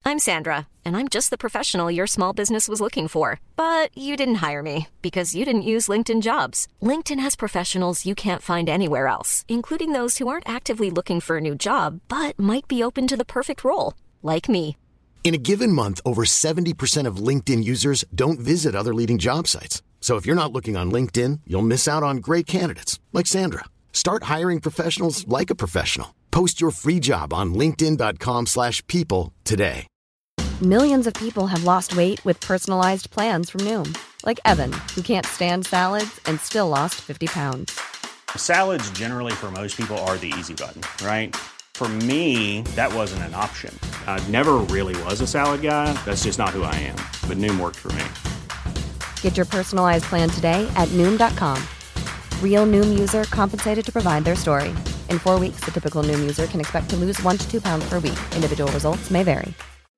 I'm Sandra, and I'm just the professional your small business was looking for. But you didn't hire me because you didn't use LinkedIn Jobs. LinkedIn has professionals you can't find anywhere else, including those who aren't actively looking for a new job, but might be open to the perfect role, like me. In a given month, over 70% of LinkedIn users don't visit other leading job sites. So if you're not looking on LinkedIn, you'll miss out on great candidates like Sandra. Start hiring professionals like a professional. Post your free job on linkedin.com/people today. Millions of people have lost weight with personalized plans from Noom. Like Evan, who can't stand salads and still lost 50 pounds. Salads generally for most people are the easy button, right? For me, that wasn't an option. I never really was a salad guy. That's just not who I am. But Noom worked for me. Get your personalized plan today at Noom.com. Real Noom user compensated to provide their story. In 4 weeks, the typical Noom user can expect to lose 1 to 2 pounds per week. Individual results may vary.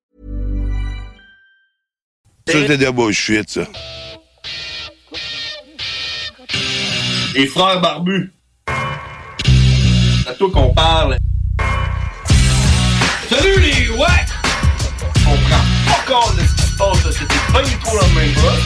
Ça, c'est de la bullshit, ça. Les frères barbus. C'est à toi qu'on parle. Salut les ouais! On prend pas compte de ce qui se passe, là. C'était pas du tout la même chose.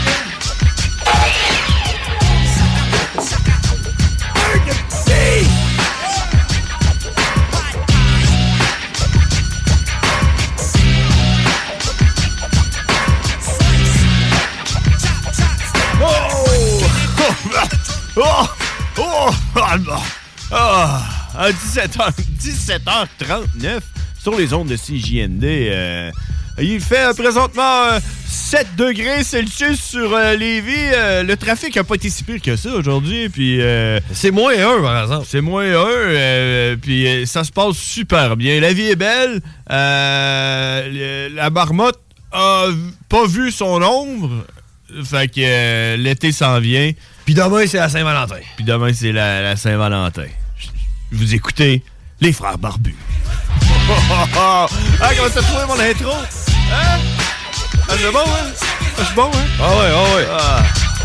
À 17h39 sur les ondes de CJND. Il fait présentement 7 degrés Celsius sur Lévis. Le trafic n'a pas été si pire que ça aujourd'hui. Puis c'est moins 1, par exemple. C'est moins 1. Puis ça se passe super bien. La vie est belle. La marmotte a pas vu son ombre. Fait que l'été s'en vient. Puis demain, c'est la Saint-Valentin. Puis demain, c'est la Saint-Valentin. Vous écoutez les frères barbus. Ah, comment t'as trouvé mon intro? Hein? Ah, c'est bon, hein? Ah, c'est bon, hein? Ah ouais. Ah.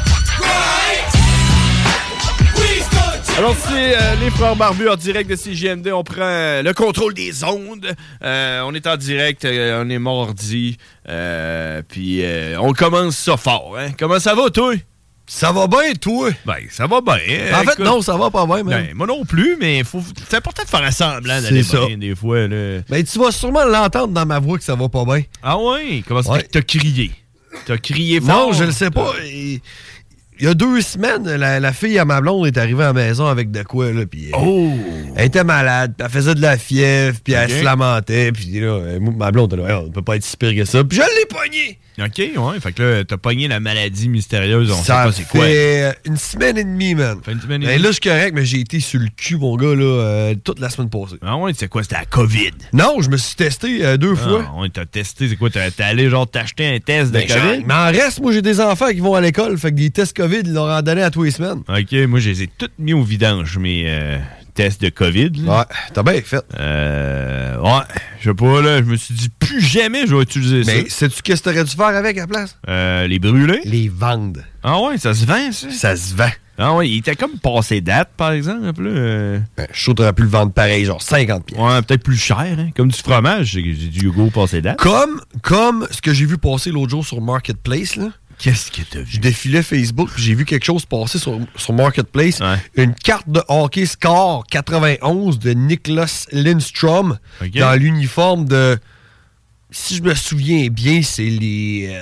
Alors, c'est les frères barbus en direct de CJMD. On prend le contrôle des ondes. On est en direct, on est mardi. Puis on commence ça fort, hein? Comment ça va, toi? Ça va bien, toi? Ben, ça va bien. En fait, non, ça va pas bien, même. Ben, moi non plus, mais c'est important de faire semblant d'aller bien des fois. Là. Ben, tu vas sûrement l'entendre dans ma voix que ça va pas bien. Ah ouais? Comment ça fait que t'as crié? T'as crié fort? Non, je le sais pas. Il y a 2 semaines, la fille à ma blonde est arrivée à la maison avec de quoi, là, puis elle était malade, puis elle faisait de la fièvre, puis elle se lamentait, puis là, ma blonde, là, on peut pas être si pire que ça, puis je l'ai pogné! OK, ouais, fait que là, t'as pogné la maladie mystérieuse, on sait pas c'est quoi. Ça fait une semaine et demie, man. Fait une semaine et demie. Là, je suis correct, mais j'ai été sur le cul, mon gars, là, toute la semaine passée. Ah ouais, c'est quoi, c'était la COVID? Non, je me suis testé 2 fois. Ah ouais, t'as testé, c'est quoi, t'es allé genre t'acheter un test de COVID? Mais en reste, moi, j'ai des enfants qui vont à l'école, fait que des tests COVID, ils leur en donné à tous les semaines. OK, moi, je les ai toutes mis au vidange, mes tests de COVID. Là. Ouais, t'as bien fait. Ouais, je sais pas, là, je me suis dit, plus jamais je vais utiliser ça. Mais sais-tu qu'est-ce que t'aurais dû faire avec à la place? Les brûler? Les vendre. Ah ouais, ça se vend, ça? Ça se vend. Ah ouais, il était comme passé date, par exemple. Là. Ben, je suis sûr que t'aurais pu le vendre pareil, genre 50$. Ouais, peut-être plus cher, hein? Comme du fromage, j'ai du Hugo passé date. Comme ce que j'ai vu passer l'autre jour sur Marketplace, là. Qu'est-ce que t'as vu? Je défilais Facebook, puis j'ai vu quelque chose passer sur Marketplace. Ouais. Une carte de hockey Score 91 de Niklas Lindstrom dans l'uniforme de... Si je me souviens bien, c'est les...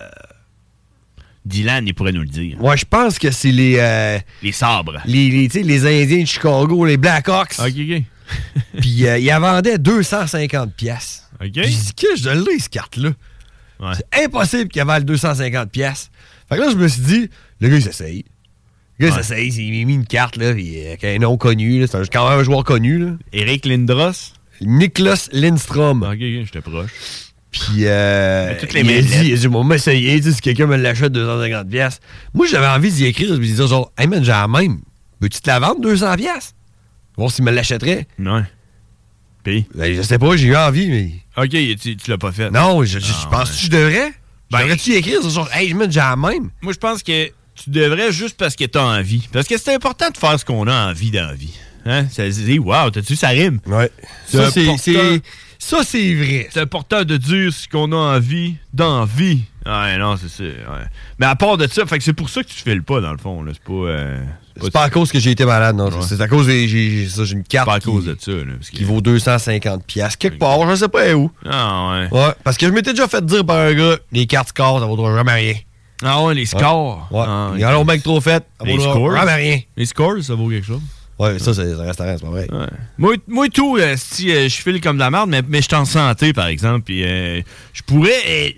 Dylan, il pourrait nous le dire. Ouais, je pense que c'est les... les sabres. Les Indiens de Chicago, les Blackhawks. OK. Puis il la vendait 250$. OK. Puis je dis que je l'ai, cette carte-là. Ouais. C'est impossible qu'il avale 250$. Fait que là, je me suis dit, le gars, il s'essaye. Le gars, il s'essaye, il m'a mis une carte, là, avec un nom connu, là. C'est quand même un joueur connu, là. Eric Lindros? Niklas Lindstrom. OK, j'étais proche. Puis, il a dit, moi, m'essayer, si quelqu'un me l'achète 250$. Moi, j'avais envie d'y écrire, de lui dire, genre, hey man, j'ai la même. Veux-tu te la vendre 200$? Voir s'il me l'achèterait. Ouais. Puis? Ben, je sais pas, j'ai eu envie, mais. OK, tu l'as pas fait. Non, je pense que je devrais. Devrais-tu y écrire? Genre, hey, man, j'ai la même. Moi, je pense que tu devrais juste parce que t'as envie. Parce que c'est important de faire ce qu'on a envie dans la vie. Hein? Ça se dit, wow, t'as-tu, ça rime? Ouais. Ça, Ça, c'est vrai. C'est important de dire ce qu'on a envie d'envie. Ouais, non, c'est ça. Ouais. Mais à part de ça, fait que c'est pour ça que tu files pas, dans le fond. Là. C'est pas à cause que j'ai été malade, non. Ouais. C'est à cause que j'ai une carte pas à cause de ça, là, qui vaut 250$. Quelque part, je sais pas où. Ah, ouais. Ouais, parce que je m'étais déjà fait dire par un gars, les cartes scores, ça vaudra jamais rien. Ah ouais, les scores. Ouais. Ah, ils en ont bien que trop fait. Ça vaudra jamais rien. Les scores, ça vaut quelque chose. Ouais, ça, c'est un restaurant, c'est pas vrai. Ouais. Moi tout, si je file comme de la merde, mais je suis en santé, par exemple, puis je pourrais...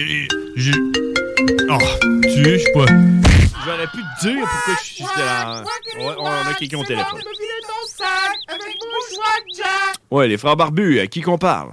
Oh, tu sais, je sais pas... J'aurais pu te dire pourquoi j'étais là. Ouais, on a quelqu'un au téléphone. Ouais, les frères barbus, à qui qu'on parle?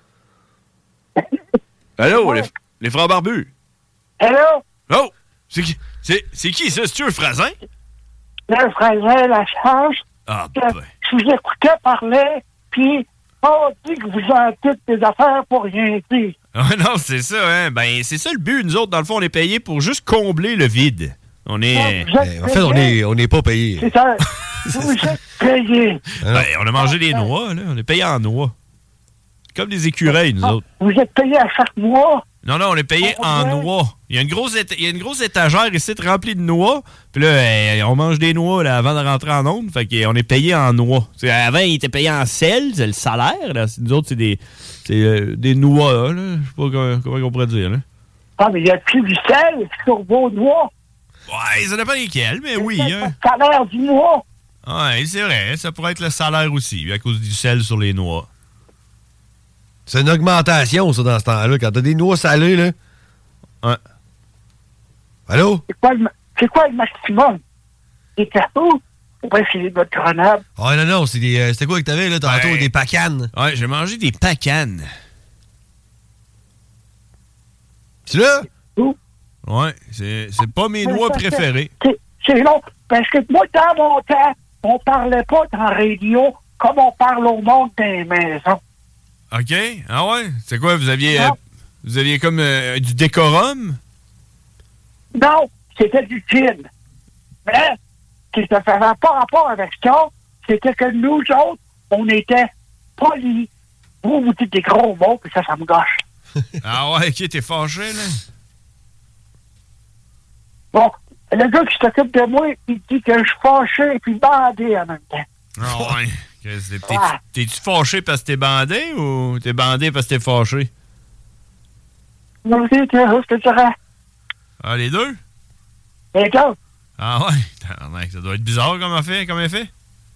Allô, les frères barbus? Allô? Oh! C'est qui ça? C'est-tu un Frasin? Le Frasin, la chance. Ah, ben. Je vous écoutais parler, puis on dit que vous avez toutes des affaires pour rien dire. Ah non, c'est ça, hein? Ben, c'est ça le but. Nous autres, dans le fond, on est payés pour juste combler le vide. On est... En fait, on n'est pas payé. C'est ça. Vous êtes payé. Ben, on a mangé des noix, là. On est payé en noix. Comme des écureuils, nous autres. Vous êtes payé à chaque mois? Non, on est payé en noix. Il y a une grosse étagère ici remplie de noix. Puis là, on mange des noix là, avant de rentrer en onde. Fait qu'on est payé en noix. T'sais, avant, il était payé en sel, c'est le salaire. Là. Nous autres, c'est des noix. Là. Je sais pas comment on pourrait dire. Là. Ah, mais il y a plus du sel sur vos noix. Ouais, ça dépend lesquels, mais oui. Hein. Le salaire du mois. Ouais, c'est vrai. Ça pourrait être le salaire aussi, à cause du sel sur les noix. C'est une augmentation, ça, dans ce temps-là. Quand t'as des noix salées, là. Ouais. Allô? C'est quoi le maximum? Des cartons? Ouais, c'est votre grenade. Ah, non, c'était quoi que t'avais, là, tantôt? Ouais. Des pacanes. Ouais, j'ai mangé des pacanes. Tu là? Où? Ouais, c'est pas mes noix préférées. C'est long, parce que moi, dans mon temps, on parlait pas dans la radio comme on parle au monde des maisons. OK. Ah ouais? C'est quoi? Vous aviez comme du décorum? Non, c'était du gin. Mais, ce qui ne faisait pas rapport avec ça, c'était que nous autres, on était polis. Vous dites des gros mots, puis ça me gâche. Ah ouais, OK, t'es fâché, là? Bon, le gars qui s'occupe de moi, il dit que je suis fâché et puis bandé en même temps. Ah ouais. T'es-tu fâché parce que t'es bandé ou t'es bandé parce que t'es fâché? Non, c'est ce que tu dirais. Ah, les deux? Les deux. Ah ouais? Ça doit être bizarre comme effet.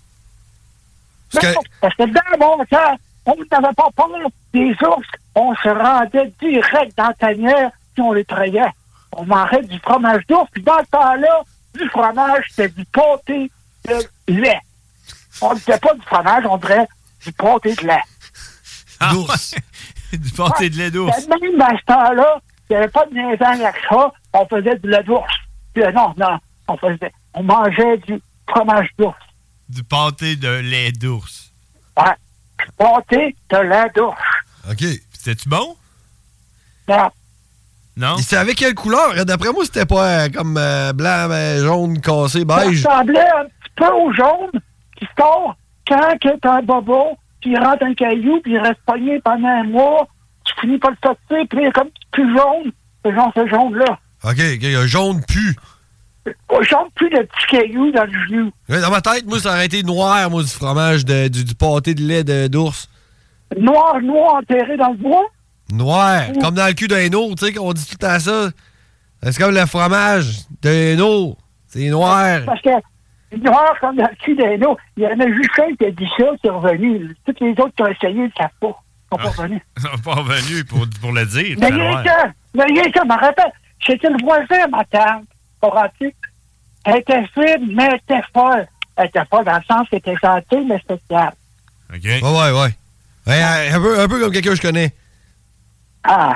Parce que dans mon temps, on n'avait pas peur des ours. On se rendait direct dans la tanière puis on les trayait. On mangeait du fromage d'ours. Puis dans ce temps-là, du fromage, c'était du pâté de lait. On ne disait pas du fromage, on dirait du pâté de lait. Ah, d'ours. Du pâté de lait d'ours. Même dans ce temps-là, il n'y avait pas de niaisage avec ça. On faisait du lait d'ours. Puis, non, on mangeait du fromage d'ours. Du pâté de lait d'ours. Ouais. Du pâté de lait d'ours. OK. C'était-tu bon? Non. Non? C'était avec quelle couleur? D'après moi, c'était pas comme blanc, jaune, cassé, beige. Ça ressemblait un petit peu au jaune qui sort quand tu es un bobo, puis il rentre un caillou, puis il reste pogné pendant un mois. Tu finis par le sortir, puis il est comme plus jaune. C'est genre ce jaune-là. OK, un jaune pu. Jaune plus de petits cailloux dans le genou. Dans ma tête, moi, ça aurait été noir, moi, du fromage, du pâté de lait d'ours. Noir enterré dans le bois? Noir, comme dans le cul d'un eau, tu sais, qu'on dit tout le temps ça. C'est comme le fromage d'un eau. C'est noir. Parce que noir comme dans le cul d'un eau, il y en a juste un qui a dit ça, qui est revenu. Tous les autres qui ont essayé, ils ne savent pas. Ils ne sont pas revenus. Ils ne sont pas revenus pour le dire. Mais rien que, je me rappelle, c'était le voisin, ma tante, Horatie. Elle était fine, mais elle était folle. Elle était folle dans le sens qu'elle était gentille, mais spéciale. OK. Ouais. Un peu comme quelqu'un que je connais. Ah.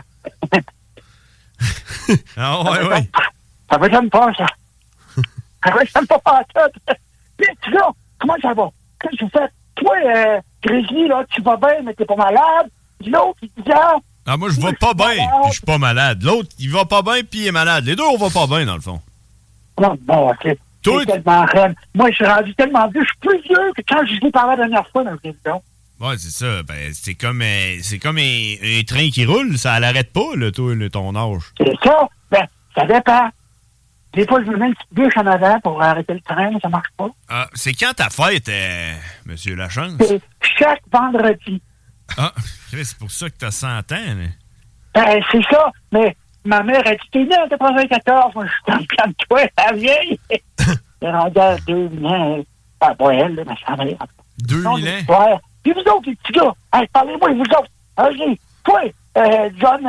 Ah, ouais. Ça va j'aime pas, ça. Ça va j'aime pas ça. Puis, tu vois, comment ça va? Qu'est-ce que tu fais? Toi, Grizzly, là, tu vas bien, mais t'es pas malade. L'autre, il dit, ah, moi, je vais pas bien, puis je suis pas malade. L'autre, il va pas bien, puis il est malade. Les deux, on va pas bien, dans le fond. Non, bon, OK. Toi, tellement reine. Moi, je suis rendu tellement vieux. Je suis plus vieux que quand je vous parlais la dernière fois dans le président. Ouais, c'est ça. Ben, c'est comme un train qui roule. Ça l'arrête pas, là, toi, ton âge. C'est ça. Ben, ça dépend. Des fois, je me mets une petite bûche en avant pour arrêter le train, mais ça marche pas. Ah, c'est quand ta fête, Monsieur Lachance? C'est chaque vendredi. Ah, c'est pour ça que t'as 100 ans, là. Ben, c'est ça. Mais ma mère a dit, t'es né en 94. Moi, je suis comme toi, la vieille. C'est rendu à 2000 ans. Ah, pas elle, là, mais ça va. 2000 ans? Ouais. Puis vous autres, les petits gars, hey, parlez-moi, vous autres. OK. Toi, John,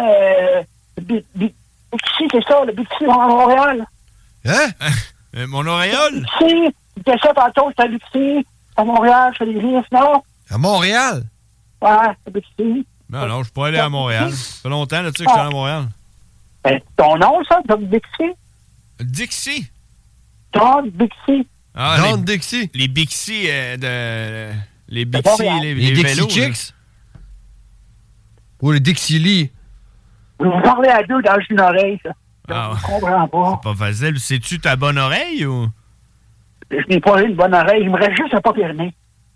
Bixi, c'est ça, le Bixi à Montréal. Hein? Mon auréole? Bixi, c'était ça tantôt, c'était Bixi, à Montréal, je fais des risques, non? À Montréal? Ouais, c'est Bixi. Non, je suis pas allé à Montréal. Ça fait longtemps, là, tu sais, que je suis allé à Montréal. Ben, ton nom, ça, Don Bixi? Dixie? Don Bixi. Ah, Don Dixie? Les Bixi les Bixi, les Dixie vélos, Chicks? Ou les Dixie Lee? Vous parlez à deux dans une oreille, ça. Ah, je comprends pas. C'est pas facile. C'est-tu ta bonne oreille ou? Je n'ai pas eu une bonne oreille. Il me reste juste un pas permis.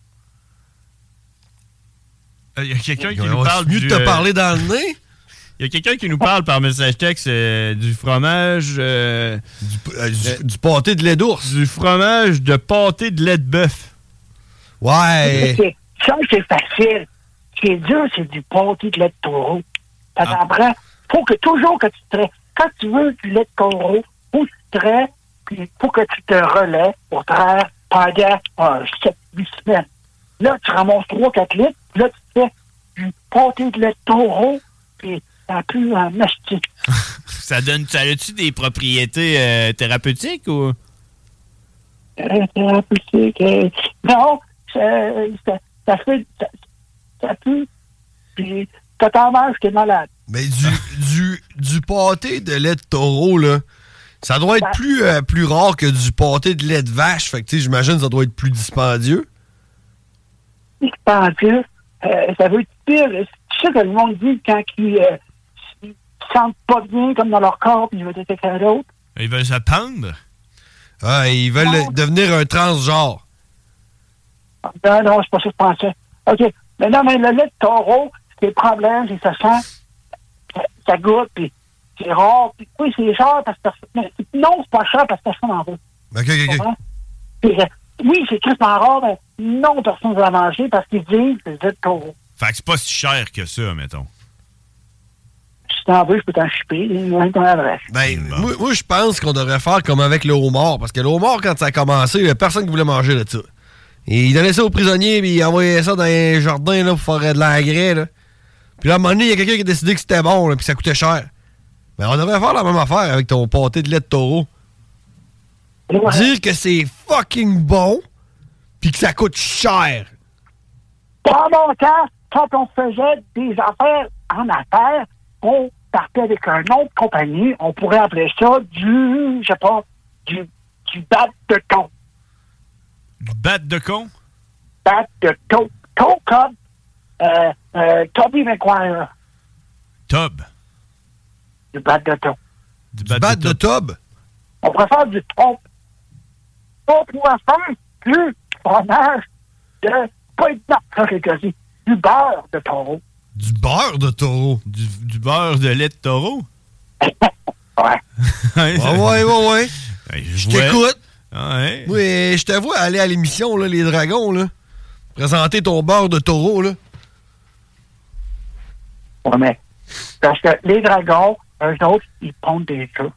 Il y a quelqu'un qui nous parle mieux de te parler dans le nez? Il y a quelqu'un qui nous parle par message texte du fromage... du pâté de lait d'ours. Du fromage de pâté de lait de bœuf. Ouais. Ça, c'est facile. Ce qui est dur, c'est du pâté de lait de taureau. Ça t'en prend. Faut que toujours que tu traites. Quand tu veux du lait de taureau, faut que tu traites, puis faut que tu te relais pour traire pendant 7-8 semaines. Là, tu ramasses 3-4 litres, puis là, tu fais du pâté de lait de taureau, puis ça pue en mastic. Ça a-tu des propriétés thérapeutiques ou? Thérapeutique. Non, ça fait. Ça pue. Puis, quand t'en manges, t'es malade. Mais du pâté de lait de taureau, là, ça doit être plus rare que du pâté de lait de vache. Fait que, tu sais, j'imagine que ça doit être plus dispendieux. Dispendieux? Ça veut être pire. Tu sais que le monde dit quand ils se sentent pas bien comme dans leur corps, puis ils veulent être quelqu'un d'autre. Ils veulent se pendre? Ah, ils veulent devenir un transgenre. Non, c'est pas ça que je pensais. OK. Mais non, mais le lait de taureau, c'est le problème, c'est que ça sent, ça goûte, puis c'est rare. Puis oui, c'est cher parce que non, c'est pas cher parce que personne n'en veut. OK. Puis, oui, c'est tristement rare, mais non, personne ne veut en manger parce qu'ils disent que c'est le lait de taureau. Fait que c'est pas si cher que ça, mettons. Si t'en veux, je peux t'en chipper. Donne ton adresse. Ben, moi je pense qu'on devrait faire comme avec le homard. Parce que le homard, quand ça a commencé, il n'y a personne qui voulait manger de ça. Et il donnait ça aux prisonniers, puis il envoyait ça dans les jardins là, pour faire de l'engrais. Là. Puis là, à un moment donné, il y a quelqu'un qui a décidé que c'était bon, là, puis que ça coûtait cher. Ben, on devrait faire la même affaire avec ton pâté de lait de taureau. Ouais. Dire que c'est fucking bon, puis que ça coûte cher. Dans mon temps, quand on faisait des affaires en affaires, on partait avec un nom de compagnie, on pourrait appeler ça du bat de thon. Du bat de con? Bat de thon. Thon comme Toby McGuire. Tub. Du bat de thon. Du bat de tub? On préfère du thon. On pourrait faire du fromage de... Pas une marque, du beurre de taureau. Du beurre de taureau? Du beurre de lait de taureau? Ouais. Ouais. Je t'écoute. Ouais. Oui, je te vois aller à l'émission, là, Les Dragons, là. Présenter ton beurre de taureau, là. Ouais, mais... Parce que les dragons, eux autres, ils pondent des œufs.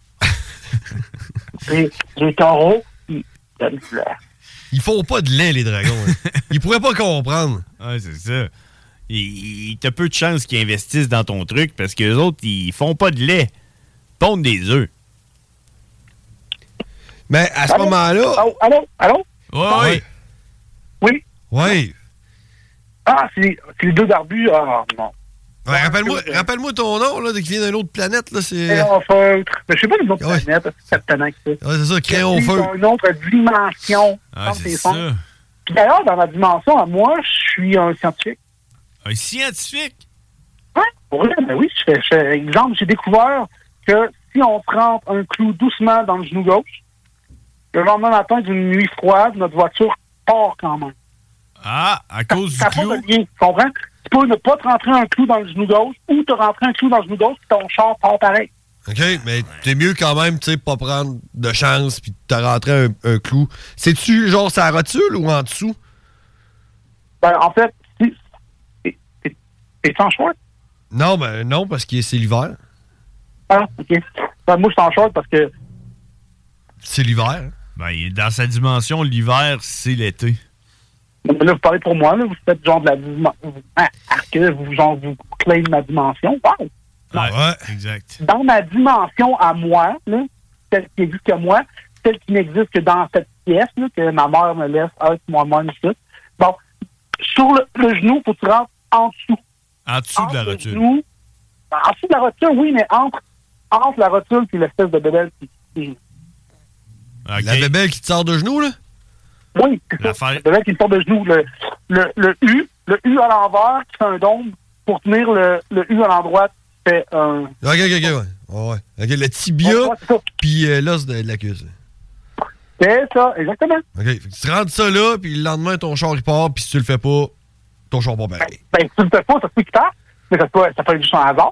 Puis les taureaux, ils donnent du lait. Ils font pas de lait, les dragons. Hein. Ils pourraient pas comprendre. Ouais, c'est ça. T'as peu de chances qu'ils investissent dans ton truc parce que les autres, ils font pas de lait. Ils pondent des œufs. Mais à ce moment-là... Allô? Ouais. Oui? Oui. Ah, c'est les deux barbus. Ah, non. Ouais, rappelle-moi ton nom, là, qui vient d'une autre planète, là, c'est... Crayon feutre. Mais je sais pas d'une autre planète, c'est tellement que ça. Ouais, c'est ça, crayon feutre. Une autre dimension. Ah, c'est ça. Puis d'ailleurs, dans ma dimension, moi, je suis un scientifique. Un scientifique? Oui, exemple, j'ai découvert que si on trempe un clou doucement dans le genou gauche, le lendemain matin d'une nuit froide, notre voiture part quand même. Ah, à cause du Ça clou? pas de lien, tu comprends? Tu peux ne pas te rentrer un clou dans le genou gauche ou te rentrer un clou dans le genou gauche puis ton char part pareil. OK, mais t'es mieux quand même, tu sais, pas prendre de chance puis te rentrer un clou. C'est-tu genre sa rotule ou en dessous? Ben, en fait, t'es en short? Non, ben non, parce que c'est l'hiver. Ah, OK. Ben, moi, je suis en short parce que... C'est l'hiver. Ben, dans sa dimension, l'hiver, c'est l'été. Mais là, vous parlez pour moi, là, vous faites genre de la dimension... vous claimez ma dimension. Wow! Ouais, exact. Dans ma dimension à moi, là, celle qui existe que moi, celle qui n'existe que dans cette pièce, là, que ma mère me laisse avec moi-même et tout. Bon, sur le genou, il faut que tu rentres en dessous. En dessous de la rotule. Genou, en dessous de la rotule, oui, mais entre la rotule et l'espèce de bébelle qui... Okay. La bébelle qui te sort de genou, là? Oui, c'est ça. La bébelle qui me sort de genou. Le U à l'envers qui fait un dôme pour tenir le U à l'endroit fait un... OK, ouais. OK, le tibia, puis l'os de la cuisse. C'est ça, exactement. OK, fait que tu rentres ça là, puis le lendemain, ton char, il part, puis si tu le fais pas, ton char part pareil. Ben, si tu le fais pas, ça se peut qu'il parte, mais ça peut être juste un hasard.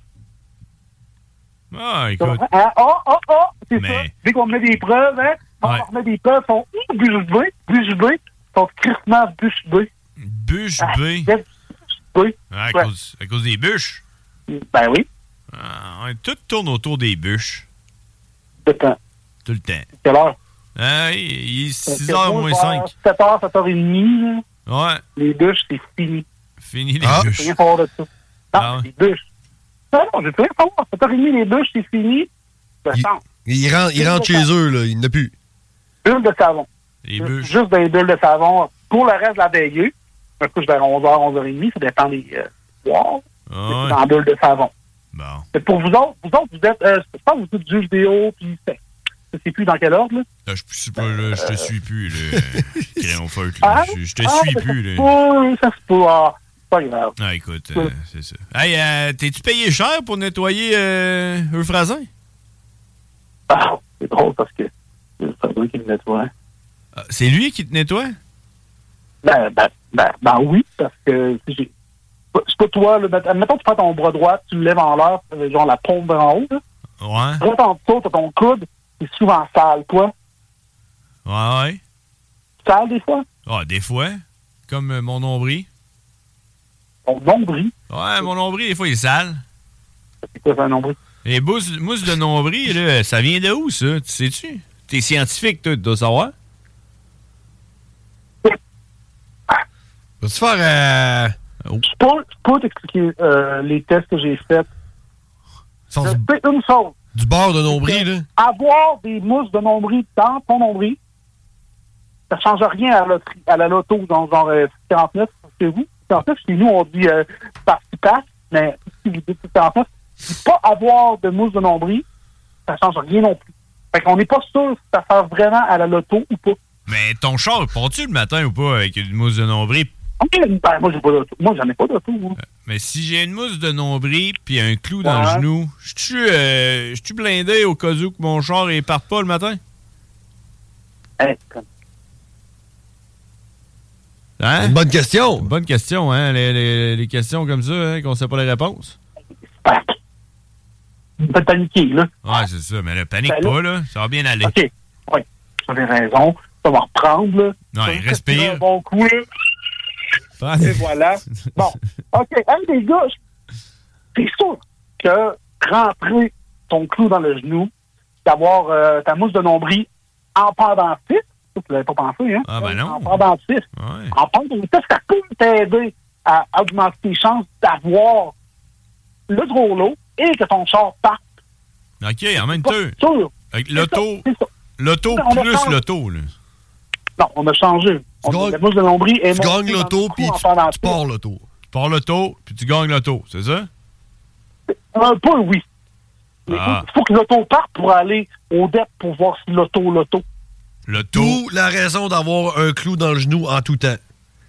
Ah, écoute. C'est ça. Dès qu'on met des preuves, hein, on remet des preuves, sont bûche B, sont crissement bûche B. Bûche B? Oui. À cause des bûches? Ben oui. Tout tourne autour des bûches. Tout le temps. Tout le temps. Quelle heure? Il est 6h moins 5. 7h, 7h30. Ouais. Les bûches, c'est fini. Fini les bûches. Je rien savoir de ça. Non, les bûches. Non, je veux rien savoir. 7h30, les bûches, c'est fini. Ils rentrent chez eux, là. Il n'y en a plus. Bulles de savon. Les bûches. Juste des bulles de savon. Pour le reste de la veillée, je couche vers 11h, 11h30. Ça dépend des soirs. C'est dans bulles de savon. Bon. Mais pour vous autres, vous êtes... je pense que vous êtes du jeu vidéo, puis je sais plus dans quel ordre, là. Je te suis plus, là. Crayon feutre, là. Je te suis plus, là. Ça se peut. Pas grave. Ah, écoute, c'est ça. Hey, t'es-tu payé cher pour nettoyer Euphrasin? Ah, c'est drôle parce que c'est Euphrasin qui me nettoie. C'est lui qui te nettoie? Ben oui, parce que c'est pas toi, là. Mettons que tu prends ton bras droit, tu le lèves en l'air, genre la paume en haut, là. Ouais. Quand en dessous, t'as ton coude, c'est souvent sale, toi. Ouais. Sale, des fois? Ah, des fois. Comme mon nombril. Ton nombril? Ouais, mon nombril, des fois, il est sale. C'est quoi, ça, un nombril? Les mousse de nombril, là, ça vient de où, ça? Tu sais-tu? T'es scientifique, toi, tu dois savoir. Vas-tu faire... Je peux t'expliquer les tests que j'ai faits. C'est une chose. Du bord de nombril, là? Avoir des mousses de nombril dans ton nombril, ça ne change rien à la loto, dans genre 49 chez vous. 49, chez nous, on dit passe, mais si vous dites 49, pas avoir de mousse de nombril, ça ne change rien non plus. Fait qu'on n'est pas sûr si ça sert vraiment à la loto ou pas. Mais ton char, pars-tu le matin ou pas avec une mousse de nombril? Ben, moi, j'ai pas d'auto. Moi, j'en ai pas d'auto. Mais si j'ai une mousse de nombril puis un clou dans le genou, je suis blindé au cas où que mon char ne parte pas le matin? Hein? C'est une bonne question. Une bonne question, hein? Les questions comme ça, hein, qu'on sait pas les réponses. Pas paniquer, là. Ouais, c'est ça. Mais là, panique pas, là. Ça va bien aller. OK. Oui. Tu avais raison. Ça va reprendre, là. Ouais, respire. Un bon coup, là. Et voilà. Bon. OK. Hey, les gars, c'est sûr que rentrer ton clou dans le genou, d'avoir ta mousse de nombril en pendentif, ça, tu l'avais pas pensé, hein? Ah, ben non. En pendentif. Ouais. En pendentif, ça peut t'aider à augmenter tes chances d'avoir le gros lot et que ton char parte. OK, en même temps. Sûr. Avec l'auto plus l'auto, là. Non, on a changé. La mousse de nombril est tu gagnes l'auto, puis tu pars l'auto. Tu pars l'auto, puis tu gagnes l'auto, c'est ça? Un peu, oui. Il faut que l'auto parte pour aller au DEP pour voir si l'auto. D'où la raison d'avoir un clou dans le genou en tout temps.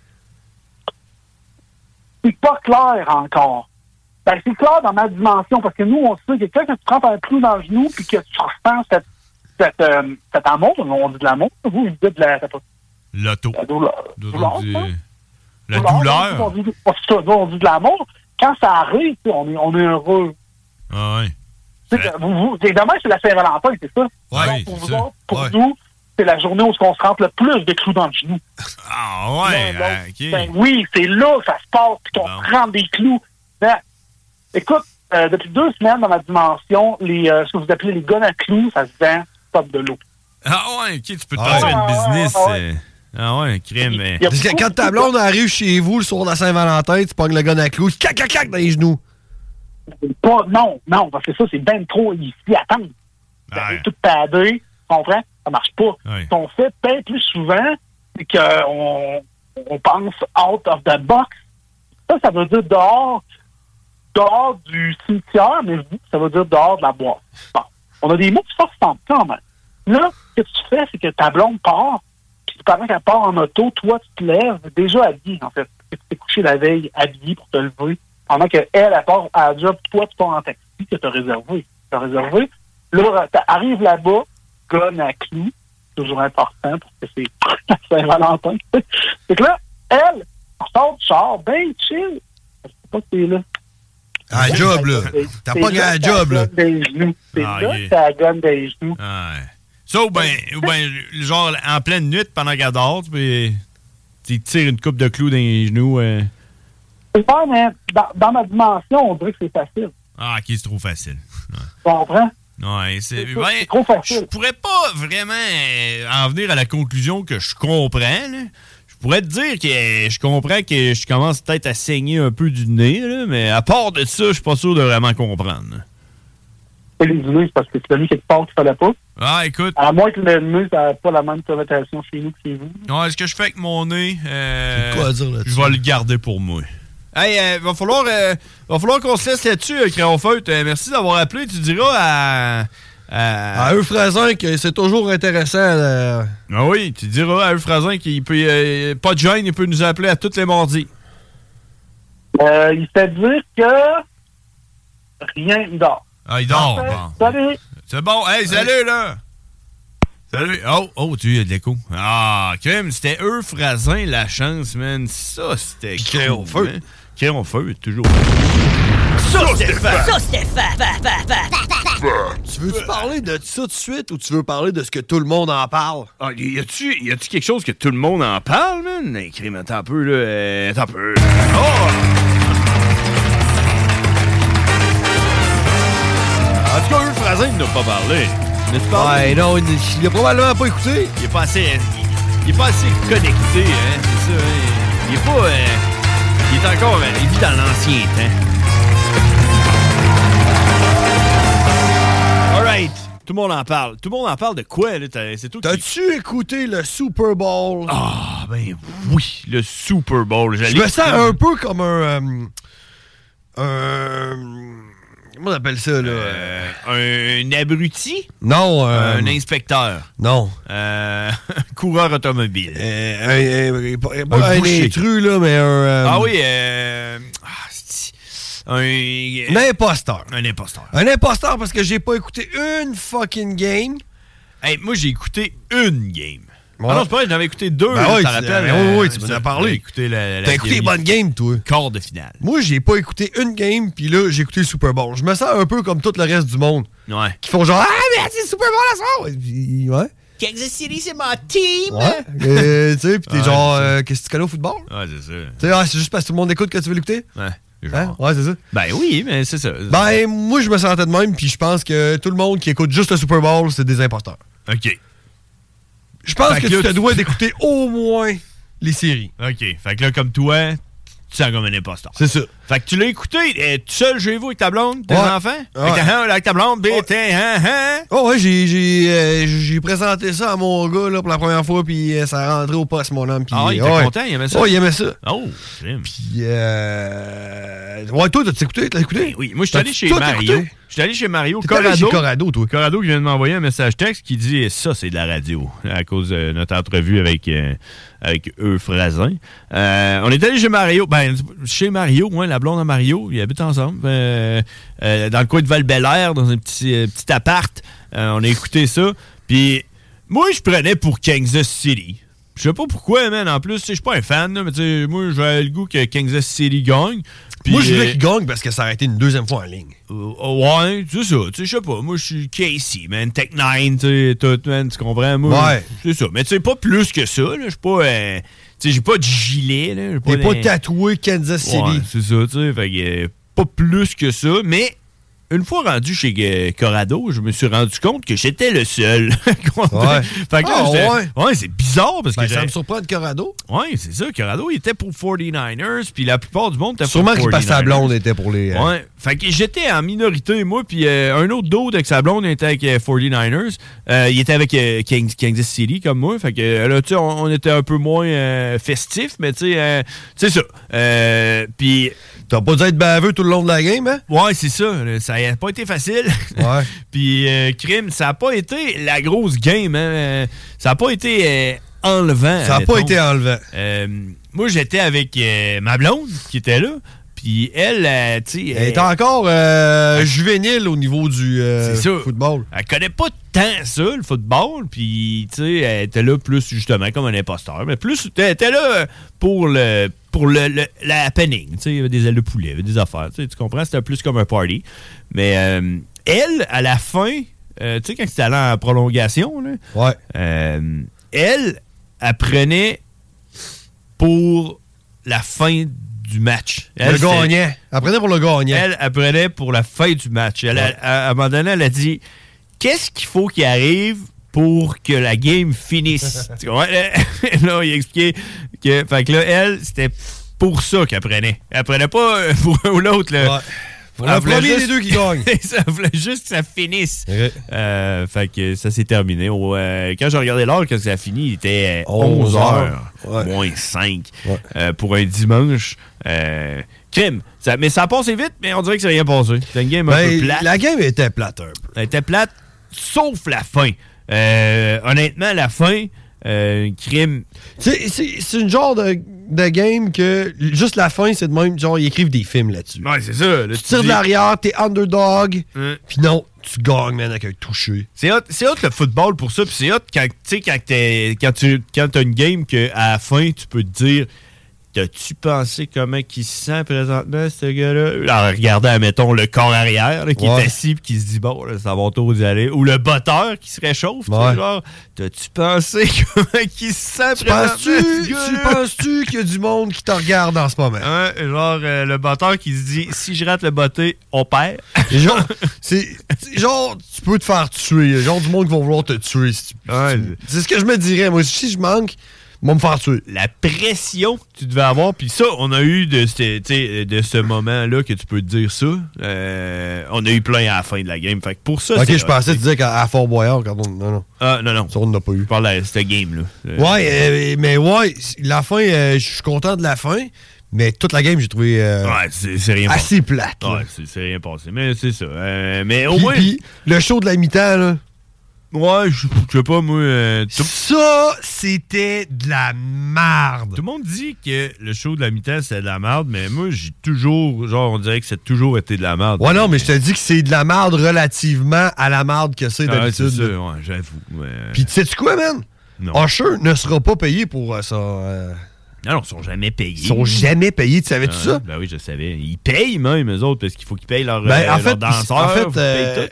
C'est pas clair encore. Ben, c'est clair dans ma dimension, parce que nous, on sait que quand tu prends un clou dans le genou puis que tu ressens cet amour, on dit de l'amour, vous dites de la... L'auto. La douleur. La douleur. On dit de l'amour. Quand ça arrive, on est heureux. Ah ouais. Demain, c'est la Saint-Valentin, c'est ça? Ouais, pour nous, c'est la journée où on se rentre le plus de clous dans le genou. Ah ouais, OK. Ben oui, c'est là que ça se passe, puis qu'on se rentre des clous. Ben, écoute, depuis 2 semaines dans ma dimension, ce que vous appelez les guns à clous, ça se vend top de l'eau. Ah ouais, OK, tu peux te faire une business. Ah ouais, crème. Mais... Parce que quand ta blonde arrive chez vous le soir de la Saint-Valentin, tu pognes le gun à clous, cac dans les genoux. Non, parce que ça, c'est ben trop ici. Attends. Tout padé, tu comprends? Ça marche pas. Ouais. Ce qu'on fait peut-être plus souvent, c'est qu'on pense out of the box. Ça veut dire dehors du cimetière, mais ça veut dire dehors de la boîte. Bon. On a des mots qui sortent sans quand même. Là, ce que tu fais, c'est que ta blonde part, puis pendant qu'elle part en auto, toi, tu te lèves déjà habillé, en fait. Tu t'es couché la veille habillé pour te lever. Pendant qu'elle, elle part à la job, toi, tu pars en taxi que tu as réservé. Là, t'arrives là-bas, gun à clous, toujours important parce que c'est Saint-Valentin. C'est que là, elle, sort du char, ben chill. Je sais pas que t'es là. À la job, là. T'as pas gagné à la job, là. C'est là que t'as la gonne des genoux. Ça, ou bien, genre, en pleine nuit, pendant qu'elle dort, tu tires une coupe de clous dans les genoux. C'est pas, mais dans ma dimension, on dirait que c'est facile. Ah, OK, c'est trop facile. Tu comprends? Ouais, c'est trop facile. Je pourrais pas vraiment en venir à la conclusion que je comprends, là. Je pourrais te dire que je comprends que je commence peut-être à saigner un peu du nez, là, mais à part de ça, je suis pas sûr de vraiment comprendre. Les nez, c'est parce que tu l'as mis quelque part qu'il fallait pas. Ah, écoute. À moins que le nez, ça n'a pas la même connotation chez nous que chez vous. Ouais, ce que je fais avec mon nez, quoi à dire là-dessus? Je vais le garder pour moi. Hey, va falloir qu'on se laisse là-dessus, Crayon Feutre. Merci d'avoir appelé. Tu diras à Euphrasien que c'est toujours intéressant. Ah oui, tu diras à Euphrasien qu'il peut pas de gêne, il peut nous appeler à tous les mardis. Il fait dire que rien, il dort. Ah, il dort. Bon. Salut. C'est bon. Hey, salut, là. Salut. Oh, tu as de l'écho. Ah, crème, c'était Euphrasien, la chance, man. Ça, c'était Crayon Feutre. Crayon Feutre, toujours. Tu veux-tu parler de ça tout de suite ou tu veux parler de ce que tout le monde en parle? Ah, y a-tu quelque chose que tout le monde en parle, man? Hey, crème, attends un peu, là. Attends un peu. Oh! En tout cas, Euphrasien, il n'a pas parlé. Ouais, non, il a probablement pas écouté. Il est pas assez connecté, hein, c'est ça. Hein? Il est pas... il est encore... il vit dans l'ancien temps. All right. Tout le monde en parle. Tout le monde en parle de quoi, là? C'est tout. T'as-tu écouté le Super Bowl? Ah, ben oui, le Super Bowl. Je me sens un peu comme comment on appelle ça, là? Un abruti? Non. Un inspecteur? Non. Coureur automobile? Pas un intrus, là, mais un... Ah oui, un imposteur. Un imposteur. Un imposteur parce que j'ai pas écouté une fucking game. Hey, moi, j'ai écouté une game. Ouais. Ah non, c'est pas vrai, j'en avais écouté 2. Oui, t'en rappelles? Oui, tu m'en as parlé. T'as écouté les bonnes games, toi. Quart de finale. Moi, j'ai pas écouté une game, puis là, j'ai écouté le Super Bowl. Je me sens un peu comme tout le reste du monde. Ouais. Qui font genre, ah, mais c'est le Super Bowl à soir! Puis, ouais. Kansas City, c'est mon team! Ouais. Tu sais, pis t'es genre, qu'est-ce que tu connais au football? Ouais, c'est ça. Tu sais, c'est juste parce que tout le monde écoute que tu veux l'écouter? Ouais. Hein? Ouais, c'est ça. Ben oui, mais c'est ça. Ben, moi, je me sentais de même, puis je pense que tout le monde qui écoute juste le Super Bowl, c'est des imposteurs. OK. Je pense que tu te dois d'écouter au moins les séries. OK. Fait que là, comme toi, tu sens comme un imposteur. C'est ça. Fait que tu l'as écouté tout seul chez vous avec ta blonde, tes enfants? Ouais. Avec ta blonde, Oh ouais, j'ai présenté ça à mon gars là, pour la première fois, puis ça a rentré au poste, mon homme. Pis, il était content, il aimait ça? Oh, il aimait ça. Oh, crime. Puis, ouais, toi, t'as écouté? T'as écouté? Ben oui, moi, je suis allé chez Mario. Je suis allé chez Mario. Corrado, toi. Corrado qui vient de m'envoyer un message texte qui dit « Ça, c'est de la radio » à cause de notre entrevue avec Euphrasien. On est allé chez Mario. Ben, chez Mario, ouais, la blonde à Mario. Ils habitent ensemble. Dans le coin de Val-Bélair, dans un petit appart. On a écouté ça. Puis, moi, je prenais pour Kansas City. Je sais pas pourquoi, man. En plus, je suis pas un fan, là, mais t'sais, moi, j'avais le goût que Kansas City gagne. Moi, je voulais qu'il gagne parce que ça aurait été une deuxième fois en ligne. Ouais, c'est ça. Je sais pas. Moi, je suis Casey, man. Tech 9, tout, man. Tu comprends? Moi, ouais. C'est ça. Mais tu sais, pas plus que ça. Je suis pas. J'ai pas de gilet. T'es pas tatoué Kansas City. Ouais, c'est ça, tu sais. Fait que pas plus que ça. Mais une fois rendu chez Corrado, je me suis rendu compte que j'étais le seul. Fait que là, ouais, c'est bizarre parce que ça me surprend de Corrado. Ouais, c'est ça. Corrado, il était pour 49ers, puis la plupart du monde était pour 49ers. Sûrement qu'il passe sa blonde était pour les... Ouais. Fait que j'étais en minorité, moi, puis un autre dude avec sa blonde était avec 49ers. Il était avec Kansas City, comme moi. Fait que là, tu sais, on était un peu moins festif, mais tu sais, c'est ça. Puis... T'as pas dû être baveux tout le long de la game, hein? Ouais, c'est ça. Ça n'a pas été facile. Ouais. Puis, crime, ça n'a pas été la grosse game, hein. Ça n'a pas été enlevant. Ça n'a pas été enlevant. Moi, j'étais avec ma blonde qui était là. Puis elle, tu sais... Elle est encore juvénile au niveau du football. Elle connaît pas tant ça, le football. Puis, tu sais, elle était là plus, justement, comme un imposteur. Mais plus, elle était là pour la happening. Tu sais, il y avait des ailes de poulet, il y avait des affaires. Tu comprends? C'était plus comme un party. Mais elle, à la fin, tu sais, quand c'était allé en prolongation, là, elle prenait pour la fin du match. Le gagnant. Elle prenait pour le gagnant. Elle prenait pour la fin du match. À un moment donné, elle a dit qu'est-ce qu'il faut qu'il arrive pour que la game finisse. Là, il expliquait que. Fait que là, elle, c'était pour ça qu'elle prenait. Elle prenait pas pour un ou l'autre. Là. Ouais. Pour le premier des deux qui gagne. Ça voulait juste que ça finisse. Okay. Fait que ça s'est terminé. Quand j'ai regardé l'heure, quand ça a fini, il était 11h, moins 5 pour un dimanche. Crime. Mais ça a passé vite, mais on dirait que c'est rien passé. C'était une game un peu plate. La game était plate un peu. Elle était plate, sauf la fin. Honnêtement, la fin, crime. C'est une genre de game que juste la fin, c'est de même, genre, ils écrivent des films là-dessus. Ouais, c'est ça. Là, tu tires de l'arrière, t'es underdog, puis non, tu gagnes, man, avec un touché. C'est hot le football pour ça, puis c'est hot quand t'as une game qu'à la fin, tu peux te dire t'as-tu pensé comment il se sent présentement, ce gars-là? En regardant, mettons, le corps arrière là, qui est assis et qui se dit, bon, là, ça va autour d'y aller. Ou le botteur qui se réchauffe. Genre, t'as-tu pensé comment il se sent présentement? Tu penses-tu qu'il y a du monde qui te regarde en ce moment? Genre, le botteur qui se dit, si je rate le botté, on perd. Genre, tu peux te faire tuer. Genre, du monde qui va vouloir te tuer. C'est ce que je me dirais. Moi, si je manque, va me faire tuer. La pression que tu devais avoir, puis ça, on a eu de ce moment-là que tu peux te dire ça. On a eu plein à la fin de la game. Fait que pour ça, je pensais que tu disais qu'à Fort Boyard, quand on. Non. Non. Ça, on n'a pas eu. Je parle de cette game-là. Mais la fin, je suis content de la fin. Mais toute la game, j'ai trouvé c'est rien assez plate. Ouais, c'est rien passé. Mais c'est ça. Mais au moins. Puis, le show de la mi-temps, là. Ouais, je sais pas, moi... Ça, c'était de la merde. Tout le monde dit que le show de la mi-temps, c'est de la merde, mais moi, j'ai toujours... Genre, on dirait que c'est toujours été de la merde. Ouais, non, mais je te dis que c'est de la merde relativement à la merde que c'est d'habitude. C'est ça, ouais, j'avoue. Puis, tu sais-tu quoi, man? Non. Usher ne sera pas payé pour ça... Non, ils sont jamais payés. Ils sont jamais payés, tu savais-tu ça? Ben oui, je savais. Ils payent même, eux autres, parce qu'il faut qu'ils payent leurs En danseurs. fait,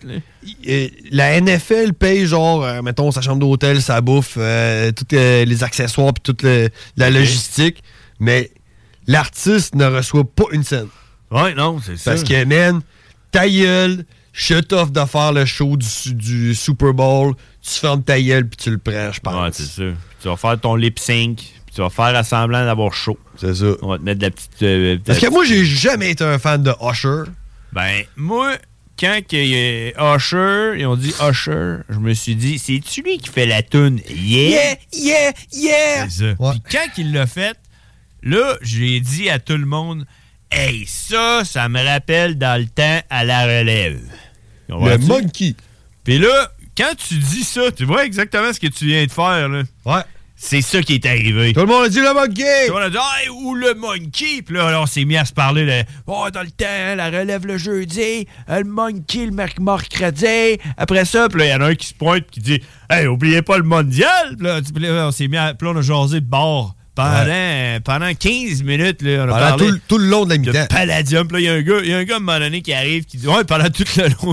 la NFL paye, genre, mettons, sa chambre d'hôtel, sa bouffe, tous les accessoires, puis toute la logistique, mais l'artiste ne reçoit pas une scène. Ouais, non, c'est ça. Parce que, man, ta gueule, je t'offre de faire le show du Super Bowl, tu fermes ta gueule, puis tu le prends, je pense. Ouais, c'est ça. Tu vas faire ton lip-sync. Tu vas faire semblant d'avoir chaud. C'est ça. On va te mettre de la petite... Parce que moi, j'ai jamais été un fan de Usher. Ben, moi, quand il y a Usher, ils ont dit Usher, je me suis dit, c'est-tu lui qui fait la toune Yeah? Yeah, yeah! C'est ça. Ouais. Puis quand il l'a fait, là, j'ai dit à tout le monde, hey, ça me rappelle dans le temps à la relève. Le Monkey. Puis là, quand tu dis ça, tu vois exactement ce que tu viens de faire, là. Ouais. C'est ça qui est arrivé. Tout le monde a dit le monkey! Tout le monde a dit, hey, où le monkey? Puis là, on s'est mis à se parler de, dans le temps, la relève le jeudi, le monkey le mercredi. Après ça, puis là, il y en a un qui se pointe qui dit, hey, oubliez pas le mondial. Puis là, on s'est mis à, puis là, on a jasé de bord. Pendant 15 minutes, là, on a parlé tout le long de la mi-temps. Palladium. Puis là, il y a un gars à un moment donné qui arrive qui dit ouais, pendant tout le long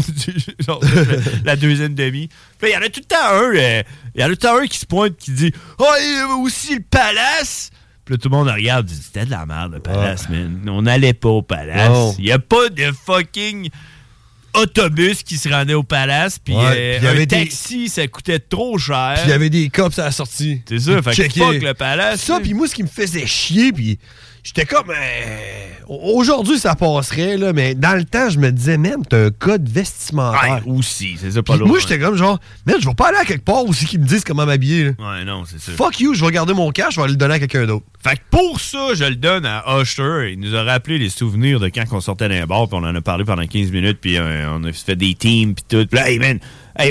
la deuxième demi. Puis là, il y en a tout le temps un qui se pointe qui dit il y avait aussi le Palace. Puis là, tout le monde regarde dit c'était de la merde, le Palace, man. On n'allait pas au Palace. Il n'y a pas de fucking autobus qui se rendait au Palace, puis un taxi, ça coûtait trop cher. Puis il y avait des cops à la sortie. C'est ça, fait que fuck le Palace. Ça, puis moi, ce qui me faisait chier, puis j'étais comme... aujourd'hui, ça passerait, là, mais dans le temps, je me disais, même, t'as un code vestimentaire. Ouais, aussi, c'est ça, pas loin. Moi, j'étais comme genre, merde, je vais pas aller à quelque part aussi qui me disent comment m'habiller. Là. Ouais, non, c'est ça. Fuck you, je vais garder mon cash, je vais aller le donner à quelqu'un d'autre. Fait que pour ça, je le donne à Usher. Il nous a rappelé les souvenirs de quand on sortait d'un bar, puis on en a parlé pendant 15 minutes, puis on a fait des teams, puis tout. Puis là, hey, man,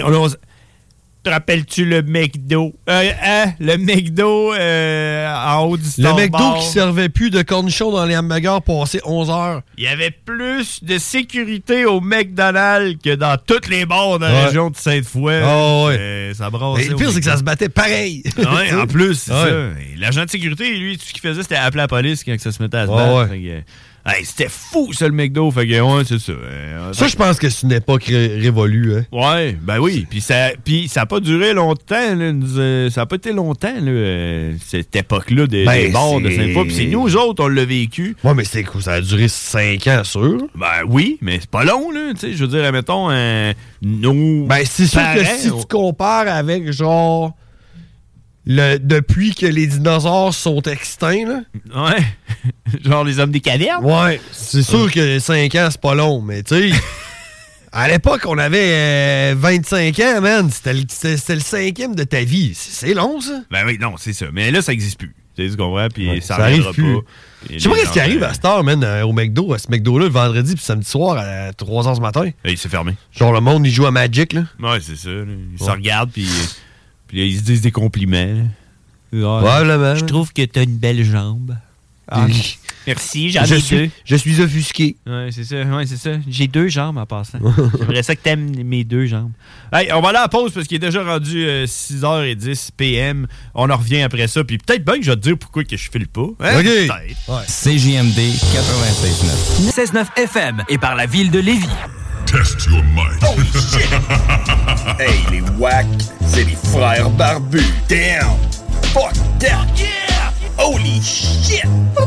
te rappelles-tu le McDo? Le McDo en haut du Star Le McDo Bar. qui servait plus de cornichons dans les hamburgers passé 11 heures. Il y avait plus de sécurité au McDonald's que dans toutes les bars de la région de Sainte-Foy. Oh, ouais. Ça brassait. Mais le pire, c'est que ça se battait pareil. Ouais, en plus, c'est ça. Et l'agent de sécurité, lui, tout ce qu'il faisait, c'était appeler la police quand ça se mettait à se battre. Hey, c'était fou, ça, le McDo. Fait que, ouais, c'est ça. Ça, je pense que c'est une époque révolue. Hein. Ouais, ben oui. Puis ça n'a pas duré longtemps. Là. Ça n'a pas été longtemps, là, cette époque-là des bars de Sainte-Foy. Puis c'est nous autres, on l'a vécu. Ouais, mais c'est cool. Ça a duré 5 ans, sûr. Ben oui, mais c'est pas long, là. Tu sais, je veux dire, mettons, nos. Ben, c'est sûr que si tu compares avec, genre. Depuis que les dinosaures sont extincts, là. Ouais. Genre les hommes des cavernes. Ouais. C'est sûr que 5 ans, c'est pas long, mais tu sais, à l'époque, on avait 25 ans, man. C'était le 5e de ta vie. C'est long, ça. Ben oui, non, c'est ça. Mais là, ça n'existe plus. Tu comprends? Puis ça arrive plus. Pas. Je sais pas qu'est-ce qui arrive à cette heure, man, au McDo. À ce McDo-là, le vendredi puis samedi soir à 3h du matin. Et il s'est fermé. Genre, le monde, il joue à Magic, là. Ouais, c'est ça. Ils se regardent, puis ils se disent des compliments. Probablement. Je trouve que t'as une belle jambe. Merci, j'en ai deux. Je suis offusqué. Ouais, c'est ça. J'ai 2 jambes en passant. J'aimerais ça que t'aimes mes 2 jambes. Hey, on va aller à la pause parce qu'il est déjà rendu 6h10 PM. On en revient après ça. Puis peut-être bien que je vais te dire pourquoi que je file pas. Hein? OK. Ouais. CJMD 96.9. 16.9 FM et par la ville de Lévis. Test your mind. Oh shit! Hey, les wack, c'est les frères barbus. Damn! Fuck that! Yeah! Holy shit!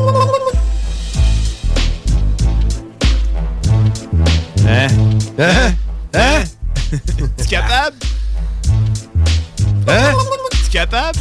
Tu capable? Tu capable?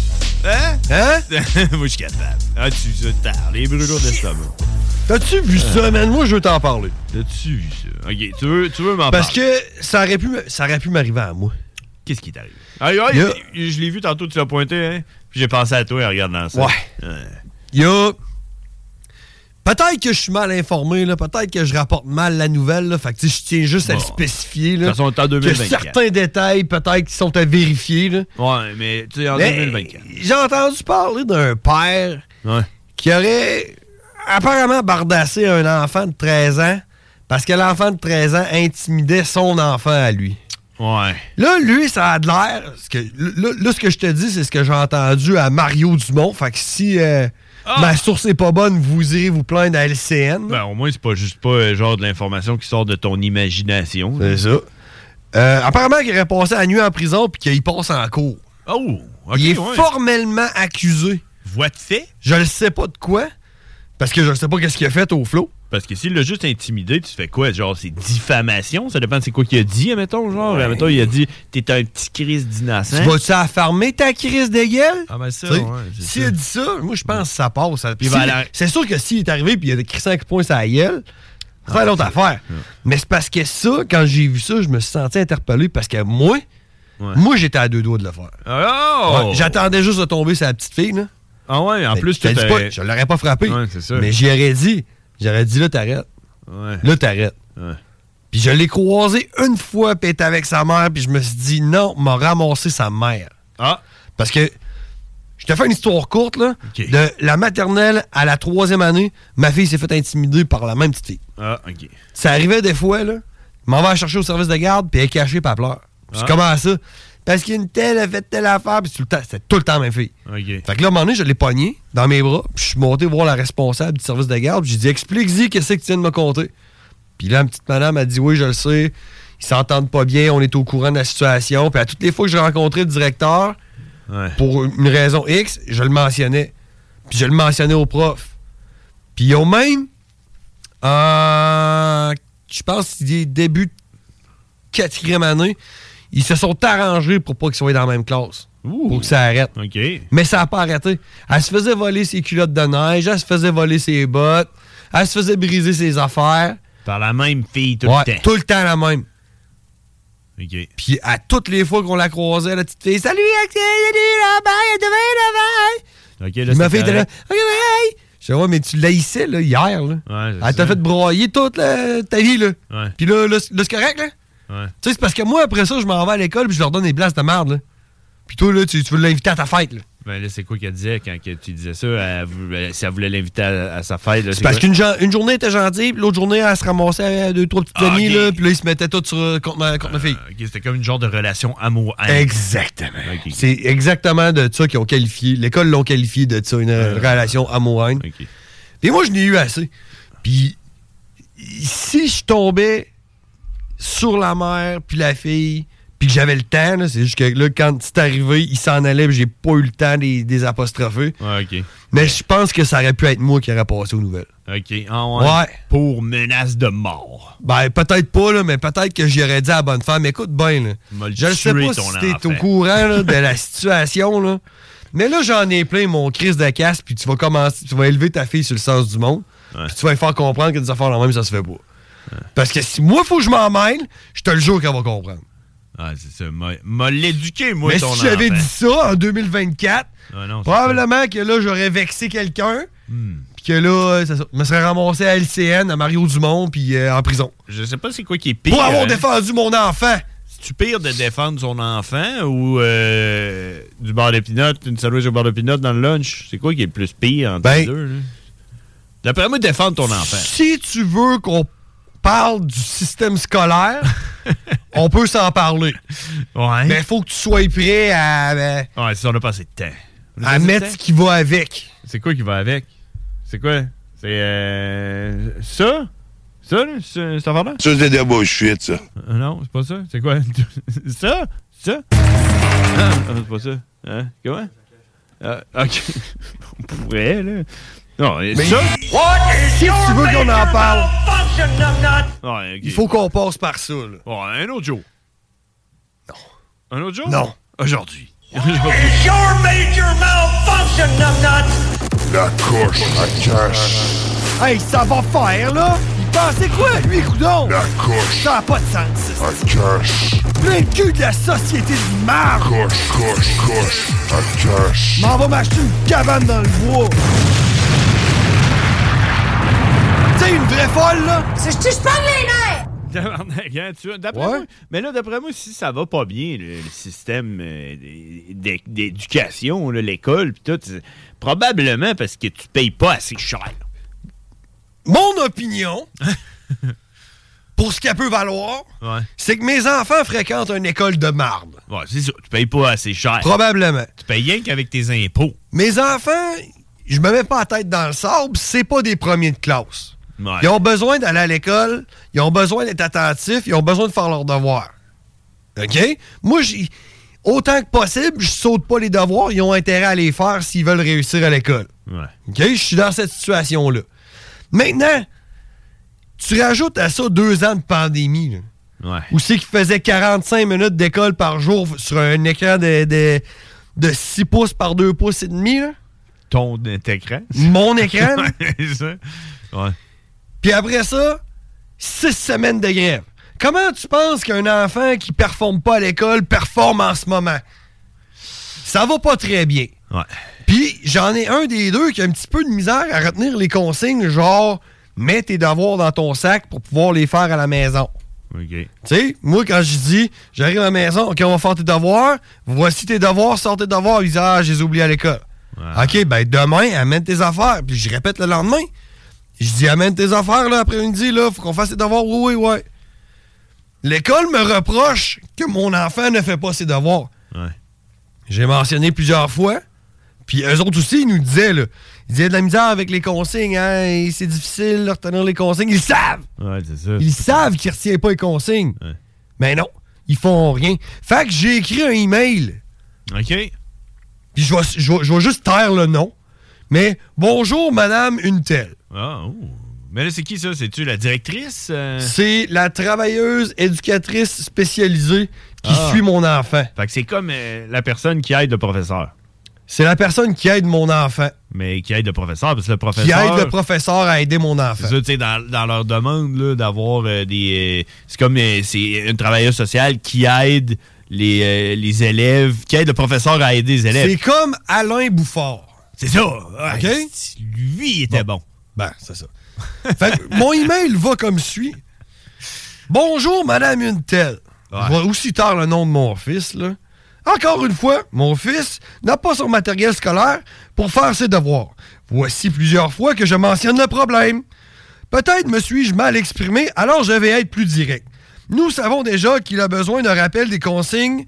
Moi, je suis capable. Ah, tu tard, les brûlures d'estomac. T'as-tu vu ça, man? Moi, je veux t'en parler. T'as-tu vu ça? OK, tu veux m'en parler? Parce que ça aurait pu m'arriver à moi. Qu'est-ce qui t'arrive? Je l'ai vu tantôt, tu l'as pointé, hein? Puis j'ai pensé à toi en regardant ça. Ouais. Il y a... Peut-être que je suis mal informé, là. Peut-être que je rapporte mal la nouvelle, là. Fait que je tiens juste à le spécifier, là. De toute façon, en 2024. Que certains détails, peut-être, qui sont à vérifier, là. Ouais, mais tu sais, en 2024. J'ai entendu parler d'un père qui aurait apparemment bardassé un enfant de 13 ans parce que l'enfant de 13 ans intimidait son enfant à lui. Ouais. Là, lui, ça a de l'air... Là, ce que je te dis, c'est ce que j'ai entendu à Mario Dumont. Fait que si ma source est pas bonne, vous irez vous plaindre à LCN. Ben, au moins, c'est pas juste pas genre de l'information qui sort de ton imagination. C'est ça. Apparemment qu'il aurait passé la nuit en prison puis qu'il passe en cours. Oh! Okay, il est formellement accusé. Voix de fait? Je ne sais pas de quoi, parce que je ne sais pas qu'est-ce qu'il a fait au flot. Parce que s'il l'a juste intimidé, tu fais quoi? Genre, c'est diffamation? Ça dépend de c'est quoi qu'il a dit, admettons, genre. Admettons, il a dit, t'es un petit Christ d'innocent. Tu vas-tu affarmer ta crise de gueule? Ah ben ça, s'il a dit ça, moi, je pense que ça passe. C'est sûr que s'il est arrivé et il a crissé un coup de poing sur la gueule, c'est l'autre affaire. Mais c'est parce que ça, quand j'ai vu ça, je me suis senti interpellé parce que moi, j'étais à 2 doigts de le faire. Oh! J'attendais juste de tomber sur la petite fille, là. Ah ouais, en plus, je l'aurais pas frappé. Ouais, c'est ça. Mais j'aurais dit, là, t'arrêtes. Ouais. Là, t'arrêtes. Ouais. Puis je l'ai croisé une fois, puis il était avec sa mère, puis je me suis dit, non, m'a ramassé sa mère. Ah! Parce que Je te fais une histoire courte, là. Okay. De la maternelle à la 3e année, ma fille s'est fait intimider par la même petite fille. Ah, OK. Ça arrivait des fois, là. Je m'en vais la chercher au service de garde, puis elle est cachée, puis elle pleure. C'est comment ça? Parce qu'une telle a fait telle affaire, puis c'était tout le temps la même fille. Okay. Fait que là, à un moment donné, je l'ai pognée dans mes bras, puis je suis monté voir la responsable du service de garde, puis j'ai dit, explique-y qu'est-ce que tu viens de me conter. Puis là, la petite madame a dit, oui, je le sais, ils s'entendent pas bien, on est au courant de la situation. Puis à toutes les fois que je rencontrais le directeur, pour une raison X, je le mentionnais. Puis je le mentionnais au prof. Puis ils ont même, je pense, début de 4e année, ils se sont arrangés pour pas qu'ils soient dans la même classe. Pour que ça arrête. Okay. Mais ça n'a pas arrêté. Elle se faisait voler ses culottes de neige, elle se faisait voler ses bottes, elle se faisait briser ses affaires. Par la même fille tout le temps. Tout le temps la même. OK. Puis à toutes les fois qu'on la croisait, la petite fille, salut, demain. OK, là, ma fille était là, OK, bye. Je dis, ouais, mais tu l'haïssais, là, hier, là. Ouais, elle t'a fait broyer toute ta vie, là. Ouais. Puis là, c'est correct, là. Ouais. Tu sais, c'est parce que moi, après ça, je m'en vais à l'école puis je leur donne des places de merde, là. Puis toi, là, tu veux l'inviter à ta fête, là. Ben là, c'est quoi qu'elle disait quand tu disais ça? Si elle voulait l'inviter à sa fête, là, c'est parce qu'une journée elle était gentille, puis l'autre journée, elle se ramassait à 2-3 petites amies, là, puis là, ils se mettaient tous contre ma fille. OK, c'était comme une genre de relation amour-haine. Exactement. Okay. C'est exactement de ça qu'ils ont qualifié. L'école l'ont qualifié de ça, une relation amour-haine. Okay. Puis moi, je n'ai eu assez. Puis si je tombais sur la mère, puis la fille, puis que j'avais le temps, là, c'est juste que là, quand c'est arrivé, il s'en allait, puis j'ai pas eu le temps des apostropher. Ouais, OK. Mais je pense que ça aurait pu être moi qui aurais passé aux nouvelles. OK. Ah ouais. Pour menace de mort. Ben, peut-être pas, là, mais peut-être que j'y aurais dit à la bonne femme, écoute bien, là. Je ne sais pas si t'es au courant là, de la situation, là. Mais là, j'en ai plein mon crise de casse, puis tu vas élever ta fille sur le sens du monde, puis tu vas lui faire comprendre que des affaires là même, ça se fait pas. Ouais. Parce que si moi, il faut que je m'en mêle, je te le jure qu'elle va comprendre. Ah, c'est ça. M'a l'éduqué, moi, mais ton enfant. Mais si j'avais dit ça en 2024, non, probablement que là, j'aurais vexé quelqu'un, puis que là, je me serais ramassé à LCN, à Mario Dumont, puis en prison. Je sais pas c'est quoi qui est pire. Pour avoir défendu mon enfant. C'est-tu pire de défendre son enfant ou du beurre de pinot, une sandwich au beurre de pinot dans le lunch? C'est quoi qui est le plus pire entre les deux? Là? D'après moi, défendre ton enfant. Si tu veux qu'on parle du système scolaire, on peut s'en parler. Ouais. Mais il faut que tu sois prêt à... ouais, si on n'a pas assez de temps. À mettre ce qui va avec. C'est quoi qui va avec? C'est quoi? C'est ça? Ça, là? C'est affaire-là? Ça, c'est de la bullshit, ça. Non, c'est pas ça. C'est quoi? Ça? Ça? Non, c'est pas ça. Hein? Comment? OK. On pourrait, là. Non, mais ça? Si tu veux qu'on en parle, ouais, okay. Il faut qu'on passe par ça, là. Ouais, un autre jour. Non. Un autre jour? Non. Aujourd'hui. It's your major malfunction, numbnut! La coche à cash. Hey, ça va faire, là? Il pensait quoi, lui, coudon? La coche. Ça n'a pas de sens. À cash. Plein de cul de la société du marde. Coche. À cash. M'en va m'acheter une cabane dans le bois. Tu sais, une vraie folle, là? Je pogne les nerfs! D'après moi, mais là, d'après moi, si ça va pas bien, le système d'éducation, l'école, pis tout, probablement parce que tu payes pas assez cher. Mon opinion, pour ce qu'elle peut valoir, c'est que mes enfants fréquentent une école de marde. Ouais, c'est ça. Tu payes pas assez cher. Probablement. Tu payes rien qu'avec tes impôts. Mes enfants, je me mets pas la tête dans le sable, c'est pas des premiers de classe. Ouais. Ils ont besoin d'aller à l'école, ils ont besoin d'être attentifs, ils ont besoin de faire leurs devoirs. OK? Moi, autant que possible, je saute pas les devoirs, ils ont intérêt à les faire s'ils veulent réussir à l'école. Ouais. OK? Je suis dans cette situation-là. Maintenant, tu rajoutes à ça 2 ans de pandémie, là, ouais. Où c'est qu'ils faisaient 45 minutes d'école par jour sur un écran de 6 pouces par 2 pouces et demi, là. Ton écran? Mon écran? C'est ça. Ouais. Puis après ça, 6 semaines de grève. Comment tu penses qu'un enfant qui performe pas à l'école performe en ce moment? Ça va pas très bien. Ouais. Puis j'en ai un des deux qui a un petit peu de misère à retenir les consignes, genre mets tes devoirs dans ton sac pour pouvoir les faire à la maison. OK. Tu sais, moi, quand je dis, j'arrive à la maison, OK, on va faire tes devoirs, voici tes devoirs, sors tes devoirs. Ils disent, ah, je les ai oubliés à l'école. OK, ben demain, amène tes affaires. Puis je répète le lendemain. Je dis, amène tes affaires, là, après-midi, là, faut qu'on fasse tes devoirs. Oui. L'école me reproche que mon enfant ne fait pas ses devoirs. Ouais. J'ai mentionné plusieurs fois. Puis eux autres aussi, ils nous disaient, là, ils disaient de la misère avec les consignes, hein, c'est difficile de retenir les consignes. Ils le savent! Ouais, c'est ça. Ils savent qu'ils ne retiennent pas les consignes. Ouais. Mais non, ils font rien. Fait que j'ai écrit un email. OK. Puis je vais juste taire le nom. Mais bonjour, madame une telle. Ah, oh. Mais là, c'est qui ça? C'est-tu la directrice? C'est la travailleuse éducatrice spécialisée qui suit mon enfant. Fait que c'est comme la personne qui aide le professeur. C'est la personne qui aide mon enfant. Mais qui aide le professeur, parce que le professeur... Qui aide le professeur à aider mon enfant. C'est ça, tu sais, dans leur demande, là, d'avoir des... c'est comme c'est une travailleuse sociale qui aide les élèves, qui aide le professeur à aider les élèves. C'est comme Alain Bouffard. C'est ça. OK? Lui, il était bon. Ben, c'est ça. Fait que mon email va comme suit. Bonjour, madame une telle. Je vais aussi taire le nom de mon fils, là. Encore une fois, mon fils n'a pas son matériel scolaire pour faire ses devoirs. Voici plusieurs fois que je mentionne le problème. Peut-être me suis-je mal exprimé, alors je vais être plus direct. Nous savons déjà qu'il a besoin d'un rappel des consignes.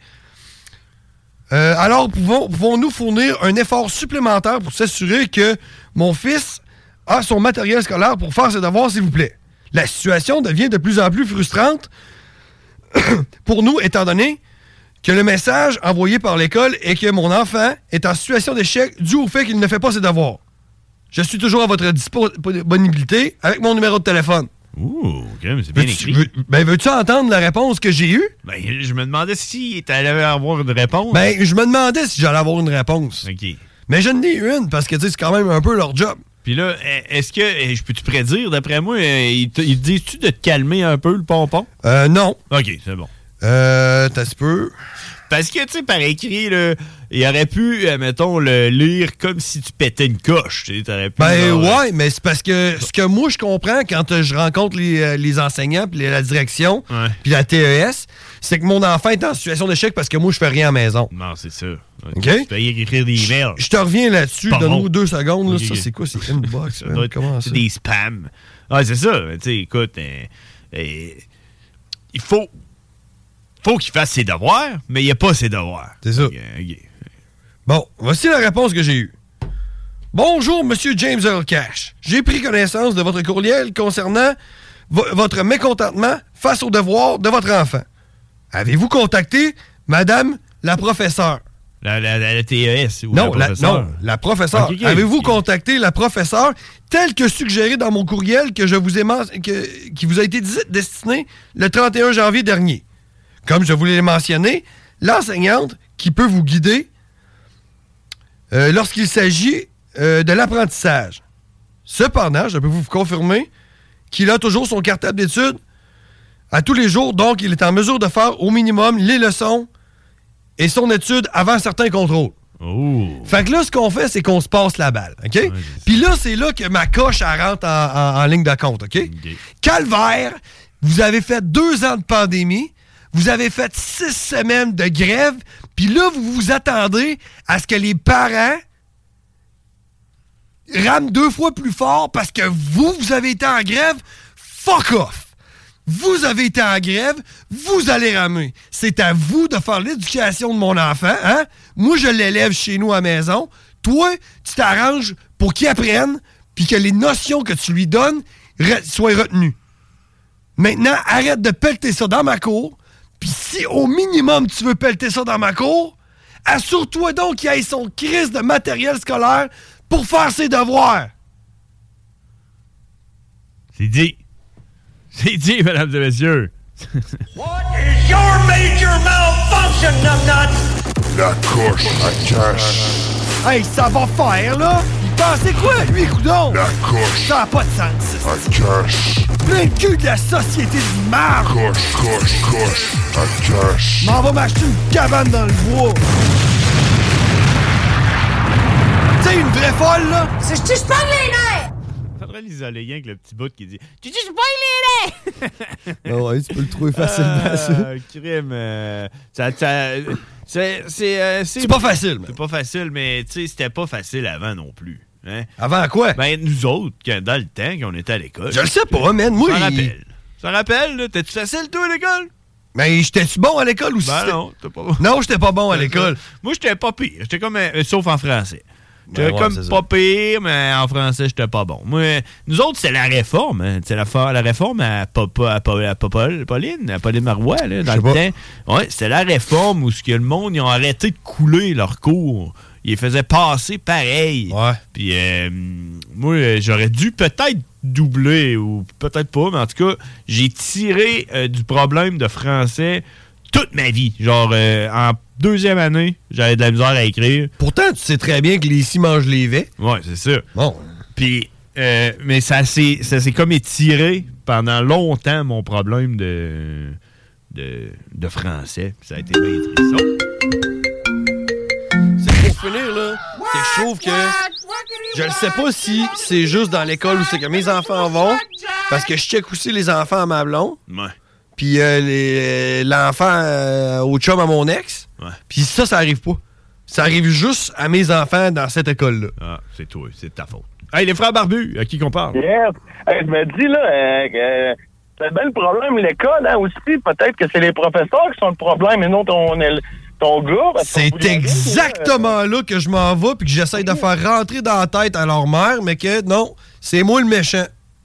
Alors pouvons-nous fournir un effort supplémentaire pour s'assurer que mon fils a son matériel scolaire pour faire ses devoirs, s'il vous plaît? La situation devient de plus en plus frustrante pour nous, étant donné que le message envoyé par l'école est que mon enfant est en situation d'échec dû au fait qu'il ne fait pas ses devoirs. Je suis toujours à votre disponibilité avec mon numéro de téléphone. Ouh, OK, mais c'est bien écrit. Veux-tu entendre la réponse que j'ai eue? Ben, je me demandais si tu allais avoir une réponse. Ben, je me demandais si j'allais avoir une réponse. OK. Mais je n'ai une, parce que, tu sais, c'est quand même un peu leur job. Puis là, est-ce que, je peux-tu prédire, d'après moi, ils te disent-tu de te calmer un peu, le pompon? Non. OK, c'est bon. T'as un peu... Parce que, tu sais, par écrit, là, il aurait pu, mettons, le lire comme si tu pétais une coche. Tu aurais pu, ouais, mais c'est parce que ce que moi, je comprends quand je rencontre les enseignants, puis la direction, puis la TES, c'est que mon enfant est en situation d'échec parce que moi, je fais rien à la maison. Non, c'est ça. OK? Tu peux écrire des emails. Je te reviens là-dessus. Donne-nous 2 secondes. Là. Okay. Ça, c'est quoi? C'est inbox. Comment ça? C'est des spams. Ah, c'est ça. Tu sais, écoute, il faut qu'il fasse ses devoirs, mais il n'y a pas ses devoirs. C'est ça. Okay. Bon, voici la réponse que j'ai eue. Bonjour, Monsieur James Earl Cash. J'ai pris connaissance de votre courriel concernant votre mécontentement face aux devoirs de votre enfant. Avez-vous contacté Madame la professeure? La TES ou non, la professeure. Okay, Avez-vous contacté la professeure tel que suggéré dans mon courriel que je vous ai qui vous a été destiné le 31 janvier dernier? Comme je vous l'ai mentionné, l'enseignante qui peut vous guider lorsqu'il s'agit de l'apprentissage. Cependant, je peux vous confirmer qu'il a toujours son cartable d'études à tous les jours, donc il est en mesure de faire au minimum les leçons et son étude avant certains contrôles. Oh. Fait que là, ce qu'on fait, c'est qu'on se passe la balle, OK? Ouais, puis là, c'est là que ma coche, elle rentre en ligne de compte, OK? Calvaire, vous avez fait 2 ans de pandémie, vous avez fait 6 semaines de grève, puis là, vous vous attendez à ce que les parents rament 2 fois plus fort parce que vous avez été en grève. Fuck off! Vous avez été en grève, vous allez ramer. C'est à vous de faire l'éducation de mon enfant, hein? Moi, je l'élève chez nous à la maison. Toi, tu t'arranges pour qu'il apprenne, puis que les notions que tu lui donnes soient retenues. Maintenant, arrête de pelleter ça dans ma cour, puis si au minimum tu veux pelleter ça dans ma cour, assure-toi donc qu'il y ait son crise de matériel scolaire pour faire ses devoirs. C'est dit. C'est dit, mesdames et messieurs. What is your major malfunction, numbnuts? La coche à cash. Hey, ça va faire, là? Il pensait quoi, lui, coudon? La coche. Ça n'a pas de sens. À cash. Plein de cul de la société de marde. Coche. À cash. M'en va m'acheter une cabane dans le bois. Tu sais, une vraie folle, là? C'est je te parle les nerfs! prends l'isolé avec le petit bout qui dit « Tu dis pas il est là! » Ouais, tu peux le trouver facilement, ça. Crime. C'est pas facile. C'est pas facile, mais tu sais, c'était pas facile avant non plus. Hein? Avant quoi? Ben, nous autres, dans le temps qu'on était à l'école. Je le sais pas, man. Moi, Ça rappelle, là? T'es-tu facile, toi, à l'école? Mais j'étais-tu bon à l'école ou non, t'es pas bon. Non, j'étais pas bon à l'école. Moi, j'étais pas pire. J'étais comme... sauf en français. J'étais comme pas pire, mais en français, j'étais pas bon. Moi, nous autres, c'est la réforme. Hein. C'est la réforme à Pauline Marois, là, dans le temps. Ouais, c'était la réforme où le monde, ils ont arrêté de couler leurs cours. Ils les faisaient passer pareil. Ouais. Puis, moi, j'aurais dû peut-être doubler, ou peut-être pas, mais en tout cas, j'ai tiré du problème de français toute ma vie. Genre, en deuxième année, j'avais de la misère à écrire. Pourtant, tu sais très bien que les ici mangent les vets. Ouais, c'est ça. Bon. Puis, mais ça s'est comme étiré pendant longtemps, mon problème de français. Ça a été bien triste. C'est pour finir, là. C'est que je trouve que... Je ne sais pas si c'est juste dans l'école où c'est que mes enfants vont, parce que je check aussi les enfants à ma blonde. Ouais. Puis l'enfant au chum à mon ex. Ouais. Puis ça arrive pas. Ça arrive juste à mes enfants dans cette école-là. Ah, c'est toi, c'est de ta faute. Hey, les frères barbus, à qui qu'on parle? Yes. Hey, je me dis, là, c'est bien le problème, l'école, hein, aussi. Peut-être que c'est les professeurs qui sont le problème et non ton gars. C'est exactement là que je m'en vais puis que j'essaie de faire rentrer dans la tête à leur mère, mais que non, c'est moi le méchant.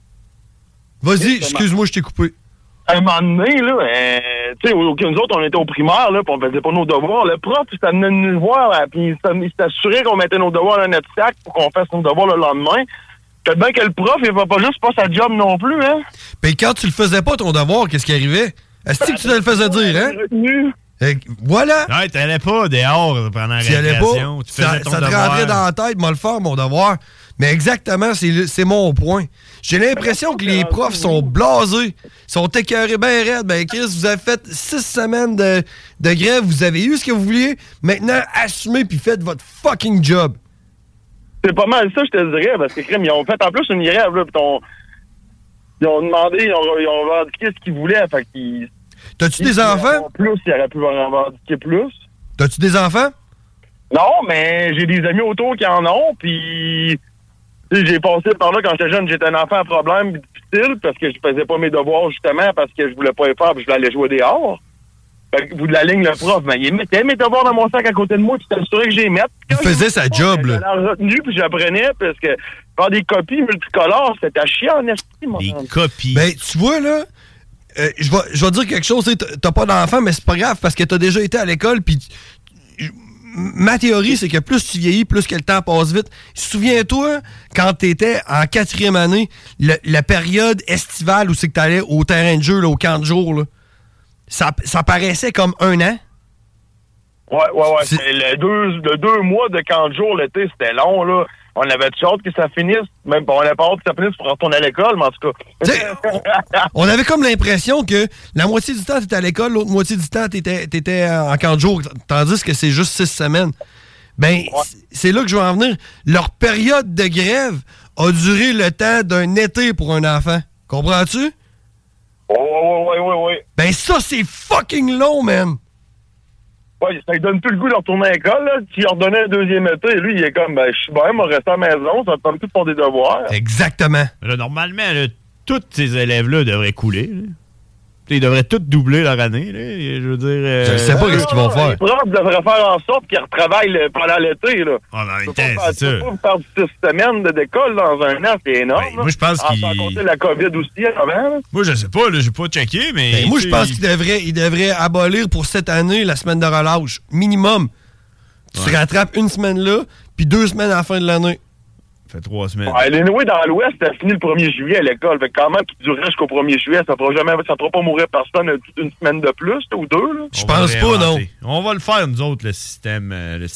Vas-y, excuse-moi, je t'ai coupé. À un moment donné, là, tu sais, nous autres, on était au primaire, là, puis on faisait pas nos devoirs. Le prof, il venait nous voir, puis il s'assurait qu'on mettait nos devoirs dans notre sac pour qu'on fasse nos devoirs le lendemain. Peut-être bien que le prof, il va pas juste pas sa job non plus, hein. Puis quand tu le faisais pas, ton devoir, qu'est-ce qui arrivait? Est-ce que tu te le faisais dire, hein? Voilà! Ouais, t'allais pas dehors pendant la récréation. Tu faisais ton ça te devoir. rentrait dans la tête, moi le faire, mon devoir. Mais exactement, c'est mon point. J'ai l'impression que les profs sont blasés, sont écœurés bien raides. Ben Chris, vous avez fait 6 semaines de grève, vous avez eu ce que vous vouliez. Maintenant, assumez puis faites votre fucking job. C'est pas mal ça, je te dirais, parce que crème, ils ont fait en plus une grève, là, ils ont demandé, ils ont revendiqué ce qu'ils voulaient, fait qu'ils... T'as-tu des enfants? Plus, ils auraient pu revendiquer plus. T'as-tu des enfants? Non, mais j'ai des amis autour qui en ont, puis j'ai passé par là quand j'étais jeune, j'étais un enfant à problème difficile, parce que je faisais pas mes devoirs, justement, parce que je voulais pas les faire, puis je voulais aller jouer dehors. Fait que, bout de la ligne, le prof, ben, il mettait mes devoirs dans mon sac à côté de moi, puis c'était assuré que j'ai mettre. Il faisait sa job, là. J'allais en retenue, puis j'apprenais, parce que faire des copies multicolores, c'était à chier en esti, moi. Des copies. Ben, tu vois, là, je vais dire quelque chose, t'as pas d'enfant, mais c'est pas grave, parce que t'as déjà été à l'école, puis ma théorie, c'est que plus tu vieillis, plus que le temps passe vite. Souviens-toi, quand t'étais en 4e année, la période estivale où c'est que t'allais au terrain de jeu, là, au camp de jour, là, ça paraissait comme 1 an. Ouais. Le 2 mois de camp de jour, l'été, c'était long, là. On avait hâte que ça finisse. Même on avait pas hâte que ça finisse pour retourner à l'école, mais en tout cas. On avait comme l'impression que la moitié du temps, t'étais à l'école, l'autre moitié du temps, t'étais en camp de jour, tandis que c'est juste 6 semaines. Ben, c'est là que je veux en venir. Leur période de grève a duré le temps d'un été pour un enfant. Comprends-tu? Oui. Ben, ça, c'est fucking long, man. Ouais, ça lui donne plus le goût de retourner à l'école, là. Tu leur donnais un 2e été, et lui, il est comme, ben, je suis bien, moi, rester à la maison, ça me permet plus de faire des devoirs. Exactement. Là, normalement, là, tous ces élèves-là devraient couler, là. Ils devraient tous doubler leur année, là. Je veux dire... Je sais pas ce qu'ils vont faire. Les profs devraient faire en sorte qu'ils retravaillent pendant l'été, là. Ah, mais en même temps, c'est ça. Tu peux pas faire 6 semaines d'école dans un an, c'est énorme. Ben, moi, je pense qu'il... Sans compter la COVID aussi, avant, là. Moi, je sais pas, là, j'ai pas checké, mais... Ben, moi, je pense qu'ils devraient abolir pour cette année la semaine de relâche. Minimum. Tu te rattrapes 1 semaine là, puis 2 semaines à la fin de l'année. Ça fait 3 semaines. Ouais, l'Anyway, dans l'Ouest, ça finit le 1er juillet à l'école. Fait que quand même, qu'il durerait jusqu'au 1er juillet, ça fera pas mourir personne une semaine de plus, ou 2, là. Je pense pas, non. On va le faire, nous autres, le système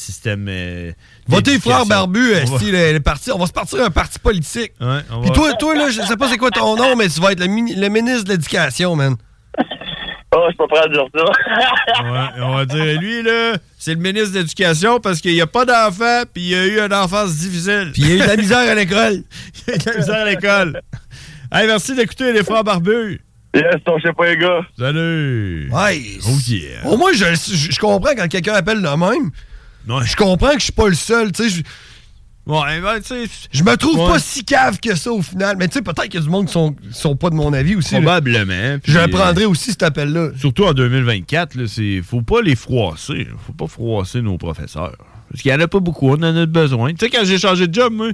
Votez frère barbu, on va se partir un parti politique. Ouais, puis toi, là, je sais pas c'est quoi ton nom, mais tu vas être le ministre de l'Éducation, man. Oh, je suis pas prêt à dire ça. Ouais, on va dire, lui, là, c'est le ministre de l'Éducation parce qu'il n'y a pas d'enfant, puis il a eu une enfance difficile. Puis il a eu de la misère à l'école. Il a eu de la misère à l'école. Hey, merci d'écouter les frères barbus. Yes, je sais pas, les gars. Salut. Ouais. Oh yeah. Au moins, je comprends quand quelqu'un appelle le même. Ouais. Je comprends que je suis pas le seul, tu sais. Ouais, ben, tu sais. Je me trouve pas si cave que ça au final. Mais tu sais, peut-être qu'il y a du monde qui sont pas de mon avis aussi. Probablement. Je prendrais aussi cet appel-là. Surtout en 2024, là, faut pas les froisser. Faut pas froisser nos professeurs. Parce qu'il y en a pas beaucoup, on en a besoin. Tu sais, quand j'ai changé de job, moi,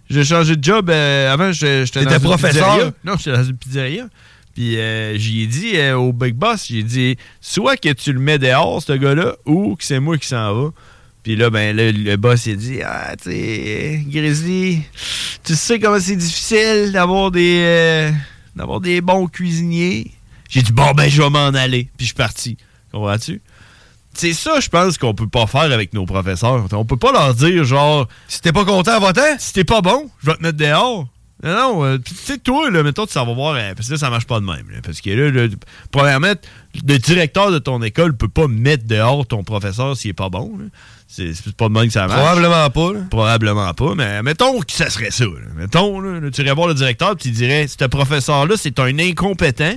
avant, j'étais dans une professeur? pizzeria. Non, j'étais dans une pizzeria. Puis j'y ai dit au Big Boss, j'ai dit, soit que tu le mets dehors, ce gars-là, ou que c'est moi qui s'en va. Puis là, ben, le boss, il a dit, ah, tu sais, Grizzly, tu sais comment c'est difficile d'avoir des bons cuisiniers. J'ai dit, bon, ben, je vais m'en aller. Puis je suis parti. Comprends-tu? C'est ça, je pense, qu'on peut pas faire avec nos professeurs. On peut pas leur dire, genre, si t'es pas content en votant, si t'es pas bon, je vais te mettre dehors. Non, tu sais, toi, là, mettons, tu s'en vas voir, parce que là, ça marche pas de même. Là, parce que là, premièrement, le directeur de ton école peut pas mettre dehors ton professeur s'il est pas bon. Là. C'est pas de même que ça marche. Probablement pas. Là. Probablement pas, mais mettons que ça serait ça. Là. Mettons, là, tu irais voir le directeur et tu dirais, ce professeur-là, c'est un incompétent,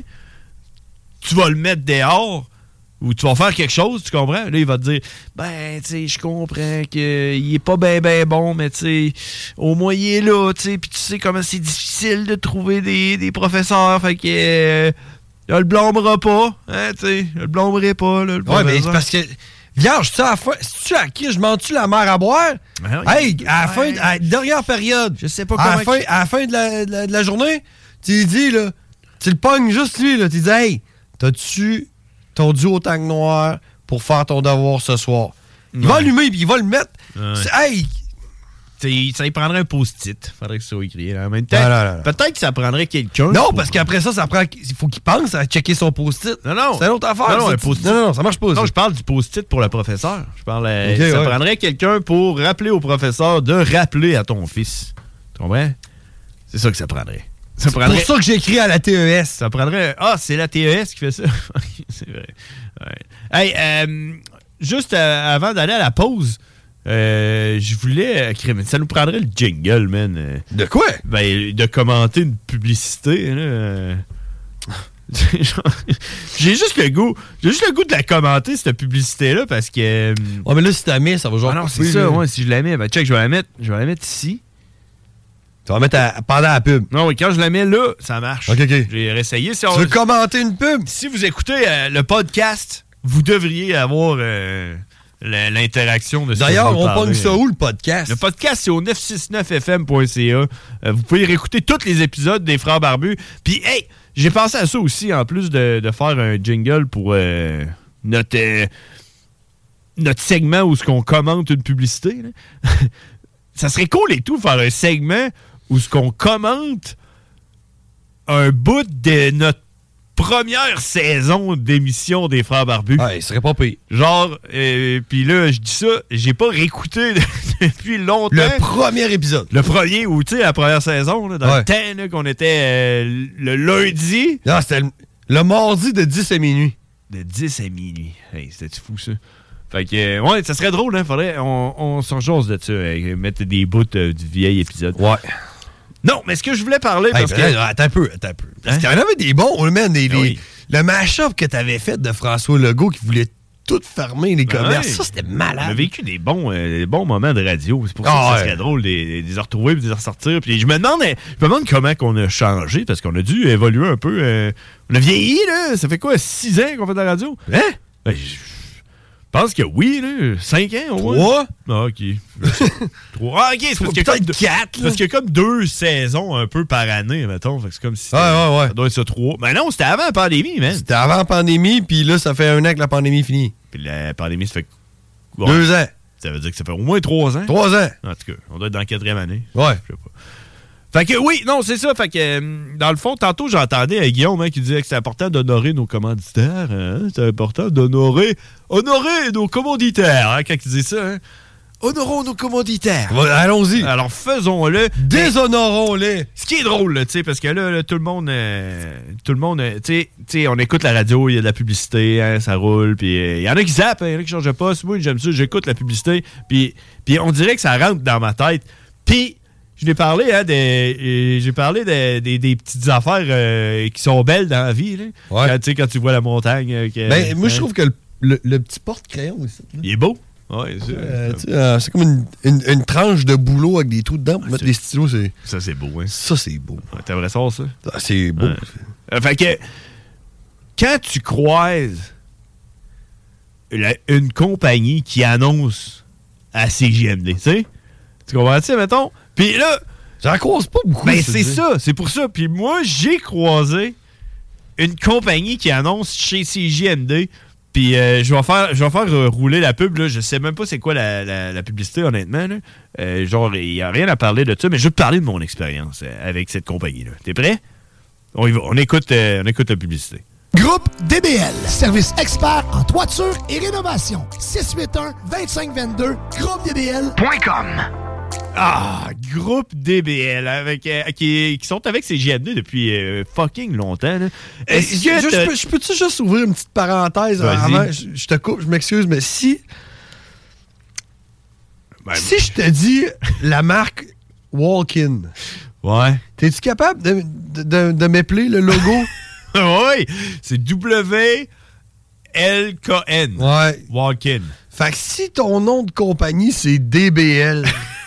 tu vas le mettre dehors ou tu vas faire quelque chose, tu comprends? Là, il va te dire, ben, tu sais, je comprends qu'il est pas ben bon, mais tu sais, au moins il est là, tu sais, puis tu sais comment c'est difficile de trouver des professeurs, fait que je le blâmera pas, hein, tu sais, je le blâmerai pas, là, le professeur. Ouais, mais c'est parce que, vierge, tu à la fin, si tu à qui je mens-tu la mère à boire? Hey, à la dernière période, je sais pas à la fin de la journée, tu lui dis, là, tu le pognes juste lui, là, tu lui dis, hey, t'as-tu ton duo au tank noir pour faire ton devoir ce soir. Il va allumer puis il va le mettre. Hey! Ça y prendrait un post-it. Faudrait que ça soit écrit. En même temps, peut-être que ça prendrait quelqu'un. Non, parce qu'après ça prend. Il faut qu'il pense à checker son post-it. Non. C'est une autre affaire. Non, ça marche pas. Non, je parle du post-it pour le professeur. Je parle. Ça prendrait quelqu'un pour rappeler au professeur de rappeler à ton fils. Tu comprends? C'est ça que ça prendrait. C'est pour ça que j'ai écrit à la TES. Ça prendrait... Ah, c'est la TES qui fait ça? C'est vrai. Ouais. Hey, juste avant d'aller à la pause, je voulais... ça nous prendrait le jingle, man. De quoi? Ben, de commenter une publicité. Là. J'ai juste le goût de la commenter, cette publicité-là, parce que... Ouais, mais là, si tu la mets, ça va genre... Ah non, c'est ça, ouais, si je la mets. Ben, check, je vais la mettre ici. Tu vas mettre pendant la pub. Non, oui, quand je la mets là, ça marche. OK. J'ai réessayé. Tu veux commenter une pub? Si vous écoutez le podcast, vous devriez avoir l'interaction de ça. D'ailleurs, on pogne ça où, le podcast? Le podcast, c'est au 969fm.ca. Vous pouvez réécouter tous les épisodes des Frères Barbus. Puis, hey, j'ai pensé à ça aussi, en plus de faire un jingle pour notre segment où on commente une publicité. Là. Ça serait cool et tout, faire un segment où ce qu'on commente un bout de notre première saison d'émission des Frères Barbus. Ah, il serait pas pire. Genre, puis là, je dis ça, j'ai pas réécouté depuis longtemps. Le premier épisode. Le premier, ou tu sais, la première saison, là, dans le temps là, qu'on était le lundi. Non, c'était le mardi de 10 à minuit. De 10 à minuit. Hey, c'était fou, ça. Fait que, ouais, ça serait drôle, hein. Faudrait, on s'en chose de ça, mettre des bouts du vieil épisode. Ouais. Non, mais ce que je voulais parler, parce que... Attends un peu. Parce qu'il y en avait des bons, man. Le mash-up que t'avais fait de François Legault qui voulait tout fermer, les commerces, ça, c'était malade. On a vécu des bons moments de radio. C'est pour ça que ça serait drôle de les retrouver et de les ressortir. Puis je me demande comment qu'on a changé, parce qu'on a dû évoluer un peu. On a vieilli, là. Ça fait quoi, 6 ans qu'on fait de la radio? Hein? Ben, je pense que oui, là. 5 ans, au moins. 3? Ah, OK. 3. Ah, OK, c'est parce qu'il y a comme 4. Parce qu'il y a comme 2 saisons un peu par année, mettons. Fait que c'est comme si ça doit être ça 3. Mais non, c'était avant la pandémie, man. C'était avant la pandémie, puis là, ça fait 1 an que la pandémie finit. Puis la pandémie, ça fait... 2 ans. Ça veut dire que ça fait au moins 3 ans. 3 ans. En tout cas, on doit être dans la 4e année. Ouais. Je sais pas. Fait que oui, non, c'est ça. Fait que dans le fond, tantôt, j'entendais Guillaume qui disait que c'est important d'honorer nos commanditaires. Hein? C'est important d'honorer nos commanditaires, hein, quand il disait ça. Hein? honorons nos commanditaires. Allons-y. Alors, faisons-le. Déshonorons-les. Ce qui est drôle, tu sais, parce que là, tout le monde, tu sais, on écoute la radio, il y a de la publicité, hein, ça roule, puis il y en a qui zappent, il y en a qui changent de poste. Moi, j'aime ça, j'écoute la publicité, puis on dirait que ça rentre dans ma tête. Puis, je l'ai parlé, hein, j'ai parlé des petites affaires qui sont belles dans la vie, là. Ouais. Quand tu vois la montagne. Moi, je trouve que le petit porte-crayon aussi. Il est beau. Ouais, c'est comme une tranche de boulot avec des trous dedans pour mettre des stylos. Ça, c'est beau, hein? Ça, c'est beau. Ouais, t'aimerais ça? C'est beau. Fait que, quand tu croises une compagnie qui annonce à CJMD, tu sais? Tu comprends-tu, mettons? Puis là... J'en croise pas beaucoup. Ben, c'est ça. C'est pour ça. Puis moi, j'ai croisé une compagnie qui annonce chez CJMD. Puis je vais faire rouler la pub. Là. Je sais même pas c'est quoi la publicité, honnêtement. Là. Genre, il n'y a rien à parler de ça, mais je vais te parler de mon expérience avec cette compagnie-là. T'es prêt? On y va. On écoute la publicité. Groupe DBL, service expert en toiture et rénovation. 681-2522, groupedbl.com. Ah, Groupe DBL, qui sont avec CJMD depuis fucking longtemps. Là. Je peux-tu juste ouvrir une petite parenthèse avant? Je te coupe, je m'excuse, mais si je te dis la marque Walk-In, ouais, t'es-tu capable de m'épeler le logo? Oui, c'est WLKN. Ouais. Walk-In. Fait que si ton nom de compagnie, c'est DBL...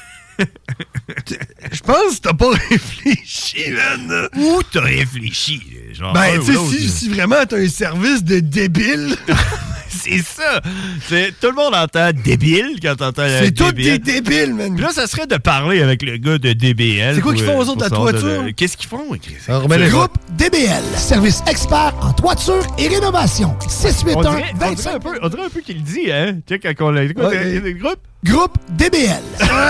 Je pense que t'as pas réfléchi, man. Où t'as réfléchi? Genre, ben, tu sais, si vraiment t'as un service de débile... C'est ça. Tout le monde entend débile quand t'entends c'est tout des débiles, man. Puis là, ça serait de parler avec le gars de DBL. C'est quoi qu'ils font aux autres de la toiture? Qu'est-ce qu'ils font? Groupe DBL, service expert en toiture et rénovation. 681-25... On dirait un peu qu'il le dit, hein? Tu sais, quand on l'a écouté, Groupe DBL.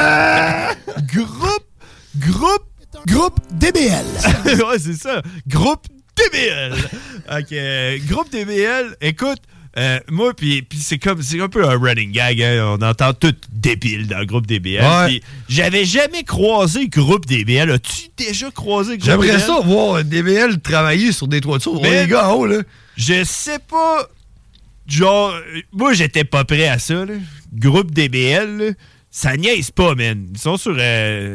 Groupe DBL. Ouais, c'est ça. Groupe DBL. OK. Groupe DBL, écoute... moi, puis c'est un peu un running gag, hein? On entend tout débile dans le groupe DBL. Ouais. J'avais jamais croisé groupe DBL. As-tu déjà croisé groupe DBL? J'aimerais ça voir DBL travailler sur des toitures. Les gars en haut, là. Je sais pas. Genre, moi, j'étais pas prêt à ça, là. Groupe DBL, là, ça niaise pas, man. Ils sont sur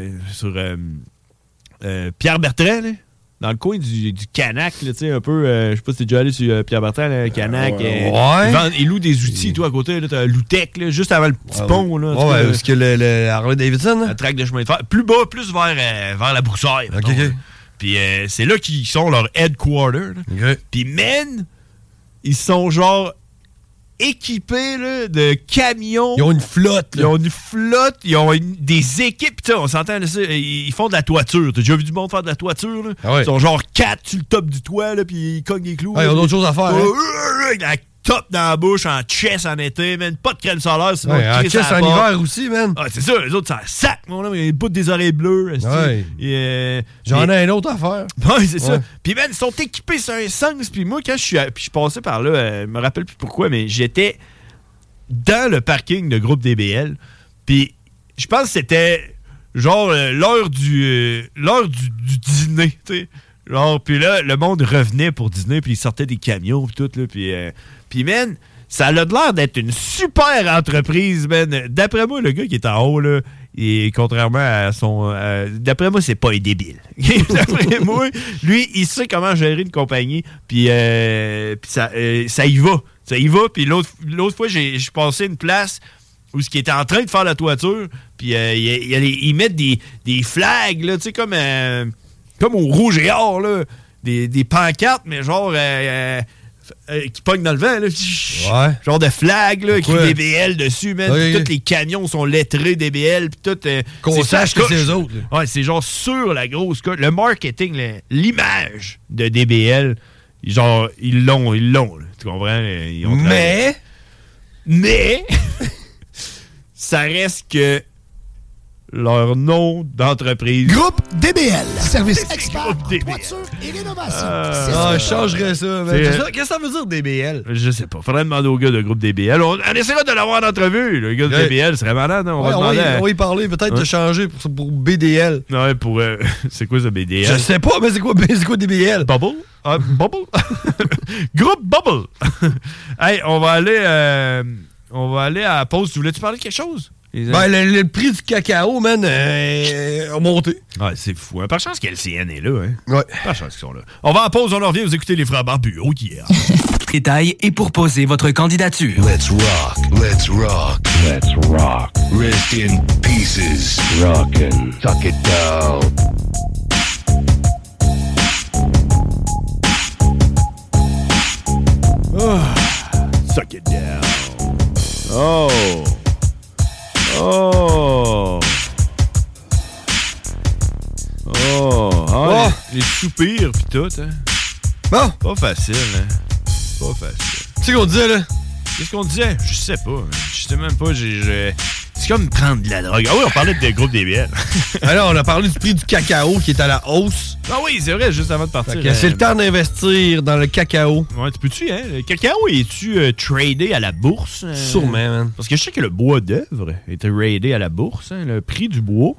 Pierre Bertrand, là. Dans le coin du Canac, tu sais, un peu, je sais pas si t'es déjà allé sur Pierre Bertrand, là, Canac. Ils louent des outils, toi, à côté, là, t'as Loutec, là, juste avant le petit pont, là. Ouais, parce que le Harley Davidson, là. Le track de chemin de fer. Plus bas, plus vers la broussaille. OK. Puis c'est là qu'ils sont leur headquarter. Okay. Puis, man, ils sont genre équipés là, de camions. Ils ont une flotte. Là. Ils ont des équipes. T'sais, on s'entend, là, ils font de la toiture. T'as déjà vu du monde faire de la toiture? Là? Ah ouais. Ils sont genre 4 sur le top du toit, là, puis ils cognent les clous. Ah, ils ont d'autres choses à faire. La top dans la bouche, en chest en été, man. Pas de crème solaire, sinon en chest en hiver aussi, man. Ah, c'est ça, les autres, ça sac, mon homme. Ils boutent des oreilles bleues. J'en ai un autre à faire. Oui, c'est ça. Puis, man, ils sont équipés sur un sens. Puis moi, quand je passais par là, je me rappelle plus pourquoi, mais j'étais dans le parking de groupe DBL. Puis, je pense que c'était genre l'heure du dîner, tu sais. Genre, puis là, le monde revenait pour dîner, puis ils sortaient des camions, puis tout, là. Puis, man, ça a l'air d'être une super entreprise, man. D'après moi, le gars qui est en haut, là, et contrairement à son... d'après moi, c'est pas un débile. D'après moi, lui, il sait comment gérer une compagnie, puis ça y va. Ça y va, puis l'autre fois, j'ai passé une place où ce qui était en train de faire la toiture, puis ils mettent des flags, là, tu sais, comme au Rouge et Or, là, des pancartes, mais genre qui pognent dans le vent, là. Ouais. Genre de flag, là, écrit DBL dessus, man. Oui. Tous les camions sont lettrés DBL, puis tout. Qu'on sache que c'est eux autres. Là. Ouais, c'est genre sur la grosse coche. Le marketing, l'image de DBL, genre, ils l'ont, là. Tu comprends? Mais ça reste que leur nom d'entreprise. Groupe DBL. Service expert en toiture et rénovation. Je changerais ça. Qu'est-ce que ça veut dire DBL? Je sais pas. Faudrait demander au gars de groupe DBL. On essaiera de l'avoir en entrevue. Le gars de DBL serait malade. Hein? On va y parler. Peut-être de changer pour BDL. Ouais, pour... c'est quoi ça, BDL? Je sais pas, mais c'est quoi DBL? Bubble? Bubble? Groupe Bubble. Hey, on va aller à la pause. Tu voulais-tu parler de quelque chose? Le prix du cacao, man, a monté. Ouais, c'est fou. Par chance qu'LCN est là, hein? Ouais. Par chance qu'ils sont là. On va en pause, on en revient, vous écoutez les frères barbus. Oh yeah! Détails et pour poser votre candidature. Let's rock, let's rock, let's rock. Rest in pieces. Rockin', tuck it down. Suck it down. Oh! Oh! Oh! Oh! Les soupirs pis tout, hein? Bon! Pas facile, hein? Pas facile. Tu sais qu'on disait, là? Qu'est-ce qu'on disait? Je sais pas. Je sais même pas. C'est comme prendre de la drogue. Ah oui, on parlait de groupe DBL. Alors, on a parlé du prix du cacao qui est à la hausse. Ah oui, c'est vrai, juste avant de partir. C'est le temps d'investir dans le cacao. Ouais, tu peux-tu, hein? Le cacao, es-tu tradé à la bourse? Sûrement, man. Parce que je sais que le bois d'œuvre est tradé à la bourse, hein, le prix du bois.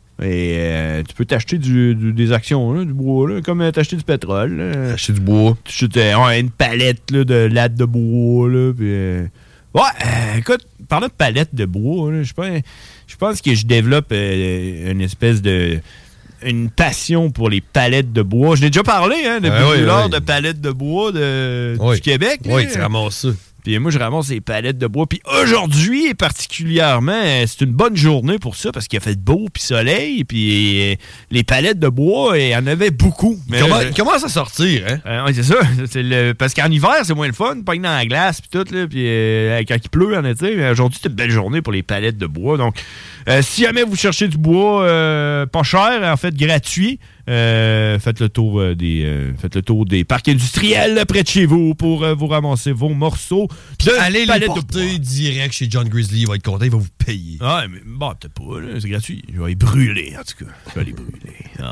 Et tu peux t'acheter des actions, là, du bois, là, comme t'acheter du pétrole. Là. Acheter du bois. Tu achètes une palette là, de lattes de bois, là, puis... écoute, parlant de palette de bois, là, je pense que je développe une espèce de... une passion pour les palettes de bois. Je l'ai déjà parlé, hein, depuis l'heure de palettes de bois du Québec. Oui, tu ramasses ça. Puis moi, je ramasse les palettes de bois. Puis aujourd'hui, particulièrement, c'est une bonne journée pour ça parce qu'il a fait beau puis soleil. Puis les palettes de bois, il y en avait beaucoup. Mais il commence à sortir, hein? Oui, c'est ça. Parce qu'en hiver, c'est moins le fun. Pas dans la glace puis tout. Là, puis quand il pleut en été. Mais aujourd'hui, c'est une belle journée pour les palettes de bois. Donc, si jamais vous cherchez du bois pas cher, en fait gratuit, faites le tour des parcs industriels près de chez vous pour vous ramasser vos morceaux. Puis allez les porter direct chez John Grizzly, il va être content, il va vous payer. Ah, mais bon, peut-être pas, là, c'est gratuit. Je vais les brûler, en tout cas. Je vais les brûler.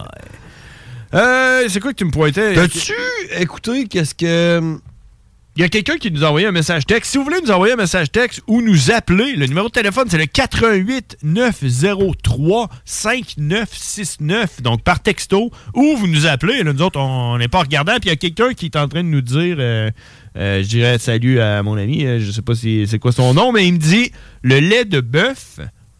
C'est quoi que tu me pointais? T'as-tu écouté qu'est-ce que... Il y a quelqu'un qui nous a envoyé un message texte. Si vous voulez nous envoyer un message texte ou nous appeler, le numéro de téléphone, c'est le 88 903 5969. Donc, par texto, ou vous nous appelez. Là, nous autres, on n'est pas regardant. Puis, il y a quelqu'un qui est en train de nous dire, je dirais salut à mon ami, je sais pas c'est quoi son nom, mais il me dit, le lait de bœuf,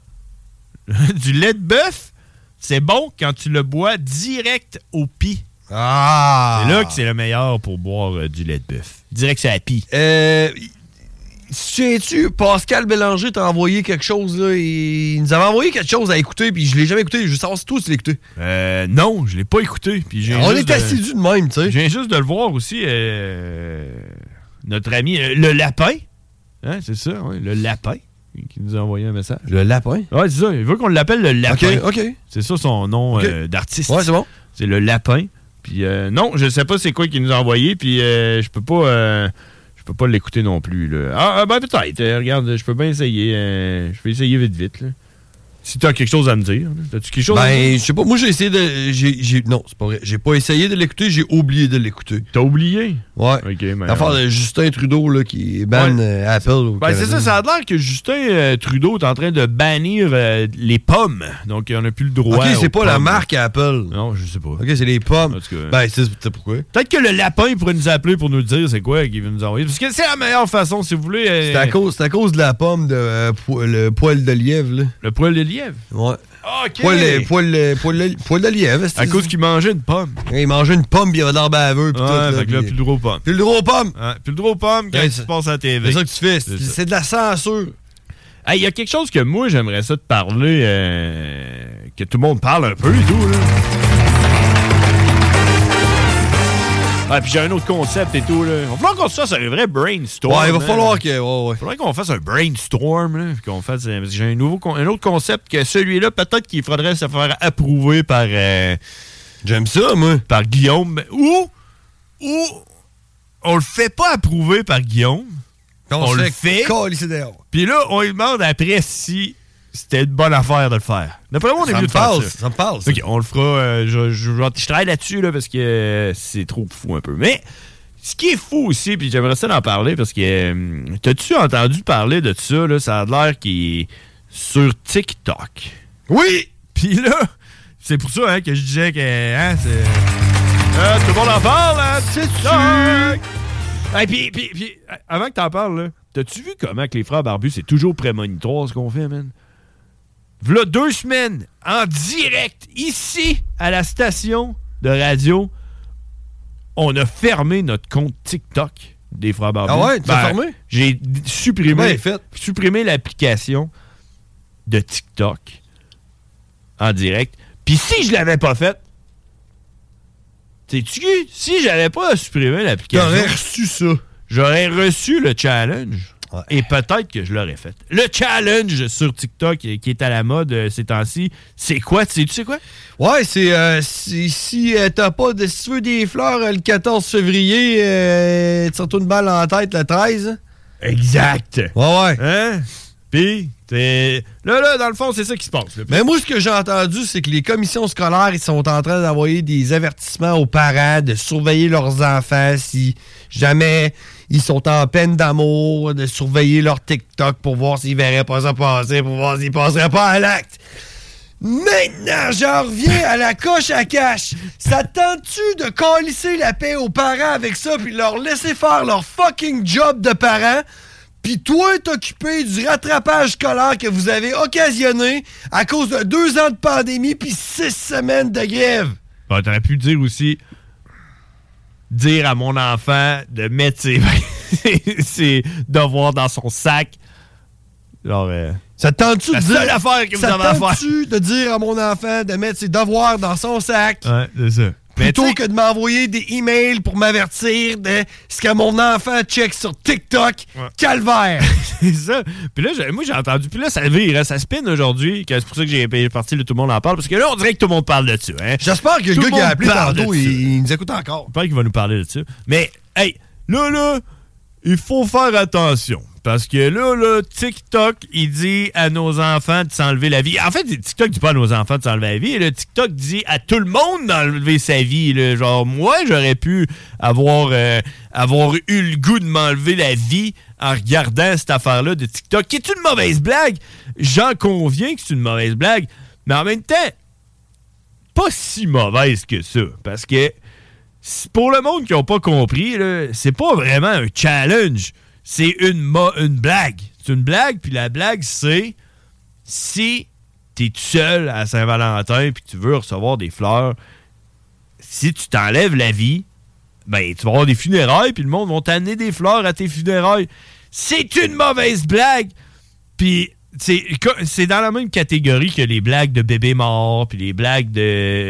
du lait de bœuf, c'est bon quand tu le bois direct au pis. Ah! C'est là que c'est le meilleur pour boire du lait de bœuf. Direct sur la pie. Sais-tu, Pascal Bélanger t'a envoyé quelque chose, là. Il nous avait envoyé quelque chose à écouter, puis je l'ai jamais écouté. Je veux savoir si toi, tu l'as écouté. Non, je l'ai pas écouté. Puis on est assidus de même, tu sais. Je viens juste de le voir aussi. Notre ami, le lapin. Hein, c'est ça, oui, le lapin. Qui nous a envoyé un message. Le lapin? Ouais, c'est ça. Il veut qu'on l'appelle le lapin. OK. C'est ça son nom d'artiste. Ouais, c'est bon. C'est le lapin. Puis non, je sais pas c'est quoi qu'il nous a envoyé, puis je peux pas l'écouter non plus. Là. Ben peut-être. Regarde, je peux bien essayer. Je peux essayer vite, là. Si t'as quelque chose à me dire. T'as-tu quelque chose à me dire? Je sais pas. Moi, j'ai essayé de... Non, c'est pas vrai. J'ai pas essayé de l'écouter, j'ai oublié de l'écouter. T'as oublié? Ouais. OK, mais... L'affaire de Justin Trudeau, là, qui banne Apple. C'est ça a l'air que Justin Trudeau est en train de bannir les pommes. Donc, il en a plus le droit. OK, c'est pas pommes. La marque Apple. Non, je sais pas. OK, c'est les pommes. En tout cas, c'est pourquoi. Peut-être que le lapin pourrait nous appeler pour nous dire c'est quoi qu'il veut nous envoyer. Parce que c'est la meilleure façon, si vous voulez. C'est à cause de la pomme de le poil de lièvre, là. Le poil de lièvre? Ouais. OK. Poil de lièvre. À cause qu'il mangeait une pomme. Il mangeait une pomme, puis il avait l'air baveux. Ouais, fait que là, plus le droit aux pommes. Plus le droit aux pommes. Ouais, plus le droit aux pommes quand tu se passes à la TV. C'est ça que tu fais. C'est de la censure. Il y a quelque chose que moi, j'aimerais ça te parler, que tout le monde parle un peu et tout, là. Ah, puis j'ai un autre concept et tout, là. Il va falloir qu'on se fasse un vrai brainstorm. Ouais, il va falloir que... Ouais. Il faudrait qu'on fasse un brainstorm, là. Qu'on fasse... Parce que j'ai un autre concept que celui-là, peut-être qu'il faudrait se faire approuver par... J'aime ça, moi. Par Guillaume. Ou on le fait pas approuver par Guillaume. On le fait. Puis là, on lui demande après si c'était une bonne affaire de le faire. D'après moi, on est mieux de faire ça. Ça me passe. OK, on le fera. Je travaille là-dessus là, parce que c'est trop fou un peu. Mais ce qui est fou aussi, puis j'aimerais ça d'en parler parce que t'as-tu entendu parler de ça? Là, ça a l'air qu'il est sur TikTok. Oui! Puis là, c'est pour ça que je disais que c'est... tout le monde en parle, hein? TikTok! Hey, puis, avant que t'en parles, là, t'as-tu vu comment que les frères barbus, c'est toujours prémonitoire ce qu'on fait, man? V'là 2 semaines, en direct, ici, à la station de radio, on a fermé notre compte TikTok des frères barbus. Ah ouais? Tu l'as fermé? J'ai supprimé l'application de TikTok en direct. Puis si je l'avais pas faite, sais-tu, si j'avais pas supprimé l'application... T'aurais reçu ça. J'aurais reçu le challenge. Ouais. Et peut-être que je l'aurais fait. Le challenge sur TikTok qui est à la mode ces temps-ci, c'est quoi? Tu sais quoi? Ouais, c'est si t'as pas de... Si tu veux des fleurs le 14 février, tu retournes une balle en tête le 13. Exact. Ouais. Hein? Puis, là, dans le fond, c'est ça qui se passe. Là. Mais moi, ce que j'ai entendu, c'est que les commissions scolaires, ils sont en train d'envoyer des avertissements aux parents de surveiller leurs enfants si jamais ils sont en peine d'amour, de surveiller leur TikTok pour voir s'ils verraient pas ça passer, pour voir s'ils passeraient pas à l'acte. Maintenant, j'en reviens à la coche à cash. Ça te tente-tu de câlisser la paix aux parents avec ça puis leur laisser faire leur fucking job de parents? Puis toi, t'occuper du rattrapage scolaire que vous avez occasionné à cause de 2 ans de pandémie puis 6 semaines de grève. Bon, t'aurais pu dire aussi, dire à mon enfant de mettre ses devoirs dans son sac. Genre, ça te tente-tu de dire... seule affaire que vous avez à faire. Ça te tente-tu de dire à mon enfant de mettre ses devoirs dans son sac? Ouais, c'est ça. Plutôt que de m'envoyer des emails pour m'avertir de ce que mon enfant check sur TikTok. Ouais. Calvaire! C'est ça. Puis là, moi, j'ai entendu. Puis là, ça vire, hein, ça spin aujourd'hui. C'est pour ça que j'ai parti, tout le monde en parle. Parce que là, on dirait que tout le monde parle de ça. Hein. J'espère que le gars qui a appelé tantôt, il nous écoute encore. J'espère qu'il va nous parler de ça. Mais, hey, là, il faut faire attention. Parce que là, TikTok, il dit à nos enfants de s'enlever la vie. En fait, TikTok dit pas à nos enfants de s'enlever la vie. Là, TikTok dit à tout le monde d'enlever sa vie. Là. Genre, moi, j'aurais pu avoir eu le goût de m'enlever la vie en regardant cette affaire-là de TikTok, qui est une mauvaise blague. J'en conviens que c'est une mauvaise blague. Mais en même temps, pas si mauvaise que ça. Parce que pour le monde qui n'a pas compris, là, c'est pas vraiment un challenge. C'est une blague. C'est une blague, puis la blague, c'est si t'es tout seul à Saint-Valentin puis tu veux recevoir des fleurs, si tu t'enlèves la vie, ben tu vas avoir des funérailles puis le monde va t'amener des fleurs à tes funérailles. C'est une mauvaise blague. Puis c'est dans la même catégorie que les blagues de bébés morts puis les blagues de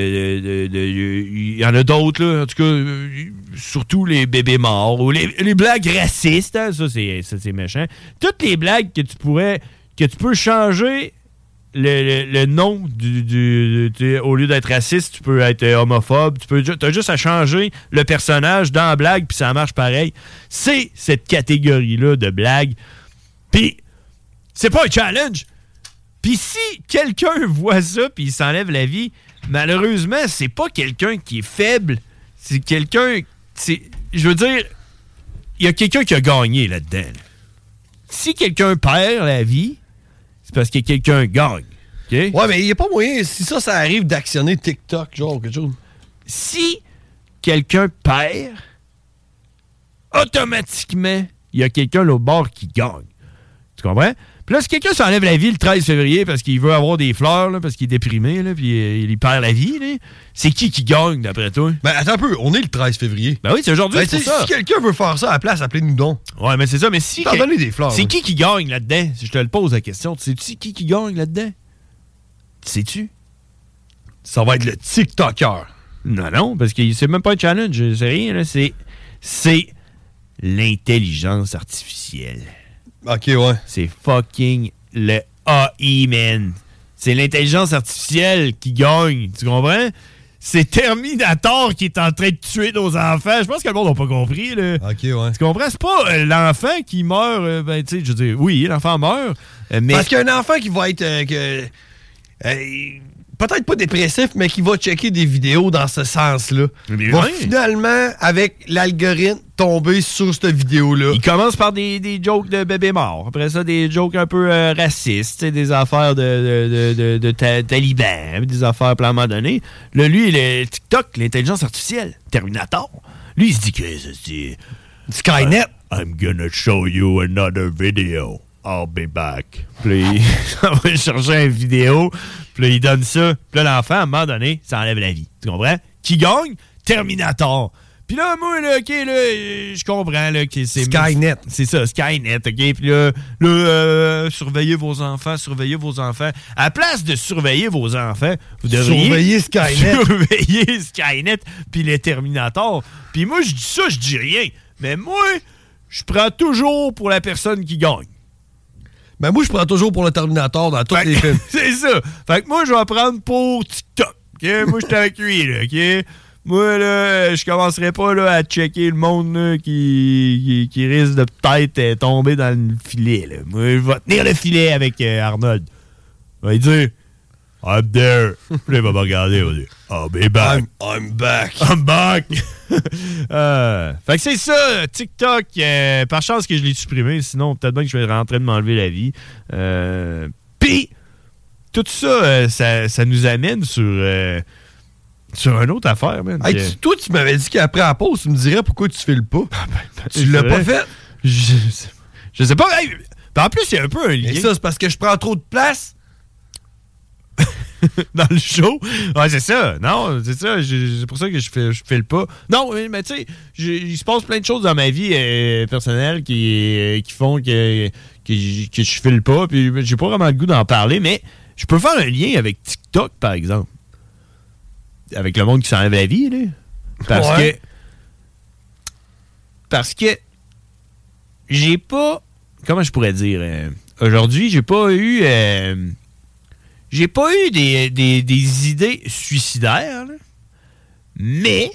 il y en a d'autres, là, en tout cas, surtout les bébés morts, ou les blagues racistes, hein, ça c'est méchant. Toutes les blagues que tu peux changer le nom au lieu d'être raciste, tu peux être homophobe, t'as juste à changer le personnage dans la blague, puis ça marche pareil. C'est cette catégorie-là de blagues. Puis, c'est pas un challenge. Puis si quelqu'un voit ça, puis il s'enlève la vie, malheureusement, c'est pas quelqu'un qui est faible. C'est quelqu'un... Je veux dire, il y a quelqu'un qui a gagné là-dedans. Là. Si quelqu'un perd la vie, c'est parce que quelqu'un gagne. Okay? Ouais, mais il n'y a pas moyen, si ça arrive, d'actionner TikTok, genre, quelque chose. Si quelqu'un perd, automatiquement, il y a quelqu'un là au bord qui gagne. Tu comprends? Puis là, si quelqu'un s'enlève la vie le 13 février parce qu'il veut avoir des fleurs, là, parce qu'il est déprimé, là, puis il perd la vie, là, c'est qui gagne, d'après toi? Ben, attends un peu, on est le 13 février. Ben oui, c'est aujourd'hui, c'est ça. Si quelqu'un veut faire ça à la place, appelez-nous donc. Ouais, mais c'est ça, mais si... T'en donner des fleurs. C'est qui gagne là-dedans? Si je te le pose la question, sais-tu qui gagne là-dedans? Sais-tu? Ça va être le TikToker. Non, parce que c'est même pas un challenge, c'est rien, là, c'est l'intelligence artificielle. OK, ouais. C'est fucking le AI, man. C'est l'intelligence artificielle qui gagne, tu comprends? c'est Terminator qui est en train de tuer nos enfants. Je pense que le monde n'a pas compris. Là. OK, ouais. Tu comprends? C'est pas l'enfant qui meurt. Ben, tu sais, je veux dire, oui, l'enfant meurt. Mais... Parce qu'il y a un enfant qui va être... peut-être pas dépressif, mais qui va checker des vidéos dans ce sens-là. Va finalement, avec l'algorithme, tomber sur cette vidéo-là. Il commence par des jokes de bébés morts. Après ça, des jokes un peu racistes, des affaires de talibans, des affaires à un moment donné. Là, lui, le TikTok, l'intelligence artificielle, Terminator, lui, il se dit que c'est... Skynet. I'm gonna show you another video. I'll be back. Puis il va chercher une vidéo, puis là, il donne ça. Puis là, l'enfant, à un moment donné, ça enlève la vie. Tu comprends? Qui gagne? Terminator. Puis là, moi, là, OK, là, je comprends, là, que c'est... Skynet. C'est ça, Skynet, OK? Puis là, surveillez vos enfants, surveillez vos enfants. À la place de surveiller vos enfants, vous devriez... Surveiller Skynet. Surveiller Skynet, puis les Terminators. Puis moi, je dis ça, je dis rien. Mais moi, je prends toujours pour la personne qui gagne. Ben moi, je prends toujours pour le Terminator dans tous les films. C'est ça. Fait que moi, je vais prendre pour TikTok. Okay? Moi, je suis avec lui, là. OK? Moi, là, je commencerai pas là, à checker le monde là, qui risque de peut-être tomber dans le filet. Là. Moi, je vais tenir le filet avec Arnold. Il va dire I'm there. Puis là, il va me regarder. Il va dire I'll be back. I'm back. I'm back. Fait que c'est ça, TikTok. Par chance que je l'ai supprimé. Sinon, peut-être bien que je vais rentrer de m'enlever la vie. Puis, tout ça, ça nous amène sur une autre affaire, man. Hey, toi, tu m'avais dit qu'après la pause, tu me dirais pourquoi tu files pas. Tu l'as pas fait? Je sais pas. Hey, en plus, il y a un peu un lien. Et ça, c'est parce que je prends trop de place? Dans le show? Ouais, c'est ça. Non, c'est ça. C'est pour ça que je file pas. Non, mais tu sais, il se passe plein de choses dans ma vie personnelle qui font que je file pas. Puis j'ai pas vraiment le goût d'en parler, mais je peux faire un lien avec TikTok, par exemple. Avec le monde qui s'enlève la vie, là. Parce que j'ai pas... Comment je pourrais dire? Aujourd'hui, j'ai pas eu... J'ai pas eu des idées suicidaires, là. Mais...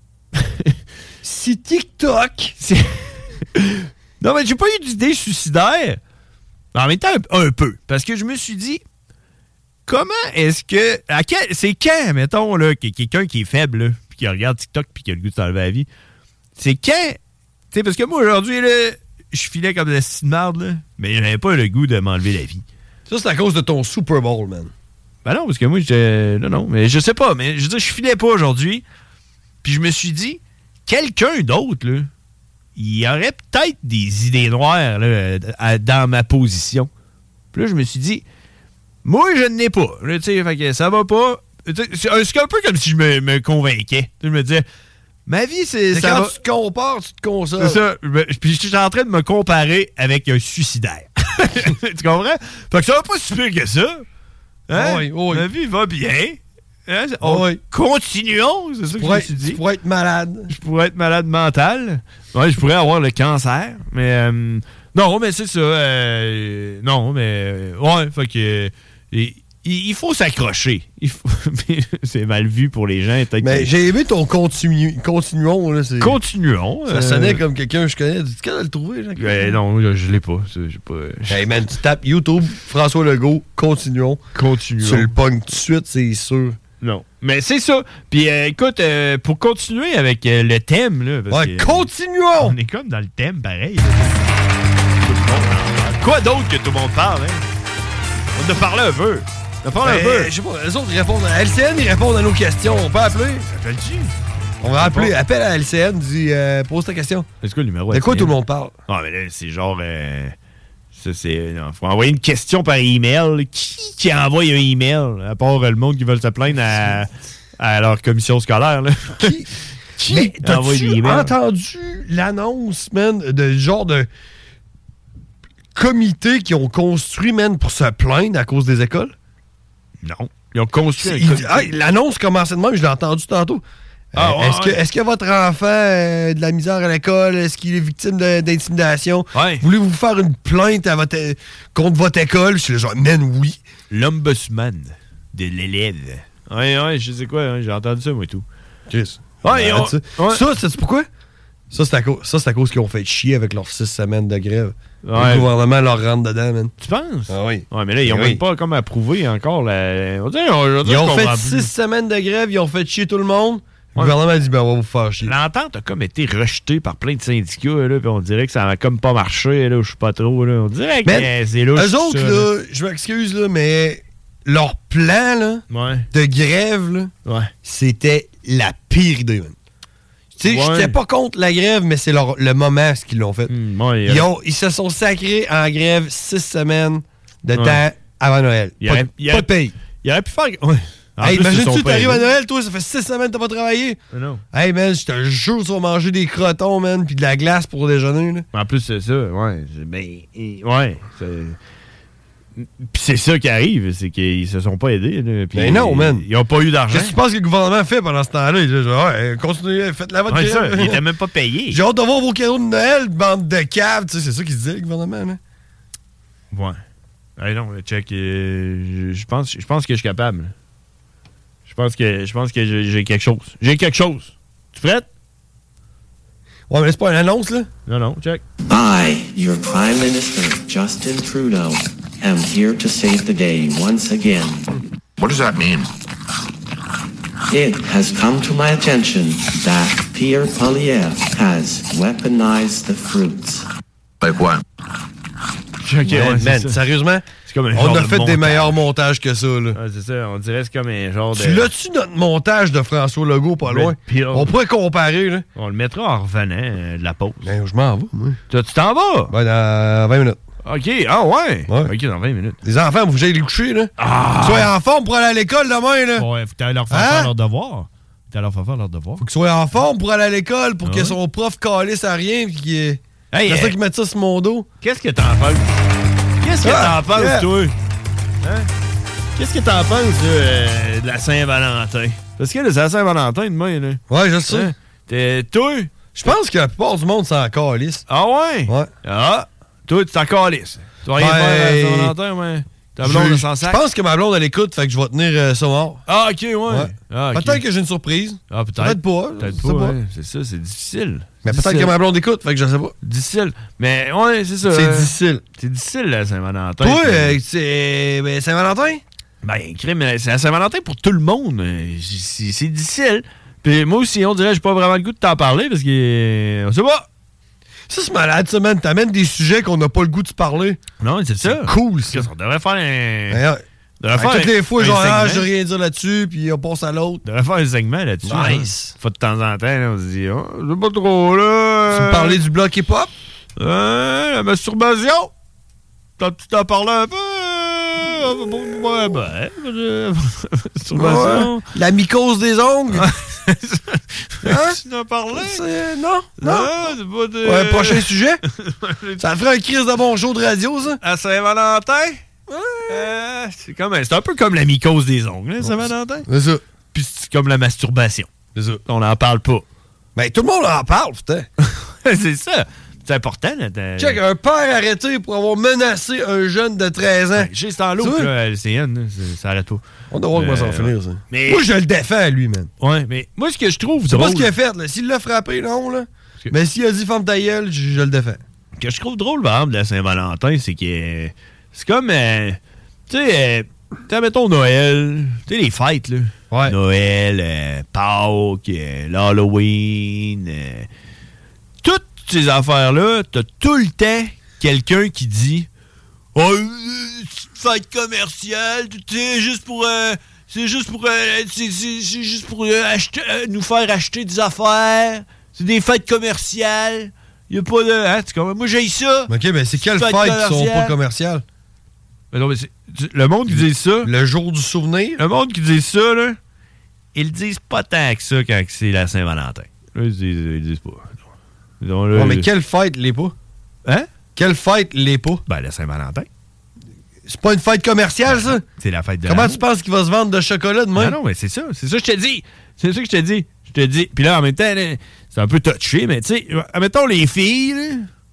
si TikTok... Non, mais j'ai pas eu d'idées suicidaires. En même temps, un peu. Parce que je me suis dit... Comment est-ce que... c'est quand, mettons, là, quelqu'un qui est faible, là, puis qui regarde TikTok puis qui a le goût de s'enlever la vie, c'est quand... Tu sais, parce que moi, aujourd'hui, là, je filais comme de la petite merde, là, mais j'avais pas le goût de m'enlever la vie. Ça, c'est à cause de ton Super Bowl, man. Ben non, parce que moi, j'étais... Non, mais je sais pas, mais je veux dire, je filais pas aujourd'hui, puis je me suis dit, quelqu'un d'autre, là, il y aurait peut-être des idées noires, là, dans ma position. Puis là, je me suis dit... Moi, je n'ai pas. Tu sais, fait que ça va pas. C'est un peu comme si je me convainquais. Je me disais, ma vie, c'est quand tu te compares, tu te consoles. C'est ça. Puis je suis en train de me comparer avec un suicidaire. Tu comprends? Fait que ça va pas si pire que ça. Hein? Oui. Ma vie va bien. Hein? Continuons, c'est ça que je me suis dit. Tu pourrais être malade. Je pourrais être malade mental. Ouais, je pourrais avoir le cancer. Mais non, mais c'est ça. Non, mais ouais, fait que il faut s'accrocher. C'est mal vu pour les gens. Mais j'ai aimé ton continuons. Là, continuons. Ça sonnait comme quelqu'un que je connais. Tu peux le trouver, Jean? Non, je l'ai pas. Hey man, tu tapes YouTube, François Legault, continuons. Tu le pognes tout de suite, c'est sûr. Non. Mais c'est ça. Puis écoute, pour continuer avec le thème, là. Continuons! On est comme dans le thème, pareil. Quoi d'autre que tout le monde parle, hein? On a parlé un peu. Je sais pas, les autres répondent. LCN, ils répondent à nos questions. On peut appeler? Appelle-tu? On va appeler. Appelle à LCN, dis, pose ta question. C'est quoi le numéro? De quoi tout le monde parle? Ah, mais là, c'est genre... ça, c'est... faut envoyer une question par email. Qui envoie un email? À part le monde qui veut se plaindre à leur commission scolaire, là. Qui envoie des emails? Entendu l'annonce, man, de genre de... comités qui ont construit, man, pour se plaindre à cause des écoles? Non. Ils ont construit l'annonce commençait de même, je l'ai entendu tantôt. Est-ce que votre enfant a de la misère à l'école? Est-ce qu'il est victime d'intimidation? Ouais. Voulez-vous faire une plainte contre votre école? Je suis genre, man, oui. L'ombudsman de l'élève. Ouais, je sais quoi, j'ai entendu ça, moi et tout. Chris. Ouais, Ça, c'est pourquoi? Ça, c'est à cause qu'ils ont fait chier avec leurs 6 semaines de grève. Ouais. Le gouvernement leur rentre dedans, man. Tu penses? Ah oui. Ouais, mais là, ils ont même pas comme approuvé encore la... Ils ont fait 6 semaines de grève, ils ont fait chier tout le monde. Le gouvernement a dit, ben, on va vous faire chier. L'entente a comme été rejetée par plein de syndicats, là, puis on dirait que ça a comme pas marché, là, je sais pas trop, là. On dirait que c'est louche. Eux autres, là, je m'excuse, là, mais leur plan, là, de grève, là, c'était la pire idée, man. Tu sais, j'étais pas contre la grève, mais c'est le moment ce qu'ils l'ont fait. Ils se sont sacrés en grève 6 semaines de temps avant Noël. Pas de paye. Il aurait pu faire... Hey, imagine-tu, t'arrives à Noël, toi, ça fait 6 semaines que t'as pas travaillé. Non. Hey, man, je te jure, tu vas manger des crotons, man, puis de la glace pour déjeuner, là. En plus, c'est ça, ouais. Puis c'est ça qui arrive, c'est qu'ils se sont pas aidés. Là, ben non, man. Ils ont pas eu d'argent. Qu'est-ce que tu penses que le gouvernement fait pendant ce temps-là? Il dit, continuez, faites la votre ça, il était même pas payé. J'ai hâte de voir vos cadeaux de Noël, bande de caves. Tu sais, c'est ça qu'ils se disait, le gouvernement, là. Ouais. Hey, non, check. Je pense que je suis capable. Je pense que j'ai quelque chose. J'ai quelque chose. Tu prête? Ouais, mais c'est pas une annonce, là? Non, check. I, your Prime Minister, Justin Trudeau, am here to save the day once again. What does that mean? It has come to my attention that Pierre Poilievre has weaponized the fruits. Like what? Man, sérieusement, on a fait des meilleurs montages que ça, là. Ouais, c'est ça, on dirait que c'est comme un genre de... Tu l'as-tu, notre montage de François Legault, pas loin? On pourrait comparer, là. On le mettra en revenant de la pause. Ben, je m'en vais, moi. Tu t'en vas? Ben, dans 20 minutes. OK, ouais. OK, dans 20 minutes. Les enfants, vous allez les coucher, là. Soyez en forme pour aller à l'école demain, là. Ouais, faut que t'ailles leur faire leur devoir. Faut qu'ils soient en forme pour aller à l'école, pour que son prof calisse à rien, puis qu'il... Hey, c'est ça qui met ça sur mon dos. Qu'est-ce que t'en penses? Toi? Hein? Qu'est-ce que t'en penses, de la Saint-Valentin? Parce que là, c'est la Saint-Valentin demain, là. Ouais, je sais. Hein? Toi? Je pense que la plupart du monde s'en calisse. Ah ouais? Ouais. Ah, toi, tu t'en calisses. Tu vas rien faire à la Saint-Valentin, ouais. Ta blonde de sans sac. Je pense que ma blonde, elle écoute, fait que je vais tenir ça mort. Ah, OK, ouais. Ah, okay. Peut-être que j'ai une surprise. Ah, peut-être pas. Peut-être pas. C'est ça, c'est difficile. Mais peut-être que ma blonde écoute, fait que je sais pas. Difficile. Mais ouais, c'est ça. C'est difficile. C'est difficile, la Saint-Valentin. Toi, c'est Saint-Valentin? Ben, c'est la Saint-Valentin pour tout le monde. C'est difficile. Puis moi aussi, on dirait que j'ai pas vraiment le goût de t'en parler parce que... On sait pas. Ça, c'est malade, ça, man. T'amènes des sujets qu'on n'a pas le goût de se parler. Non, c'est ça. C'est cool, ça. On devrait faire un... Toutes les fois, genre, je rien dire là-dessus, puis on passe à l'autre. On devrait faire un segment là-dessus. Nice. Faut de temps en temps, là, on se dit, c'est pas trop, là. Tu me parlais du bloc hip-hop? La masturbation. Tu t'en parlais un peu? Masturbation. La mycose des ongles. Tu en parlais? Non. C'est pas de... Ouais, prochain sujet. Ça ferait un crise de bon show de radio, ça. À Saint-Valentin? C'est un peu comme la mycose des ongles, hein, Saint-Valentin. C'est ça. Puis c'est comme la masturbation. C'est ça. On n'en parle pas. Ben, tout le monde en parle, putain. C'est ça. C'est important, là. Check, un père arrêté pour avoir menacé un jeune de 13 ans. J'ai c'est en l'autre, là, LCN, ça arrête pas. On doit voir comment ça va finir, ça. Mais... Moi, je le défends, lui, man. Ouais, mais moi, ce que je trouve c'est drôle... pas ce qu'il a fait, là. S'il l'a frappé, non, là. Mais s'il a dit « ferme ta gueule », je le défends. Ce que je trouve drôle, par exemple, de la Saint-Valentin, c'est que... C'est comme... tu sais, mettons Noël, tu sais, les fêtes, là. Ouais. Noël, Pâques, l'Halloween, toutes ces affaires-là, t'as tout le temps quelqu'un qui dit « Oh, fête commerciale, tu sais, juste pour... c'est juste pour nous faire acheter des affaires. C'est des fêtes commerciales. Il n'y a pas de... Hein, moi, j'ai ça. OK, ben c'est quelles fêtes qui sont pas commerciales? Mais non, mais le monde qui dit ça... Le jour du souvenir? Le monde qui dit ça, là, ils le disent pas tant que ça quand c'est la Saint-Valentin. Là, ils disent pas. Donc, là, mais quelle fête l'est pas? Hein? Quelle fête l'est pas? Ben, la Saint-Valentin. C'est pas une fête commerciale, ça? C'est la fête de Comment tu penses qu'il va se vendre de chocolat demain? Non, mais c'est ça. C'est ça que je te dis. C'est ça que je te dis. Je te dis. Puis là, en même temps, là, c'est un peu touché, mais tu sais, admettons les filles, là,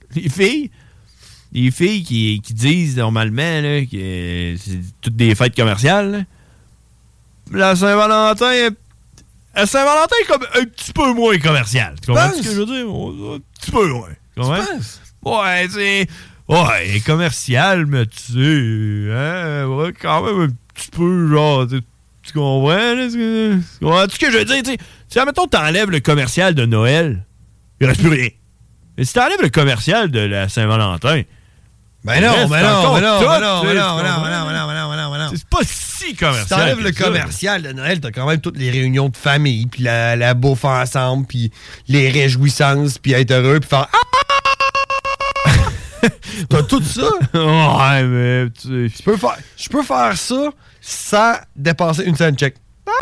les filles qui disent normalement là, que c'est toutes des fêtes commerciales, là, la Saint-Valentin... La Saint-Valentin est comme un petit peu moins commercial. Tu comprends ce que je veux dire? Un petit peu moins. Tu penses? Ouais, tu sais... Ouais, elle est commercial, mais tu sais... Hein, ouais, quand même un petit peu, genre... Tu comprends, là? Tu comprends ce que je veux dire? Tu sais, admettons, t'enlèves le commercial de Noël, il reste plus rien. Mais si t'enlèves le commercial de la Saint-Valentin... Ben non. C'est pas si commercial. Si t'enlèves le commercial de Noël, t'as quand même toutes les réunions de famille, puis la bouffe ensemble, puis les réjouissances, puis être heureux, puis faire... T'as tout ça? Ouais, mais... Je peux faire ça sans dépenser une scène check.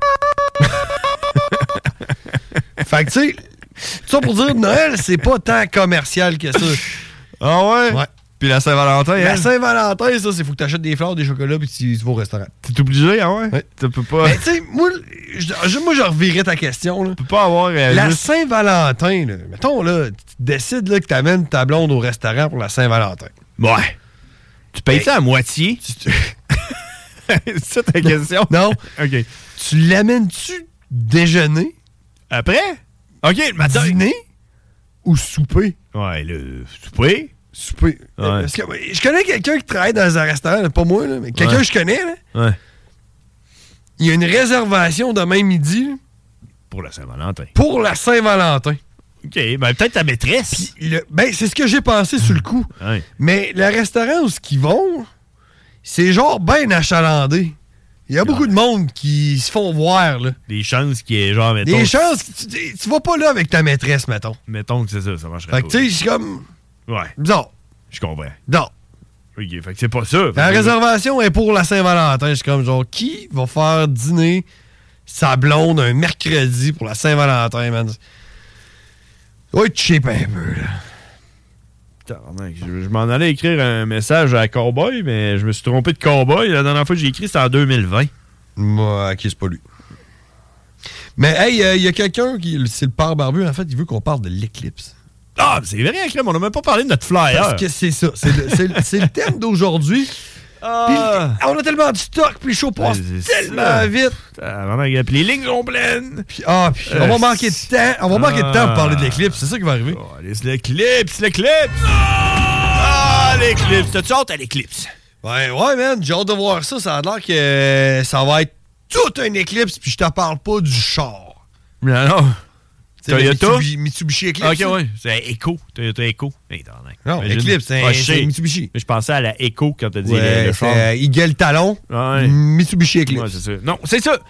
Fait que, tu sais, ça pour dire, Noël, c'est pas tant commercial que ça. Ah ouais? Ouais. Puis la Saint-Valentin, La Saint-Valentin, ça, c'est faut que t'achètes des fleurs, des chocolats, puis tu vas au restaurant. T'es obligé, ah ouais? Ouais. Tu peux pas... Mais tu sais, moi, je revirais ta question, là. Tu peux pas avoir... la Saint-Valentin, là, mettons, là, tu décides là, que t'amènes ta blonde au restaurant pour la Saint-Valentin. Ouais. Tu payes ça à moitié? C'est ça ta question? Non. OK. Tu l'amènes-tu déjeuner? Après? OK, le matin. Dîner? Ou souper? Ouais, le souper. Souper. Ouais. Parce que, je connais quelqu'un qui travaille dans un restaurant, là, pas moi, là, mais quelqu'un que je connais. Là. Ouais. Il y a une réservation demain midi. Là, pour la Saint-Valentin. Pour la Saint-Valentin. OK, ben peut-être ta maîtresse. Ben, c'est ce que j'ai pensé sur le coup. Ouais. Mais le restaurant où ils vont, c'est genre bien achalandé. Il y a beaucoup de monde qui se font voir, là. Des chances qui est genre, mettons... Des chances... Tu vas pas là avec ta maîtresse, mettons. Mettons que c'est ça marcherait pas. Fait que tu sais, c'est comme... Ouais. Bizarre. Je comprends. Non. OK, fait que c'est pas ça. La réservation est pour la Saint-Valentin. C'est comme genre, qui va faire dîner sa blonde un mercredi pour la Saint-Valentin, man? Ça doit être cheap un peu, là. Je m'en allais écrire un message à Cowboy, mais je me suis trompé de Cowboy. La dernière fois que j'ai écrit, c'était en 2020. Moi, OK, c'est pas lui. Mais hey, il y a quelqu'un qui... C'est le père barbu, en fait, il veut qu'on parle de l'éclipse. Ah, c'est vrai, Crème, on n'a même pas parlé de notre flyer. Parce que c'est ça. C'est le thème d'aujourd'hui. Ah. On a tellement de stock, puis le show passe tellement vite. Puis les lignes sont pleines. Puis on va manquer de temps. On va manquer de temps pour parler de l'éclipse. C'est ça qui va arriver. Oh, l'éclipse. Ah, l'éclipse. T'as-tu hâte à l'éclipse? Ouais, man. J'ai hâte de voir ça. Ça a l'air que ça va être tout un éclipse, puis je te parle pas du char. Non. Toyota? Mitsubishi Eclipse. OK, ouais. C'est Echo. Toyota Echo. Non, Eclipse, c'est Mitsubishi. Je pensais à la Echo quand t'as dit le char. Eagle Talon. Ouais. Mitsubishi Eclipse. Ouais, c'est ça. Non, c'est ça.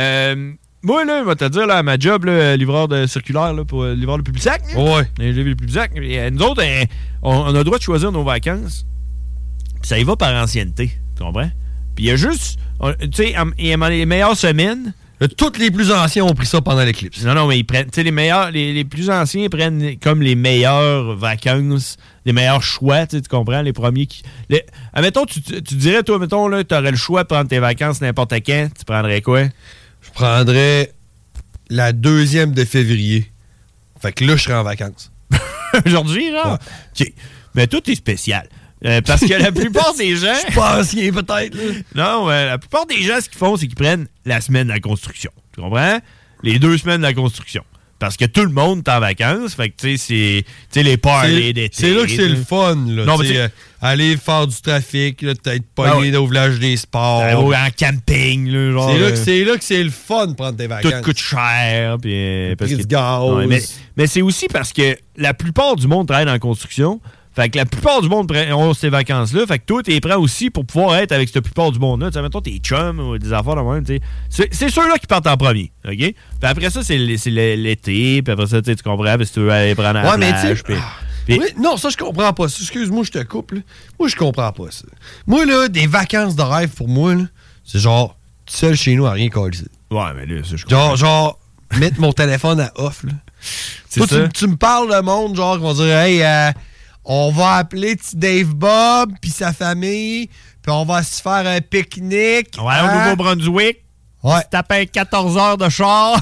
Moi, là, je vais te dire, là, à ma job, là, livreur de circulaire, là, pour livreur de Publisac. Ouais. Le Publisac. Nous autres, on a le droit de choisir nos vacances. Puis ça y va par ancienneté. Tu comprends? Puis il y a juste... Tu sais, les meilleures semaines... Tous les plus anciens ont pris ça pendant l'éclipse. Non, mais ils prennent... Tu sais, les meilleurs... Les plus anciens prennent comme les meilleures vacances, les meilleurs choix, tu comprends? Les premiers qui... Admettons, tu dirais, toi, mettons, là, tu aurais le choix de prendre tes vacances n'importe quand. Tu prendrais quoi? Je prendrais la 2e de février. Fait que là, je serais en vacances. Aujourd'hui, genre? Ouais. OK. Mais toi, t'es spécial. Parce que la plupart des gens... Je pense qu'il est peut-être, là. Non, la plupart des gens, ce qu'ils font, c'est qu'ils prennent la semaine de la construction. Tu comprends? Les 2 semaines de la construction. Parce que tout le monde est en vacances. Fait que, tu sais, c'est les parties d'été. C'est là que c'est le fun, là. Non, mais aller faire du trafic, là, peut-être pogner au village des sports. En camping, là, genre. C'est là que c'est le fun de prendre tes vacances. Tout coûte cher. Puis, parce que gaz. Mais c'est aussi parce que la plupart du monde travaille dans la construction. Fait que la plupart du monde ont ces vacances-là. Fait que toi, t'es prêt aussi pour pouvoir être avec cette plupart du monde-là. Tu sais, mettons, tes chums ou des affaires de même, tu sais. C'est ceux-là qui partent en premier, OK? Puis après ça, c'est l'été. Puis après ça, tu comprends, si tu veux aller prendre la plage. Oui, non, ça, je comprends pas ça. Excuse-moi, je te coupe, là. Moi, je comprends pas ça. Moi, là, des vacances de rêve, pour moi, là, c'est genre, tout seul chez nous à rien coller. Ouais, mais là, ça, je comprends. Genre, mettre mon téléphone à off, là. Toi, tu me parles de monde, genre, qui vont dire, hey, on va appeler petit Dave Bob puis sa famille, puis on va se faire un pique-nique. Ouais, au Nouveau-Brunswick. Ouais. Tu tapes 14 heures de char.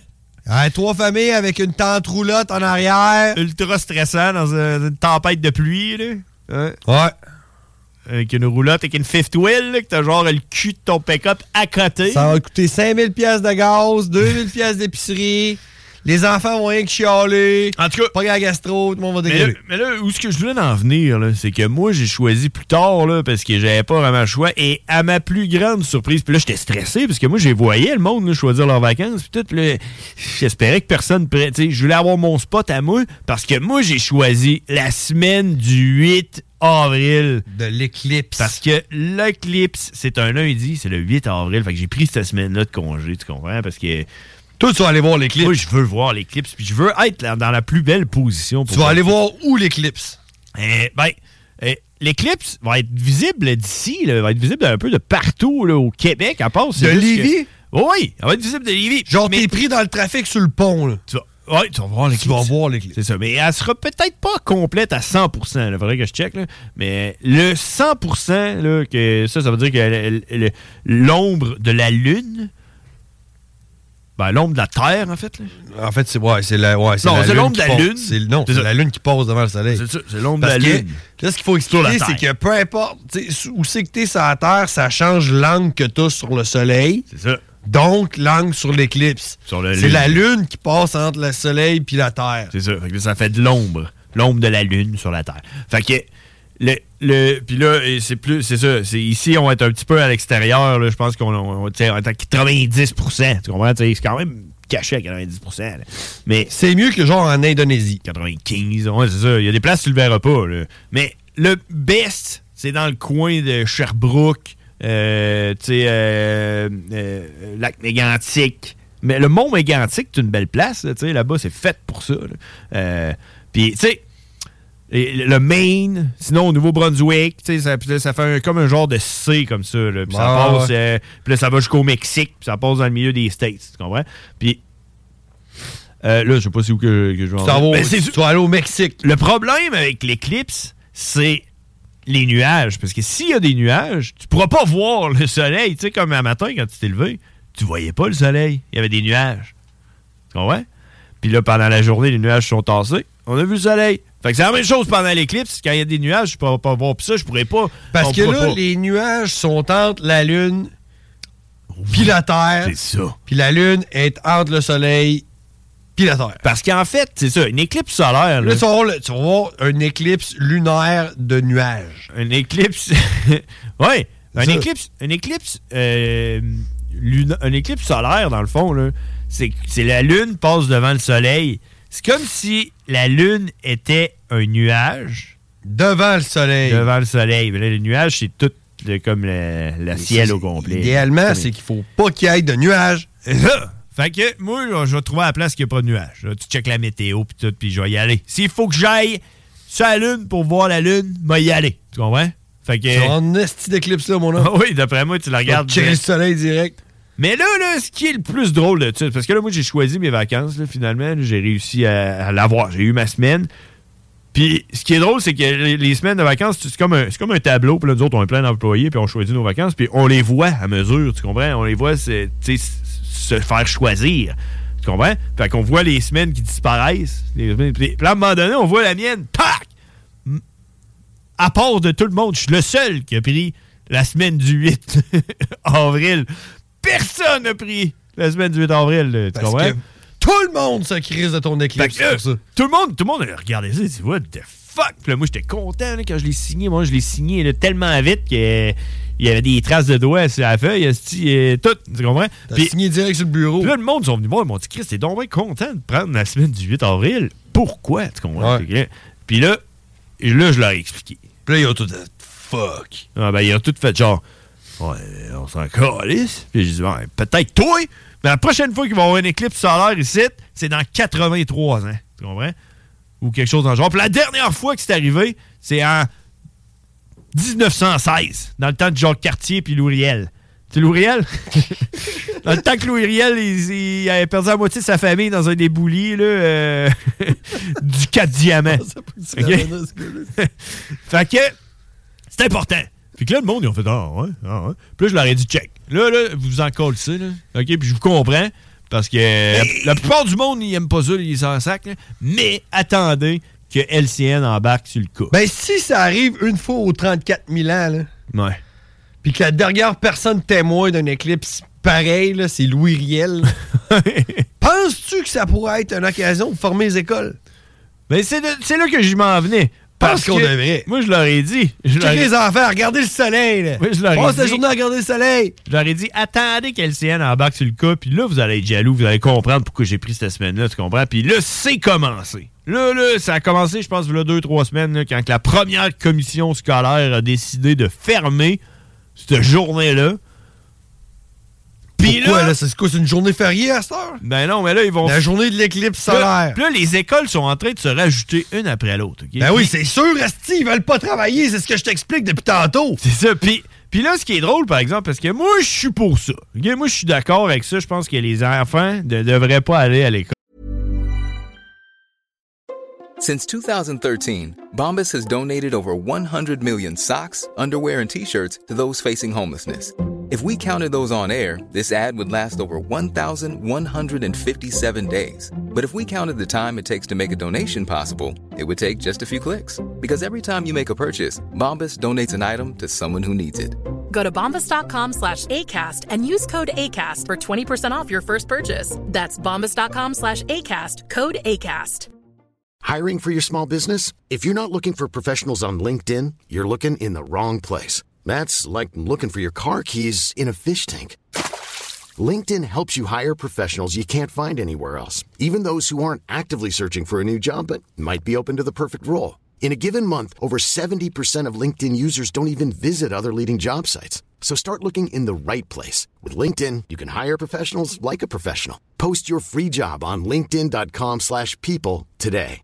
3 familles avec une tente roulotte en arrière. Ultra stressant dans une tempête de pluie, là. Ouais. avec une roulotte, avec une fifth wheel, là, que t'as genre le cul de ton pick-up à côté. Ça va coûter 5000$ de gaz, 2000$ d'épicerie. Les enfants vont rien que chialer. En tout cas, pas la gastro, tout le monde va dégueuler. Mais là, où est-ce que je voulais en venir, là, c'est que moi, j'ai choisi plus tard, là, parce que j'avais pas vraiment le choix. Et à ma plus grande surprise, puis là, j'étais stressé, parce que moi, j'ai voyé le monde là, choisir leurs vacances, puis tout, là, j'espérais que personne... Tu sais, je voulais avoir mon spot à moi, parce que moi, j'ai choisi la semaine du 8 avril. De l'éclipse. Parce que l'éclipse, c'est un lundi, c'est le 8 avril. Fait que j'ai pris cette semaine-là de congé, tu comprends? Parce que... Toi, tu vas aller voir l'éclipse. Moi, je veux voir l'éclipse, puis je veux être dans la plus belle position. Tu vas aller voir où l'éclipse? L'éclipse va être visible d'ici, va être visible un peu de partout là, au Québec, à part... De Lévis? Oui, elle va être visible de Lévis. Genre, t'es pris dans le trafic sur le pont, là. Oui, tu vas voir l'éclipse. Tu vas voir l'éclipse. C'est ça, mais elle sera peut-être pas complète à 100%. Il faudrait que je check, là. Mais le 100%, là, que ça veut dire que l'ombre de la Lune... Ben, l'ombre de la Terre, en fait. Là. En fait, c'est l'ombre de la Lune. C'est la Lune qui passe devant le Soleil. C'est ça, c'est l'ombre de la Lune. Là, ce qu'il faut expliquer, c'est que peu importe où c'est que t'es sur la Terre, ça change l'angle que t'as sur le Soleil. C'est ça. Donc, l'angle sur l'éclipse. C'est la Lune qui passe entre le Soleil puis la Terre. C'est ça. Fait que ça fait de l'ombre. L'ombre de la Lune sur la Terre. Fait que... Puis là, c'est ça. Ici, on va être un petit peu à l'extérieur. Là, je pense qu'on est à 90%. Tu comprends? C'est quand même caché à 90%. Là. Mais c'est mieux que genre en Indonésie. 95, ouais, c'est ça. Il y a des places que tu le verras pas. Là. Mais le best, c'est dans le coin de Sherbrooke, lac Mégantic. Mais le Mont Mégantic, c'est une belle place. Là-bas, c'est fait pour ça. Puis, tu sais, le Maine, sinon au Nouveau-Brunswick, ça fait comme un genre de C comme ça. Là, puis ça passe, puis là, ça va jusqu'au Mexique, puis ça passe dans le milieu des States, tu comprends? Puis là, je sais pas si où que je vais en venir. Tu vas aller au Mexique. Le problème avec l'éclipse, c'est les nuages. Parce que s'il y a des nuages, tu pourras pas voir le soleil. Tu sais, comme un matin, quand tu t'es levé, tu voyais pas le soleil. Il y avait des nuages. Tu comprends? Puis là, pendant la journée, les nuages sont tassés. On a vu le soleil. Fait que c'est la même chose pendant l'éclipse. Quand il y a des nuages, je pourrais pas voir. Puis ça, je pourrais pas. Parce que là, les nuages sont entre la Lune puis la Terre. C'est ça. Puis la Lune est entre le Soleil puis la Terre. Parce qu'en fait, c'est ça, une éclipse solaire. Là, tu vas voir une éclipse lunaire de nuages. Une éclipse... oui, une éclipse solaire, dans le fond, là, c'est la Lune passe devant le Soleil. C'est comme si la Lune était un nuage. Devant le Soleil. Devant le Soleil. Mais là, le nuage, c'est tout comme le ciel au complet. Idéalement, c'est qu'il faut pas qu'il y ait de nuages. C'est ça. Fait que moi, là, je vais trouver à la place qu'il n'y a pas de nuages. Là, tu checkes la météo puis tout, puis je vais y aller. S'il faut que j'aille sur la Lune pour voir la Lune, je vais y aller. Tu comprends? Fait que... C'est un esti d'éclipse là, mon homme. Oui, d'après moi, tu la regardes. Tu checkes le Soleil direct. Mais là, ce qui est le plus drôle de tout, parce que là, moi, j'ai choisi mes vacances, là, finalement. Là, j'ai réussi à l'avoir. J'ai eu ma semaine. Puis, ce qui est drôle, c'est que les semaines de vacances, c'est comme un tableau. Puis là, nous autres, on est plein d'employés, puis on choisit nos vacances. Puis on les voit à mesure, tu comprends? On les voit se faire choisir. Tu comprends? Fait qu'on voit les semaines qui disparaissent. Puis là, à un moment donné, on voit la mienne. Tac! À part de tout le monde, je suis le seul qui a pris la semaine du 8 avril. Personne n'a pris la semaine du 8 avril. Tu comprends? Tout le monde se crise de ton éclipse pour ça. Tout le monde a regardé ça et dit « What the fuck? » Puis là, moi, j'étais content là, quand je l'ai signé. Moi, je l'ai signé là, tellement vite qu'il y avait des traces de doigts sur la feuille. Tout, tu comprends? T'as signé direct sur le bureau. Puis là, le monde sont venus voir. Ils m'ont dit « Chris, t'es donc bien content de prendre la semaine du 8 avril. Pourquoi? » Tu comprends? Ouais. Puis là, je leur ai expliqué. Puis là, ils ont tout dit « Fuck! » Ils ont tout fait genre « Ouais, on s'en calisse. » Puis j'ai dit ouais, « Peut-être toi! » Mais la prochaine fois qu'il va y avoir une éclipse solaire ici, c'est dans 83 ans. Tu comprends? Ou quelque chose dans le genre. Puis la dernière fois que c'est arrivé, c'est en 1916, dans le temps de Jacques Cartier puis Louis Riel. Tu sais, Louis Riel? Dans le temps que Louis Riel, il avait perdu la moitié de sa famille dans un déboulis là, du 4 diamants. Okay? Fait que c'est important. Fait que là, le monde, ils ont fait « Ah ouais. Puis là, je leur ai dit « Check. Là, vous vous en collez ça, là. OK? Puis je vous comprends. Parce que la plupart du monde, ils aiment pas ça, ils s'en sacent. Mais attendez que LCN embarque sur le cas. Ben, si ça arrive une fois aux 34 000 ans, là, ouais. Puis que la dernière personne témoin d'une éclipse pareil, là, c'est Louis Riel, penses-tu que ça pourrait être une occasion de former les écoles? Ben, c'est là que je m'en venais. Parce qu'on devrait. Moi, je leur ai dit. Les enfants, regardez le soleil. Là. Oui, je leur ai dit. Passe la journée à regarder le soleil. Je leur ai dit, attendez qu'LCN embarque sur le cas, puis là, vous allez être jaloux, vous allez comprendre pourquoi j'ai pris cette semaine-là, tu comprends? Puis là, c'est commencé. Là, ça a commencé, je pense, il y a 2-3 semaines, là, quand la première commission scolaire a décidé de fermer cette journée-là. Puis pourquoi, là? C'est quoi, c'est une journée fériée à cette heure? Ben non, mais là, ils vont... La journée de l'éclipse solaire. Puis là, les écoles sont en train de se rajouter une après l'autre. Okay? Ben oui, c'est sûr, asti, ils veulent pas travailler. C'est ce que je t'explique depuis tantôt. C'est ça. Puis là, ce qui est drôle, par exemple, parce que moi, je suis pour ça. Okay? Moi, je suis d'accord avec ça. Je pense que les enfants ne devraient pas aller à l'école. Since 2013, Bombas has donated over 100 million socks, underwear, and T-shirts to those facing homelessness. If we counted those on air, this ad would last over 1,157 days. But if we counted the time it takes to make a donation possible, it would take just a few clicks. Because every time you make a purchase, Bombas donates an item to someone who needs it. Go to bombas.com/ACAST and use code ACAST for 20% off your first purchase. That's bombas.com/ACAST, code ACAST. Hiring for your small business? If you're not looking for professionals on LinkedIn, you're looking in the wrong place. That's like looking for your car keys in a fish tank. LinkedIn helps you hire professionals you can't find anywhere else, even those who aren't actively searching for a new job but might be open to the perfect role. In a given month, over 70% of LinkedIn users don't even visit other leading job sites. So start looking in the right place. With LinkedIn, you can hire professionals like a professional. Post your free job on linkedin.com/people today.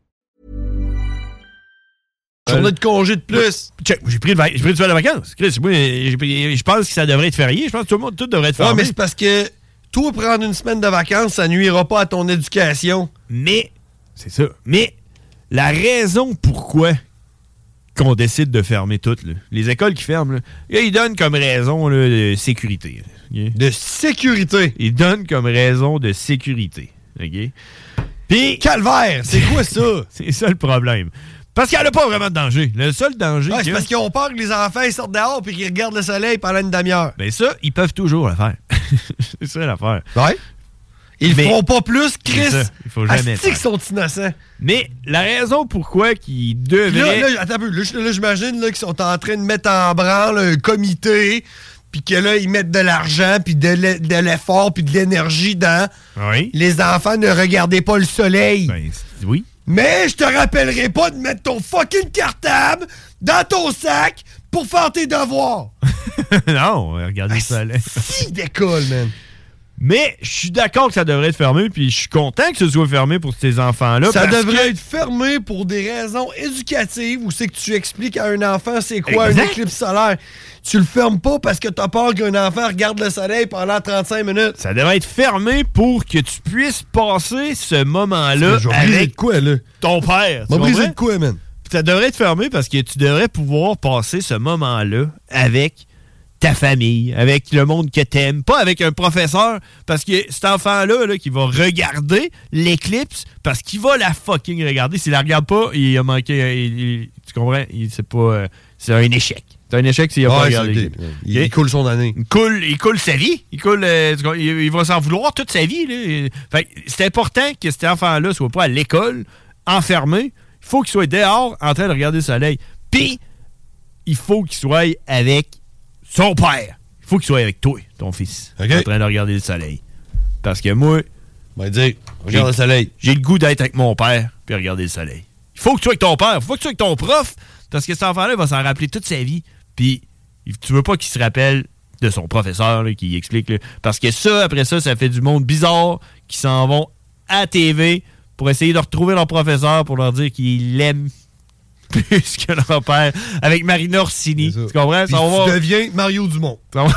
Journée de congé de plus. Check, j'ai pris du de vacances. Chris, moi, je pense que ça devrait être férié. Je pense que tout devrait être fermé. Ouais, mais c'est parce que toi, prendre une semaine de vacances, ça nuira pas à ton éducation. Mais, c'est ça. Mais, la raison pourquoi qu'on décide de fermer toutes, là, les écoles qui ferment, là, ils donnent comme raison là, de sécurité. Okay? De sécurité? Ils donnent comme raison de sécurité. OK? Puis... Calvaire! C'est quoi ça? C'est ça le problème. Parce qu'il n'y a pas vraiment de danger. Le seul danger... c'est parce qu'ils ont peur que les enfants ils sortent dehors et qu'ils regardent le soleil pendant une demi-heure. Ben ça, ils peuvent toujours le faire. C'est ça l'affaire. Ouais. Ils ne feront pas plus, Chris. Ça, il faut jamais qu'ils sont innocents. Mais la raison pourquoi qu'ils devraient... Là, attends un peu. Là, j'imagine là, qu'ils sont en train de mettre en branle un comité, puis que là, ils mettent de l'argent, puis de l'effort, puis de l'énergie dans... Oui. Les enfants, ne regardez pas le soleil. Ben, oui. Mais je te rappellerai pas de mettre ton fucking cartable dans ton sac pour faire tes devoirs. Non, regardez le soleil. Si d'école, man. Mais je suis d'accord que ça devrait être fermé, puis je suis content que ce soit fermé pour ces enfants-là. Ça devrait être fermé pour des raisons éducatives, où c'est que tu expliques à un enfant c'est quoi une éclipse solaire. Tu le fermes pas parce que t'as peur qu'un enfant regarde le soleil pendant 35 minutes. Ça devrait être fermé pour que tu puisses passer ce moment-là avec quoi, là? Ton père. M'a brisé de quoi, man? Ça devrait être fermé parce que tu devrais pouvoir passer ce moment-là avec ta famille, avec le monde que t'aimes, pas avec un professeur, parce que cet enfant-là là, qui va regarder l'éclipse, parce qu'il va la fucking regarder. S'il la regarde pas, il a manqué... tu comprends? C'est pas... c'est un échec. C'est un échec s'il a pas regardé l'éclipse. Il coule son année. Il coule sa vie. Il va s'en vouloir toute sa vie. Là. Fait, c'est important que cet enfant-là soit pas à l'école, enfermé. Il faut qu'il soit dehors, en train de regarder le soleil. Puis, il faut qu'il soit avec son père. Il faut qu'il soit avec toi, ton fils, en train de regarder le soleil. Parce que moi, regarde le soleil. J'ai le goût d'être avec mon père puis regarder le soleil. Il faut que tu sois avec ton père. Il faut que tu sois avec ton prof. Parce que cet enfant-là va s'en rappeler toute sa vie. Puis, tu veux pas qu'il se rappelle de son professeur là, qui explique. Là, parce que ça, après ça, ça fait du monde bizarre qui s'en vont à la TV pour essayer de retrouver leur professeur pour leur dire qu'ils l'aiment plus que leur père. Avec Marina Orsini. Tu comprends? Puis tu deviens Mario Dumont.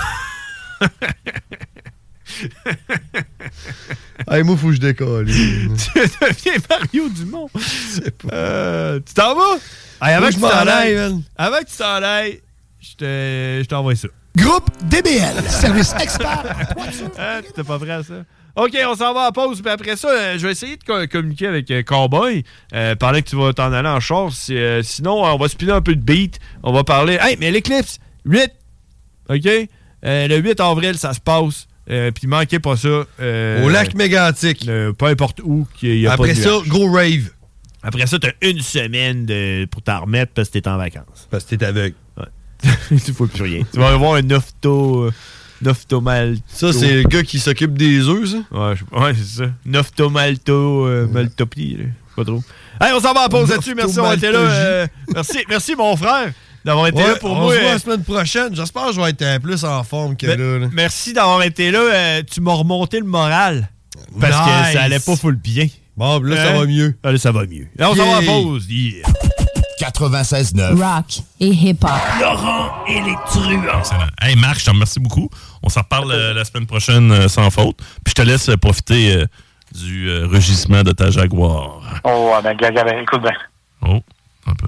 Hey, moi, faut que je décolle. Tu deviens Mario Dumont. Tu t'en vas? Hey, avant que tu t'en ailles, je t'envoie ça. Groupe DBL, service expert. T'es pas prêt à ça? OK, on s'en va à pause. Puis après ça, je vais essayer de communiquer avec Cowboy. Pendant que tu vas t'en aller en char. Sinon, on va spinner un peu de beat. On va parler... Hey, mais l'Eclipse, 8. OK? Le 8 avril, ça se passe. Puis manquez pas ça. Au lac Mégantic. Peu importe où. Y a après pas de ça, gros rave. Après ça, t'as une semaine pour t'en remettre parce que t'es en vacances. Parce que t'es aveugle. Ouais. Tu faut plus rien. Tu vas avoir un nophthomalto. Ça, c'est le gars qui s'occupe des œufs, ça? Ouais, c'est ça. Maltopie. Pas trop. Hey, on s'en va en pause là-dessus. Merci d'avoir été là. Merci, mon frère, d'avoir été là pour moi. On se voit la semaine prochaine. J'espère que je vais être plus en forme que là. Merci d'avoir été là. Tu m'as remonté le moral. Parce que ça allait pas full bien. Bon, là, ça va mieux. Là, ça va mieux. Là, on s'en va en pause. 96.9 Rock et hip-hop. Laurent et les truands. Excellent. Hey Marc, je te remercie beaucoup. On s'en reparle la semaine prochaine sans faute. Puis je te laisse profiter du rugissement de ta Jaguar. Oh, ben, écoute bien. Oh, un peu.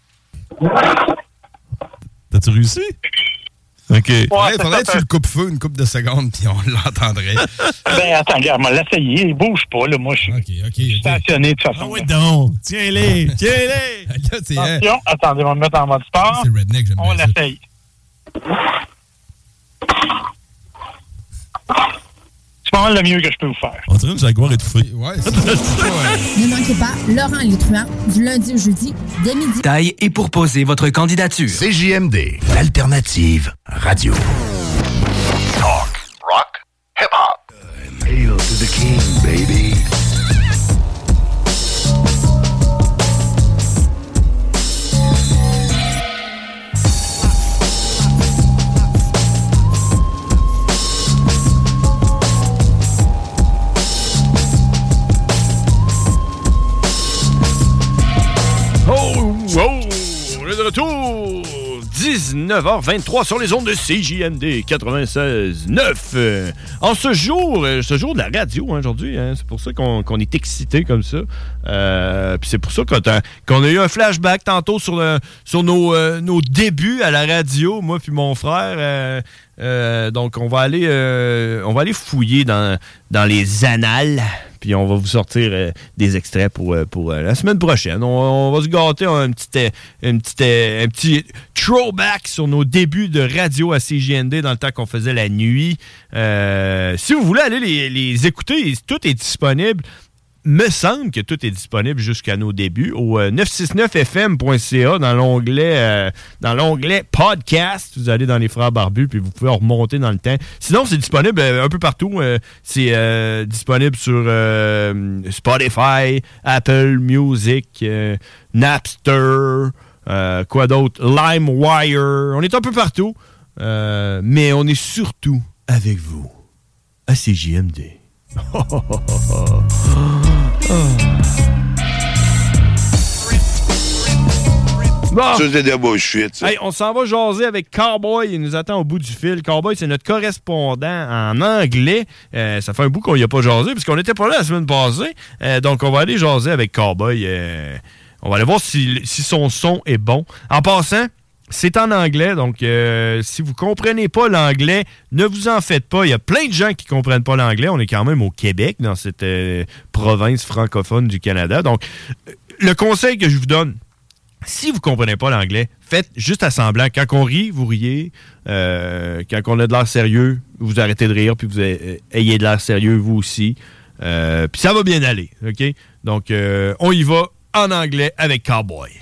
T'as-tu réussi? OK. Ouais, faudrait que tu le coupes-feu une couple de secondes, puis on l'entendrait. Ben, attends, regarde, m'a l'essayer. Il bouge pas, là. Moi, je suis stationné de toute façon. Ah oui, donc. Tiens-les. Attention, attendez, on va me mettre en mode sport. C'est redneck, j'aime bien on l'essaye. C'est pas mal le mieux que je peux vous faire. On dirait une Jaguar étouffée. Ouais, c'est Ne manquez pas Laurent et les truands, du lundi au jeudi, dès midi. Taille et pour poser votre candidature. CJMD, l'alternative radio. Talk, rock, hip-hop. Hail to the king, baby. Wow! On est de retour! 19h23 sur les ondes de CJMD 96.9. En ce jour de la radio aujourd'hui, hein, c'est pour ça qu'on est excité comme ça. Puis c'est pour ça qu'on a eu un flashback tantôt sur nos débuts à la radio, moi puis mon frère. Donc on va aller fouiller dans les annales. Puis on va vous sortir des extraits pour la semaine prochaine. On va se gâter un petit throwback sur nos débuts de radio à CJND dans le temps qu'on faisait la nuit. Si vous voulez aller les écouter, tout est disponible. Me semble que tout est disponible jusqu'à nos débuts au 969fm.ca dans l'onglet podcast. Vous allez dans les Frères Barbus puis vous pouvez remonter dans le temps. Sinon, c'est disponible un peu partout. C'est disponible sur Spotify, Apple Music, Napster, quoi d'autre? LimeWire. On est un peu partout. Mais on est surtout avec vous à CJMD. Bon. Ça, c'est de bullshit, ça. Hey, on s'en va jaser avec Cowboy. Il nous attend au bout du fil. Cowboy, c'est notre correspondant en anglais. Ça fait un bout qu'on n'y a pas jasé, puisqu'on n'était pas là la semaine passée. Donc, on va aller jaser avec Cowboy. On va aller voir si son son est bon. En passant, c'est en anglais, donc si vous comprenez pas l'anglais, ne vous en faites pas. Il y a plein de gens qui comprennent pas l'anglais. On est quand même au Québec, dans cette province francophone du Canada. Donc, le conseil que je vous donne, si vous comprenez pas l'anglais, faites juste à semblant. Quand on rit, vous riez. Quand on a de l'air sérieux, vous arrêtez de rire, puis vous ayez de l'air sérieux, vous aussi. Puis ça va bien aller, OK? Donc, on y va en anglais avec Cowboy.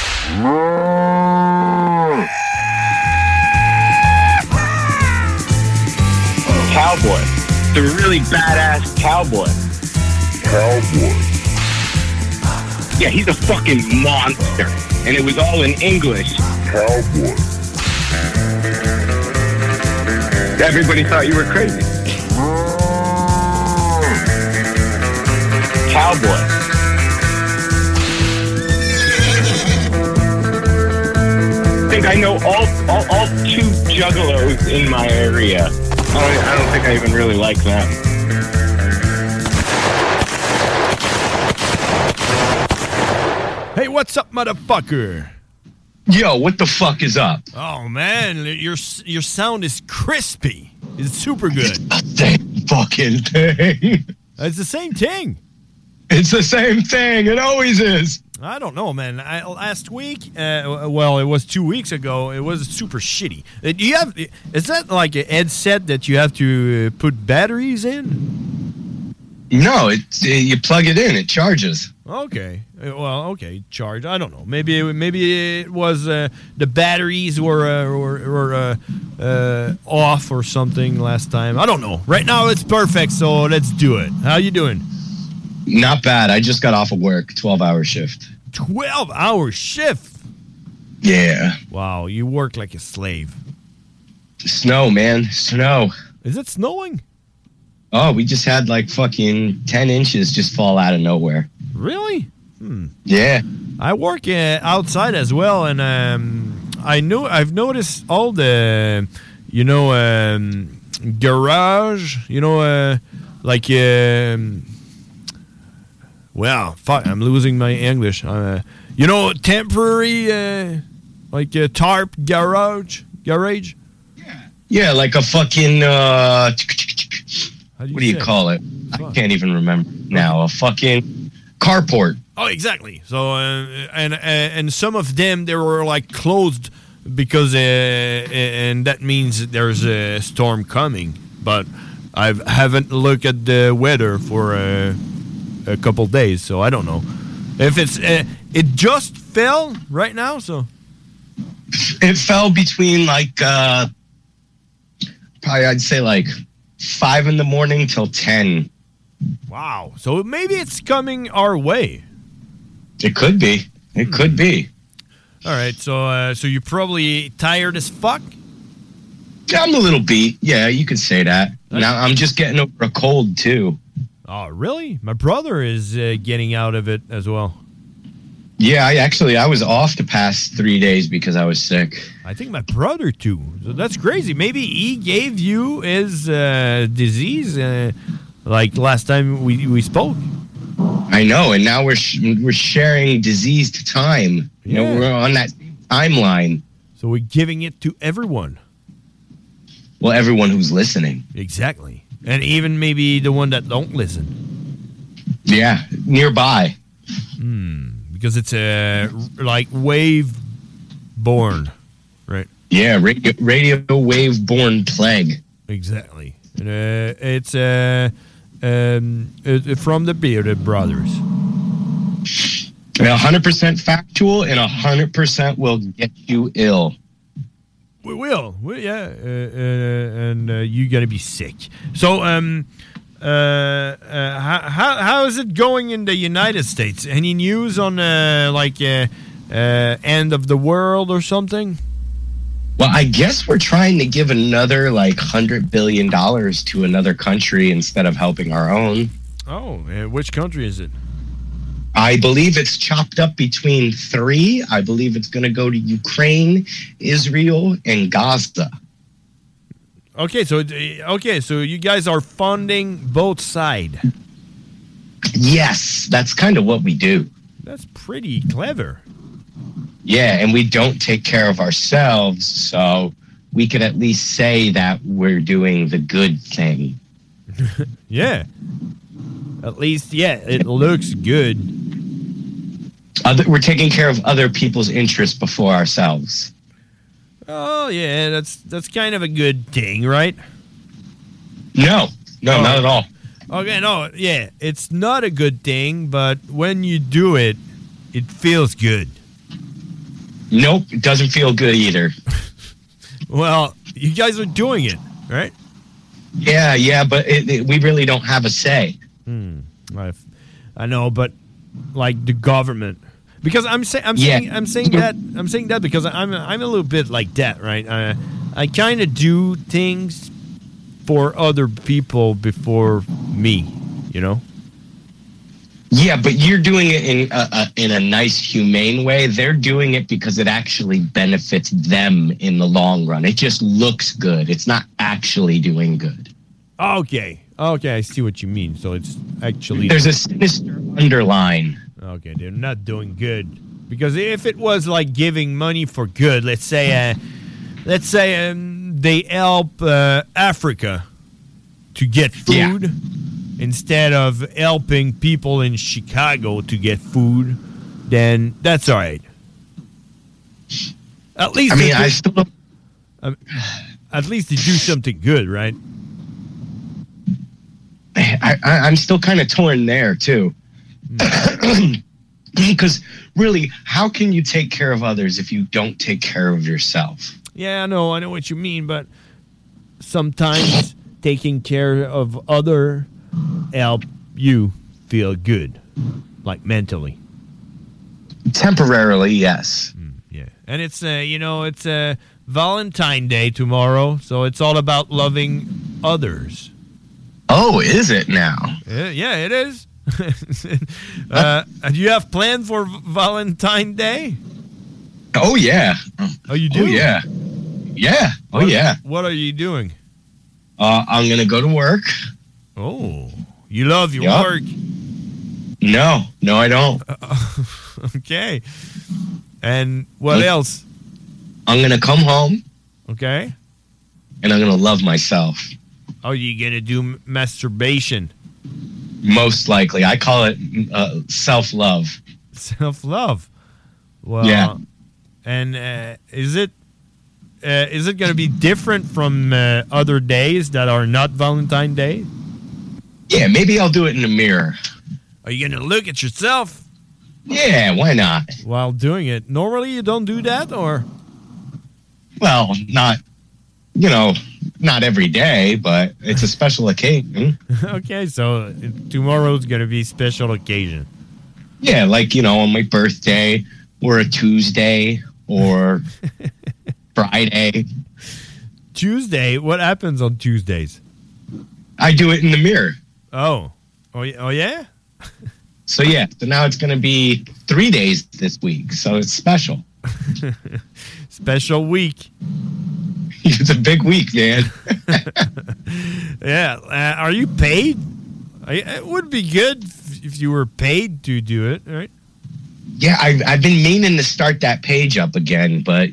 Cowboy. The really badass cowboy. Cowboy. Yeah, he's a fucking monster. And it was all in English. Cowboy. Everybody thought you were crazy. Cowboy. I think I know all two juggalos in my area. I don't think I even really like them. Hey, what's up, motherfucker? Yo, what the fuck is up? Oh, man, your sound is crispy. It's super good. It's the same fucking thing. It's the same thing. It's the same thing. It always is. I don't know, man. Last week, well, it was 2 weeks ago. It was super shitty. Is that like a headset that you have to put batteries in? No, you plug it in. It charges. Okay. Well, okay. Charge. I don't know. Maybe it was the batteries were off or something last time. I don't know. Right now it's perfect. So let's do it. How you doing? Not bad. I just got off of work. 12-hour shift. 12-hour shift? Yeah. Wow. You work like a slave. Snow, man. Snow. Is it snowing? Oh, we just had like fucking 10 inches just fall out of nowhere. Really? Yeah. I work outside as well, and I've noticed all the, garage, well, fuck, I'm losing my English. Temporary, tarp garage? Yeah, like a fucking, what do you call it? Fuck. I can't even remember now. A fucking carport. Oh, exactly. So, and some of them, they were like closed because, and that means there's a storm coming. But I haven't looked at the weather for a couple days, so I don't know if it's. It just fell right now, so it fell between like probably I'd say like 5 in the morning till 10. Wow. So maybe it's coming our way. It could be. It could be. All right. So you're probably tired as fuck? I'm a little beat. Yeah, you could say that. Now I'm just getting over a cold too. Oh, really? My brother is getting out of it as well. Yeah, I was off the past 3 days because I was sick. I think my brother too. So that's crazy. Maybe he gave you his disease like last time we spoke. I know, and now we're sharing diseased time. Yeah. We're on that timeline. So we're giving it to everyone. Well, everyone who's listening. Exactly. And even maybe the one that don't listen. Yeah, nearby. Because it's like wave-borne, right? Yeah, radio wave-borne plague. Exactly. It's from the Bearded Brothers. 100% factual and 100% will get you ill. We will. Yeah. And you're going to be sick. So, how is it going in the United States? Any news on, end of the world or something? Well, I guess we're trying to give another, $100 billion to another country instead of helping our own. Oh, which country is it? I believe it's chopped up between 3. I believe it's going to go to Ukraine, Israel, and Gaza. Okay, so you guys are funding both sides. Yes, that's kind of what we do. That's pretty clever. Yeah, and we don't take care of ourselves, so we could at least say that we're doing the good thing. Yeah. At least, yeah, it looks good. We're taking care of other people's interests before ourselves. Oh, yeah, that's kind of a good thing, right? No, not at all. Okay, no, yeah, it's not a good thing, but when you do it, it feels good. Nope, it doesn't feel good either. Well, you guys are doing it, right? Yeah, but we really don't have a say. I know, but like the government, because I'm saying that because I'm a little bit like that, right? I kind of do things for other people before me, you know. Yeah, but you're doing it in a nice, humane way. They're doing it because it actually benefits them in the long run. It just looks good. It's not actually doing good. Okay, I see what you mean. So it's actually... There's a sinister underline. Okay, they're not doing good. Because if it was like giving money for good, let's say they help Africa to get food instead of helping people in Chicago to get food, then that's all right. At least I mean, I still don't... at least they do something good, right? I'm still kind of torn there too. Because really, how can you take care of others if you don't take care of yourself? Yeah, I know what you mean, but sometimes taking care of other help you feel good, like mentally. Temporarily, yes. Yeah, and it's it's Valentine's Day tomorrow, so it's all about loving others. Oh, is it now? Yeah, it is. Do you have plans for Valentine's Day? Oh, yeah. Oh, you do? Oh, yeah. Yeah. Oh, yeah. What are you doing? I'm going to go to work. Oh, you love your work? No, I don't. Okay. And what else? I'm going to come home. Okay. And I'm going to love myself. Oh, you going to do masturbation? Most likely. I call it self-love. Self-love? Well, yeah. And is it going to be different from other days that are not Valentine's Day? Yeah, maybe I'll do it in the mirror. Are you going to look at yourself? Yeah, why not? While doing it. Normally you don't do that, or? Well, not every day, but it's a special occasion. Okay, so tomorrow's going to be a special occasion. Yeah, like, on my birthday, or a Tuesday, or Friday. Tuesday? What happens on Tuesdays? I do it in the mirror. Oh yeah? So now it's going to be 3 days this week, so it's special. Special week. It's a big week, man. Yeah. Are you paid? It would be good if you were paid to do it, right? Yeah, I've been meaning to start that page up again, but,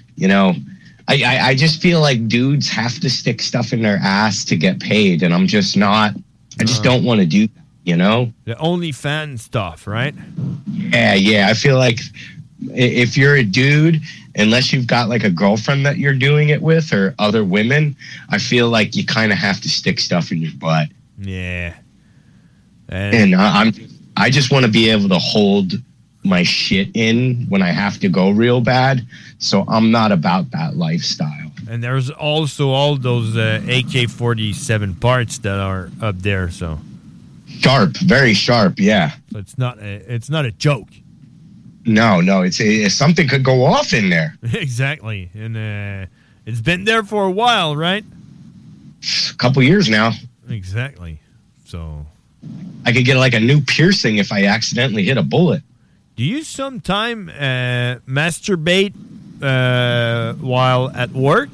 I just feel like dudes have to stick stuff in their ass to get paid, and I'm just not. I just don't want to do that, The OnlyFans stuff, right? Yeah. I feel like if you're a dude, unless you've got like a girlfriend that you're doing it with or other women, I feel like you kind of have to stick stuff in your butt. Yeah. And I just want to be able to hold my shit in when I have to go real bad. So I'm not about that lifestyle. And there's also all those AK-47 parts that are up there. So sharp, very sharp. Yeah. So it's not a joke. No, it's something could go off in there. Exactly. And it's been there for a while, right? A couple years now. Exactly. So I could get like a new piercing if I accidentally hit a bullet. Do you sometime masturbate while at work?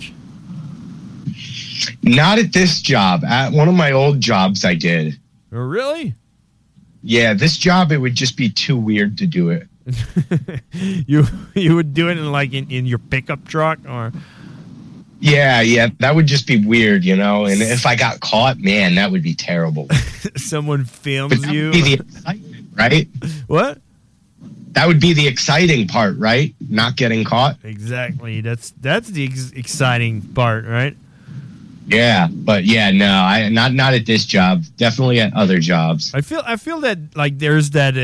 Not at this job. At one of my old jobs I did. Oh, really? Yeah, this job it would just be too weird to do it. You would do it in your pickup truck, or? Yeah, that would just be weird, and if I got caught, man, that would be terrible. Someone films you. Would be the excitement, right? What? That would be the exciting part, right? Not getting caught. Exactly. That's the exciting part, right? Yeah, but no, not at this job. Definitely at other jobs. I feel that like there's that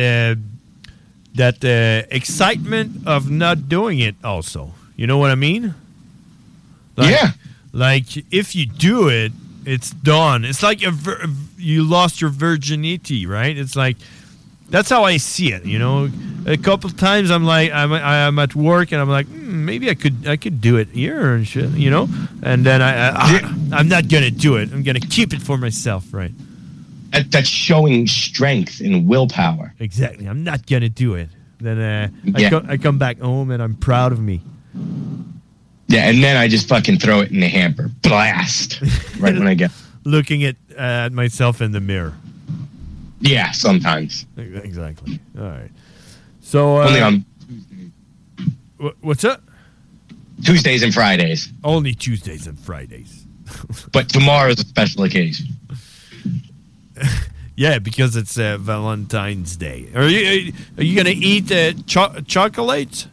excitement of not doing it. Also, you know what I mean? Yeah. Like if you do it, it's done. It's like you lost your virginity, right? It's like that's how I see it. A couple of times I'm like I'm at work and I'm like maybe I could do it here and shit, and then I'm not gonna do it. I'm gonna keep it for myself, right? That's showing strength and willpower. Exactly. I'm not gonna do it. Then I come back home and I'm proud of me. Yeah, and then I just fucking throw it in the hamper. Blast. Right when I get looking at myself in the mirror. Yeah, sometimes. Exactly. All right. So only on What's up? Tuesdays and Fridays. Only Tuesdays and Fridays. But tomorrow's a special occasion. Yeah, because it's Valentine's Day. Are you gonna eat chocolates?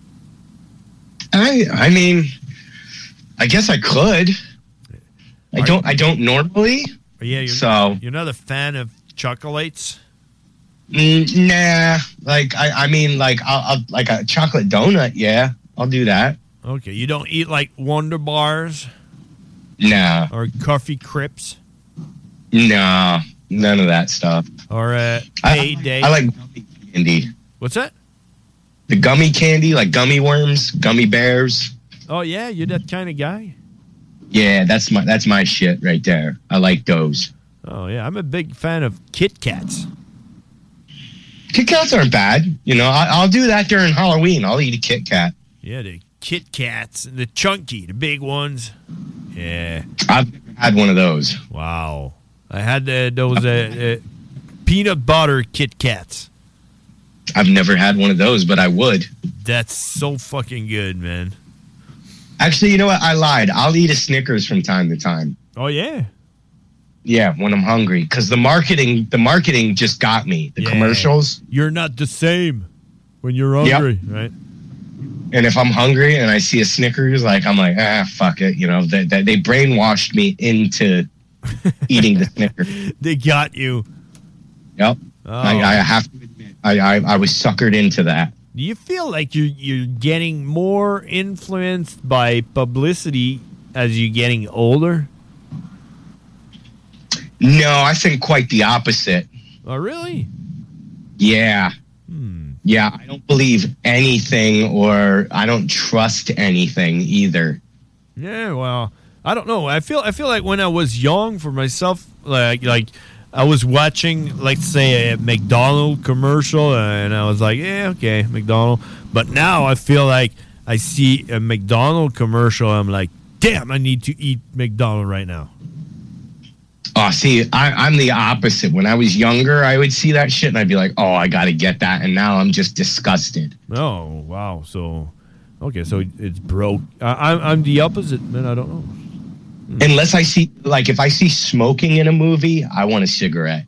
I mean, I guess I could. I don't normally. Yeah, you're not a fan of chocolates? Nah. Like I mean, like I'll like a chocolate donut. Yeah, I'll do that. Okay, you don't eat like Wonder Bars? Nah. Or Coffee Crips? Nah, none of that stuff. Or Payday? I like gummy candy. What's that? The gummy candy, like gummy worms, gummy bears. Oh yeah, you're that kind of guy? Yeah, that's my shit right there. I like those. Oh yeah, I'm a big fan of Kit Kats. Kit Kats aren't bad. You know, I'll do that during Halloween. I'll eat a Kit Kat. Yeah, the Kit Kats, the chunky, the big ones. Yeah. I've never had one of those. Wow. I had those peanut butter Kit Kats. I've never had one of those, but I would. That's so fucking good, man. Actually, you know what? I lied. I'll eat a Snickers from time to time. Oh, yeah? Yeah, when I'm hungry. Because the marketing just got me. The commercials. You're not the same when you're hungry, right? And if I'm hungry and I see a Snickers, I'm like, fuck it. You know, they brainwashed me into eating the Snickers. They got you. Yep. Oh. I have to admit, I was suckered into that. Do you feel like you're getting more influenced by publicity as you're getting older? No, I think quite the opposite. Oh, really? Yeah. Yeah, I don't believe anything, or I don't trust anything either. Yeah, well, I don't know. I feel like when I was young, for myself, like I was watching, let's say, a McDonald's commercial, and I was like, yeah, okay, McDonald's. But now I feel like I see a McDonald's commercial, I'm like, damn, I need to eat McDonald's right now. Oh, see, I'm the opposite. When I was younger, I would see that shit, and I'd be like, oh, I got to get that. And now I'm just disgusted. Oh, wow. So, okay, so it's broke. I'm the opposite, man. I don't know. Unless I see, like, if I see smoking in a movie, I want a cigarette.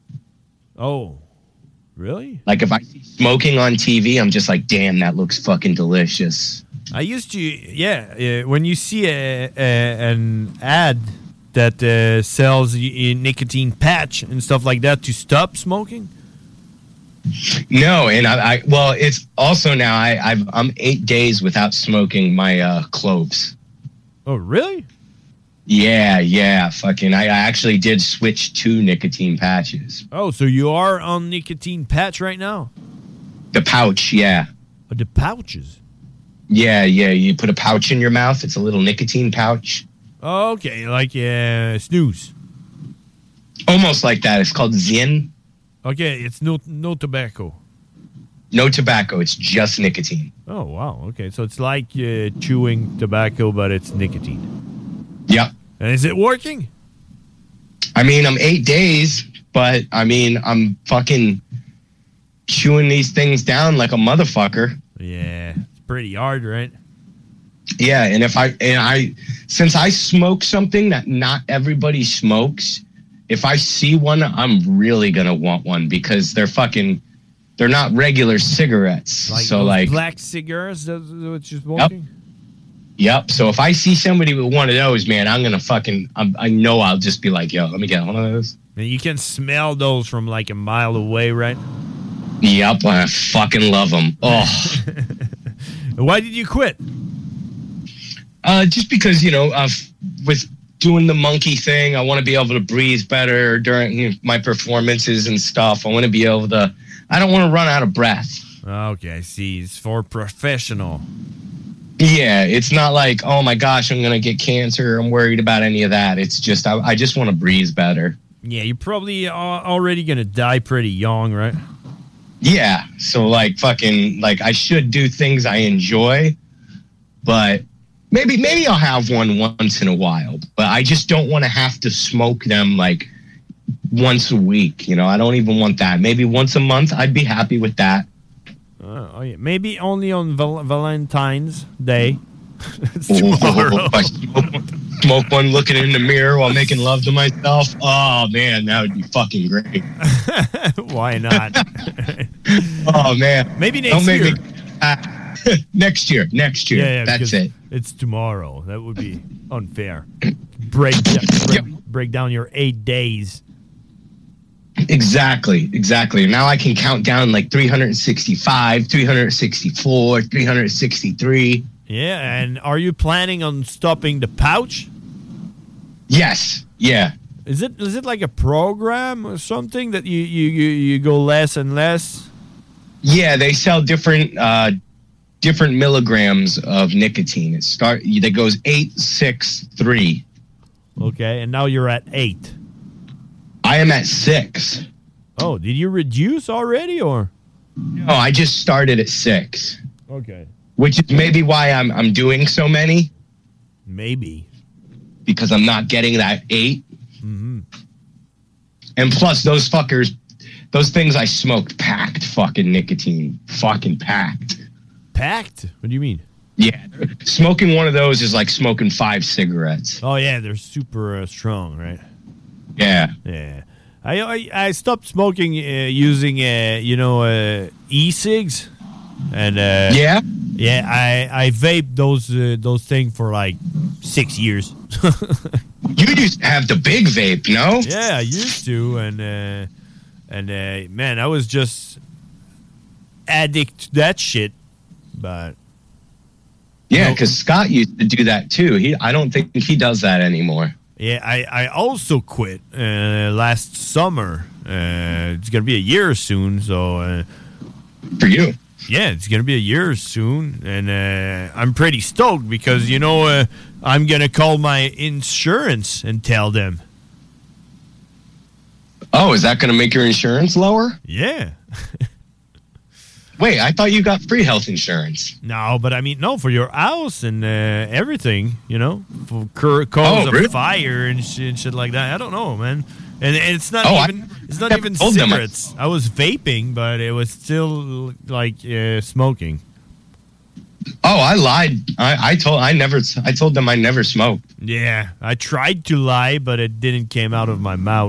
Oh, really? Like, if I see smoking on TV, I'm just like, damn, that looks fucking delicious. I used to, yeah. When you see an ad that sells a nicotine patch and stuff like that to stop smoking? No, and well, it's also now I'm 8 days without smoking my cloves. Oh, really? Yeah, fucking. I actually did switch to nicotine patches. Oh, so you are on nicotine patch right now? The pouch, yeah. Oh, the pouches? Yeah. You put a pouch in your mouth. It's a little nicotine pouch. Oh, okay, like snooze. Almost like that. It's called Zyn. Okay, it's no tobacco. No tobacco. It's just nicotine. Oh, wow. Okay, so it's like chewing tobacco, but it's nicotine. Yep. And is it working? I mean, I'm 8 days, but I mean, I'm fucking chewing these things down like a motherfucker. Yeah, it's pretty hard, right? Yeah, and since I smoke something that not everybody smokes, if I see one, I'm really gonna want one because they're not regular cigarettes. Like black cigars, that's what you're smoking? Yep. So if I see somebody with one of those, man, I'm gonna I know I'll just be like, yo, let me get one of those. And you can smell those from like a mile away, right? Yep, I fucking love them. Oh. Why did you quit? Just because, with doing the monkey thing, I want to be able to breathe better during my performances and stuff. I want to be able to, I don't want to run out of breath. Okay, I see. It's for professional. Yeah, it's not like, oh my gosh, I'm going to get cancer. I'm worried about any of that. It's just, I just want to breathe better. Yeah, you're probably already going to die pretty young, right? Yeah, so I should do things I enjoy, but maybe I'll have one once in a while, but I just don't want to have to smoke them like once a week. I don't even want that. Maybe once a month, I'd be happy with that. Oh, yeah. Maybe only on Valentine's Day. It's tomorrow. Smoke one looking in the mirror while making love to myself. Oh, man, that would be fucking great. Why not? Oh, man. Maybe next year. Next year. Yeah, that's it. It's tomorrow. That would be unfair. Break down your 8 days. Exactly. Now I can count down like 365, 364, 363. Yeah, and are you planning on stopping the pouch? Yes. Yeah. Is it like a program or something that you go less and less? Yeah, they sell different milligrams of nicotine. That goes 8, 6, 3. Okay, and now you're at 8. I am at 6. Oh, did you reduce already, or? No, I just started at 6. Okay. Which is maybe why I'm doing so many. Maybe. Because I'm not getting that 8. Mm-hmm. And plus, those things I smoked packed fucking nicotine. Fucking packed. Packed? What do you mean? Yeah. Smoking one of those is like smoking 5 cigarettes. Oh, yeah, they're super strong, right? Yeah. Yeah. I stopped smoking using, e-cigs. And yeah, I vaped those things for like 6 years. You used to have the big vape, no? Yeah, I used to, and man, I was just addict to that shit. But yeah, because Scott used to do that too. I don't think he does that anymore. Yeah, I also quit last summer. It's gonna be a year soon, so for you. Yeah, it's going to be a year soon, and I'm pretty stoked because, I'm going to call my insurance and tell them. Oh, is that going to make your insurance lower? Yeah. Wait, I thought you got free health insurance. No, but I mean, no, for your house and everything, for cause of fire and shit like that. I don't know, man. And it's not even cigarettes. I was vaping, but it was still like smoking. Oh, I lied. I told them I never smoked. Yeah, I tried to lie, but it didn't came out of my mouth.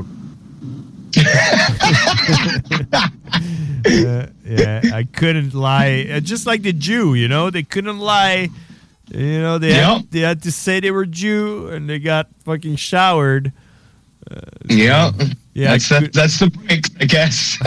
Yeah, I couldn't lie. Just like the Jew, they couldn't lie. They had to say they were Jew, and they got fucking showered. Yeah, that's the break, I guess.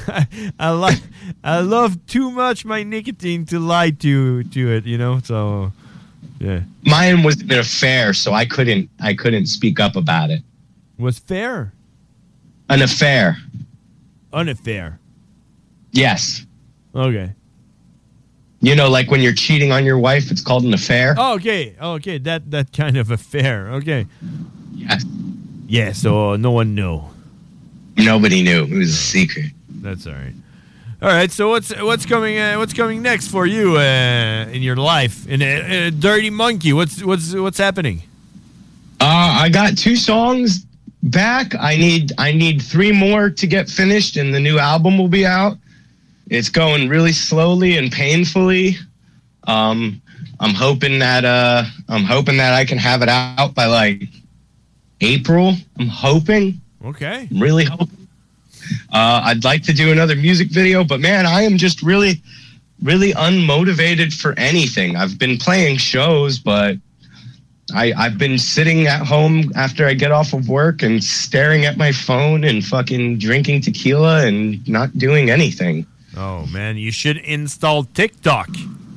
I love too much my nicotine to lie to it, So, yeah. Mine was an affair, so I couldn't speak up about it. Was fair? An affair. An affair. Yes. Okay. Like when you're cheating on your wife, it's called an affair. Oh, okay. That kind of affair. Okay. Yes. Yeah, so no one knew. Nobody knew. It was a secret. That's all right. All right, so what's coming next for you in your life? In Dirty Monkey, what's happening? I got 2 songs back. I need 3 more to get finished, and the new album will be out. It's going really slowly and painfully. I'm hoping that I can have it out by like April. I'm hoping. Okay. I'm really hoping. I'd like to do another music video, but man, I am just really, really unmotivated for anything. I've been playing shows, but I've been sitting at home after I get off of work and staring at my phone and fucking drinking tequila and not doing anything. Oh man, you should install TikTok.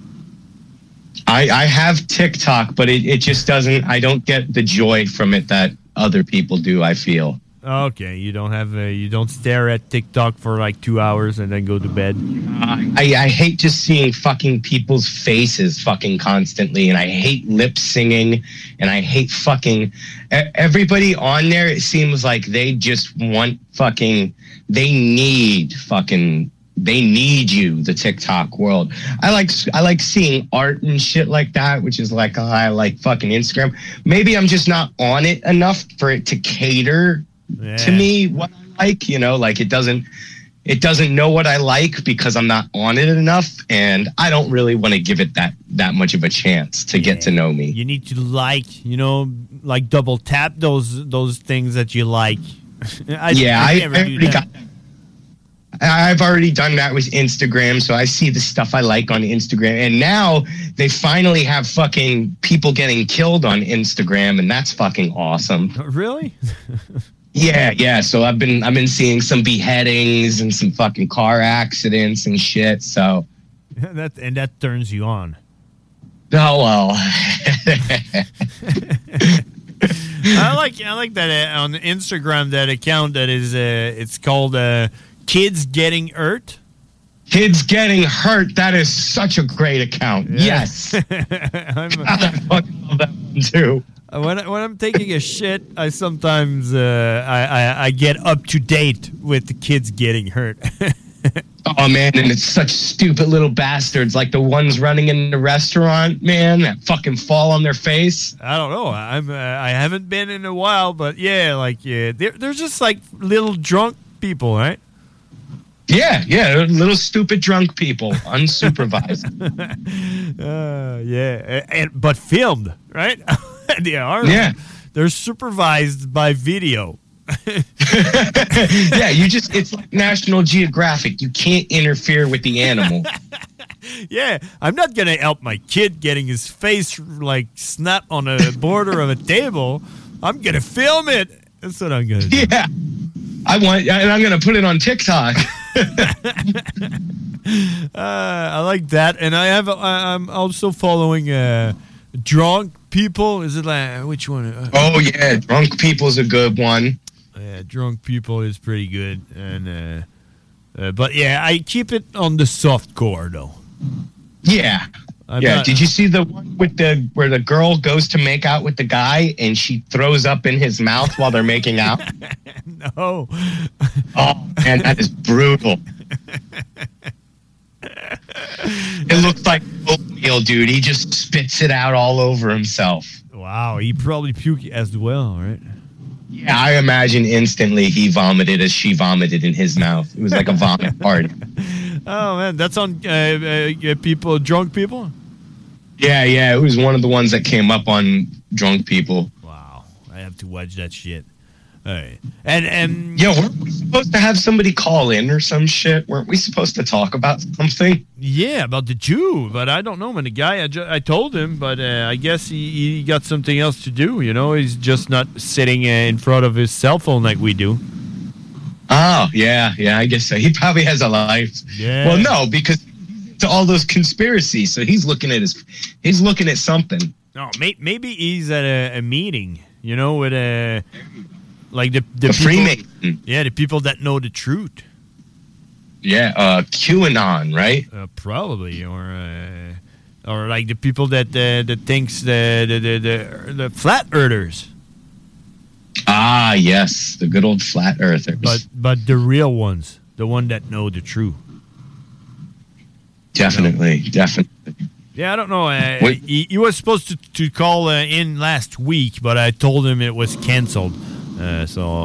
I have TikTok, but it just doesn't. I don't get the joy from it that other people do, I feel. Okay, you don't stare at TikTok for like 2 hours and then go to bed. I hate just seeing fucking people's faces fucking constantly, and I hate lip singing, and I hate fucking everybody on there. It seems like they just want fucking. They need you, the TikTok world. I like seeing art and shit like that, which is like I like fucking Instagram. Maybe I'm just not on it enough for it to cater to me what I like, like it it doesn't know what I like because I'm not on it enough, and I don't really want to give it that much of a chance to get to know me. You need to like double tap those things that you like. I've already done that with Instagram, so I see the stuff I like on Instagram, and now they finally have fucking people getting killed on Instagram, and that's fucking awesome. Really? Yeah. So I've been seeing some beheadings and some fucking car accidents and shit. So that turns you on. Oh well. I like that on Instagram, that account that is it's called Kids Getting Hurt. Kids Getting Hurt. That is such a great account. Yeah. Yes. I fucking love that one too. When I'm taking a shit, I sometimes I get up to date with the kids getting hurt. Oh man, and it's such stupid little bastards, like the ones running in the restaurant, man, that fucking fall on their face. I don't know. I haven't been in a while, but they're just like little drunk people, right? Yeah, little stupid drunk people, unsupervised. But filmed, right? They are. Yeah. They're supervised by video. Yeah, it's like National Geographic. You can't interfere with the animal. Yeah, I'm not going to help my kid getting his face like snap on a border of a table. I'm going to film it. That's what I'm going to do. Yeah. I'm going to put it on TikTok. I like that. And I'm also following drunk people. Is it like, which one? Drunk people's a good one. Yeah, drunk people is pretty good. And but yeah, I keep it on the soft core though. Yeah. Did you see the one with where the girl goes to make out with the guy and she throws up in his mouth while they're making out? No. Oh man, that is brutal. It looks like oatmeal, dude. He just spits it out all over himself. Wow, he probably puked as well, right? Yeah, I imagine instantly he vomited as she vomited in his mouth. It was like a vomit party. Oh man, that's on drunk people? Yeah, it was one of the ones that came up on drunk people. Wow, I have to watch that shit. All right. And weren't we supposed to have somebody call in or some shit? Weren't we supposed to talk about something? Yeah, about the Jew, but I don't know, man. The guy, I told him, but I guess he got something else to do, you know? He's just not sitting in front of his cell phone like we do. Oh, yeah, I guess so. He probably has a life. Yeah. Well, no, because to all those conspiracies, so he's looking at something. No, maybe he's at a meeting, you know, with like the people, Freemason. Yeah, the people that know the truth. Yeah, QAnon, right? Probably, or like the people that thinks the flat earthers. Ah, yes, the good old flat earthers. But the real ones, the one that know the truth. Definitely. Yeah, I don't know. He was supposed to call in last week, but I told him it was canceled. No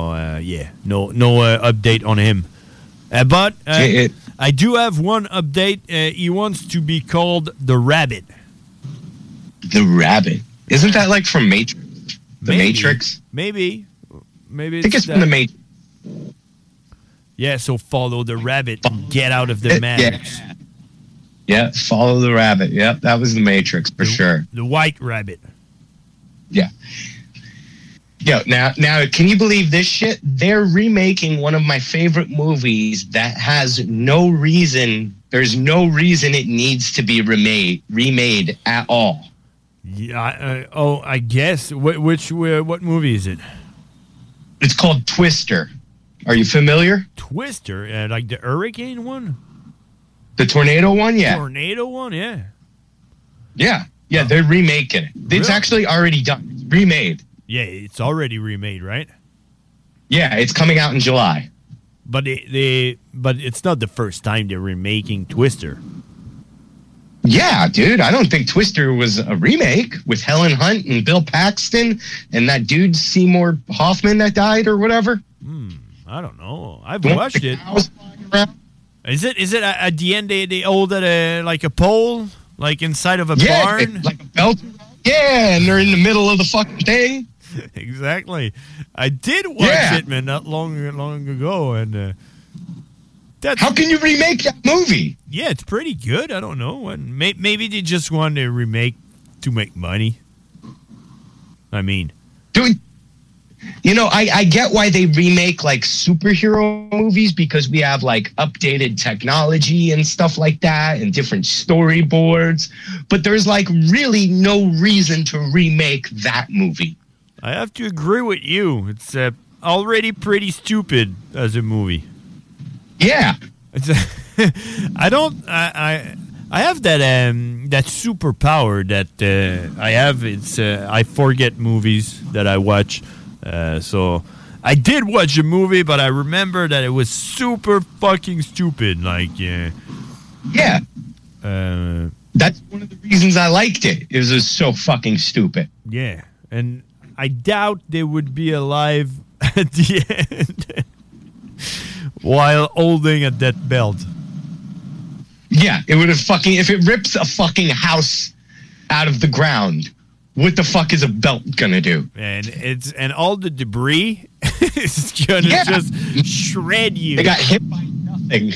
update on him. But I do have one update. He wants to be called the Rabbit. The Rabbit? Isn't that like from Matrix? Matrix? Maybe. I think it's from the Matrix. Yeah, so follow the rabbit and get out of the Matrix. Yeah, follow the rabbit. Yep, that was the Matrix for sure. The white rabbit. Yeah. Yo, now, can you believe this shit? They're remaking one of my favorite movies that has no reason. There's no reason it needs to be remade at all. Yeah. I guess. What movie is it? It's called Twister. Are you familiar? Twister, like the hurricane one. The tornado one, yeah. Tornado one, yeah. Yeah, they're remaking it. Really? It's actually already done. It's remade. Yeah, it's already remade, right? Yeah, it's coming out in July. But but it's not the first time they're remaking Twister. Yeah, dude, I don't think Twister was a remake with Helen Hunt and Bill Paxton and that dude Seymour Hoffman that died or whatever. I don't know. I've watched it. around. Is it at the end they hold like a pole, like inside of a barn? Like a belt. Yeah, and they're in the middle of the fucking thing. Exactly. I did watch it, man, not long ago, and that's how can you remake that movie? Yeah, it's pretty good. I don't know, and maybe they just want to remake to make money. I mean, dude, I get why they remake like superhero movies because we have like updated technology and stuff like that and different storyboards, but there's like really no reason to remake that movie. I have to agree with you. It's already pretty stupid as a movie. Yeah. I have that superpower that I have. It's I forget movies that I watch. So I did watch a movie, but I remember that it was super fucking stupid. Like, that's one of the reasons I liked it. It was just so fucking stupid. Yeah, and I doubt they would be alive at the end while holding at that belt. Yeah, it would have if it rips a fucking house out of the ground, what the fuck is a belt gonna do? And all the debris is gonna just shred you. They got hit by nothing.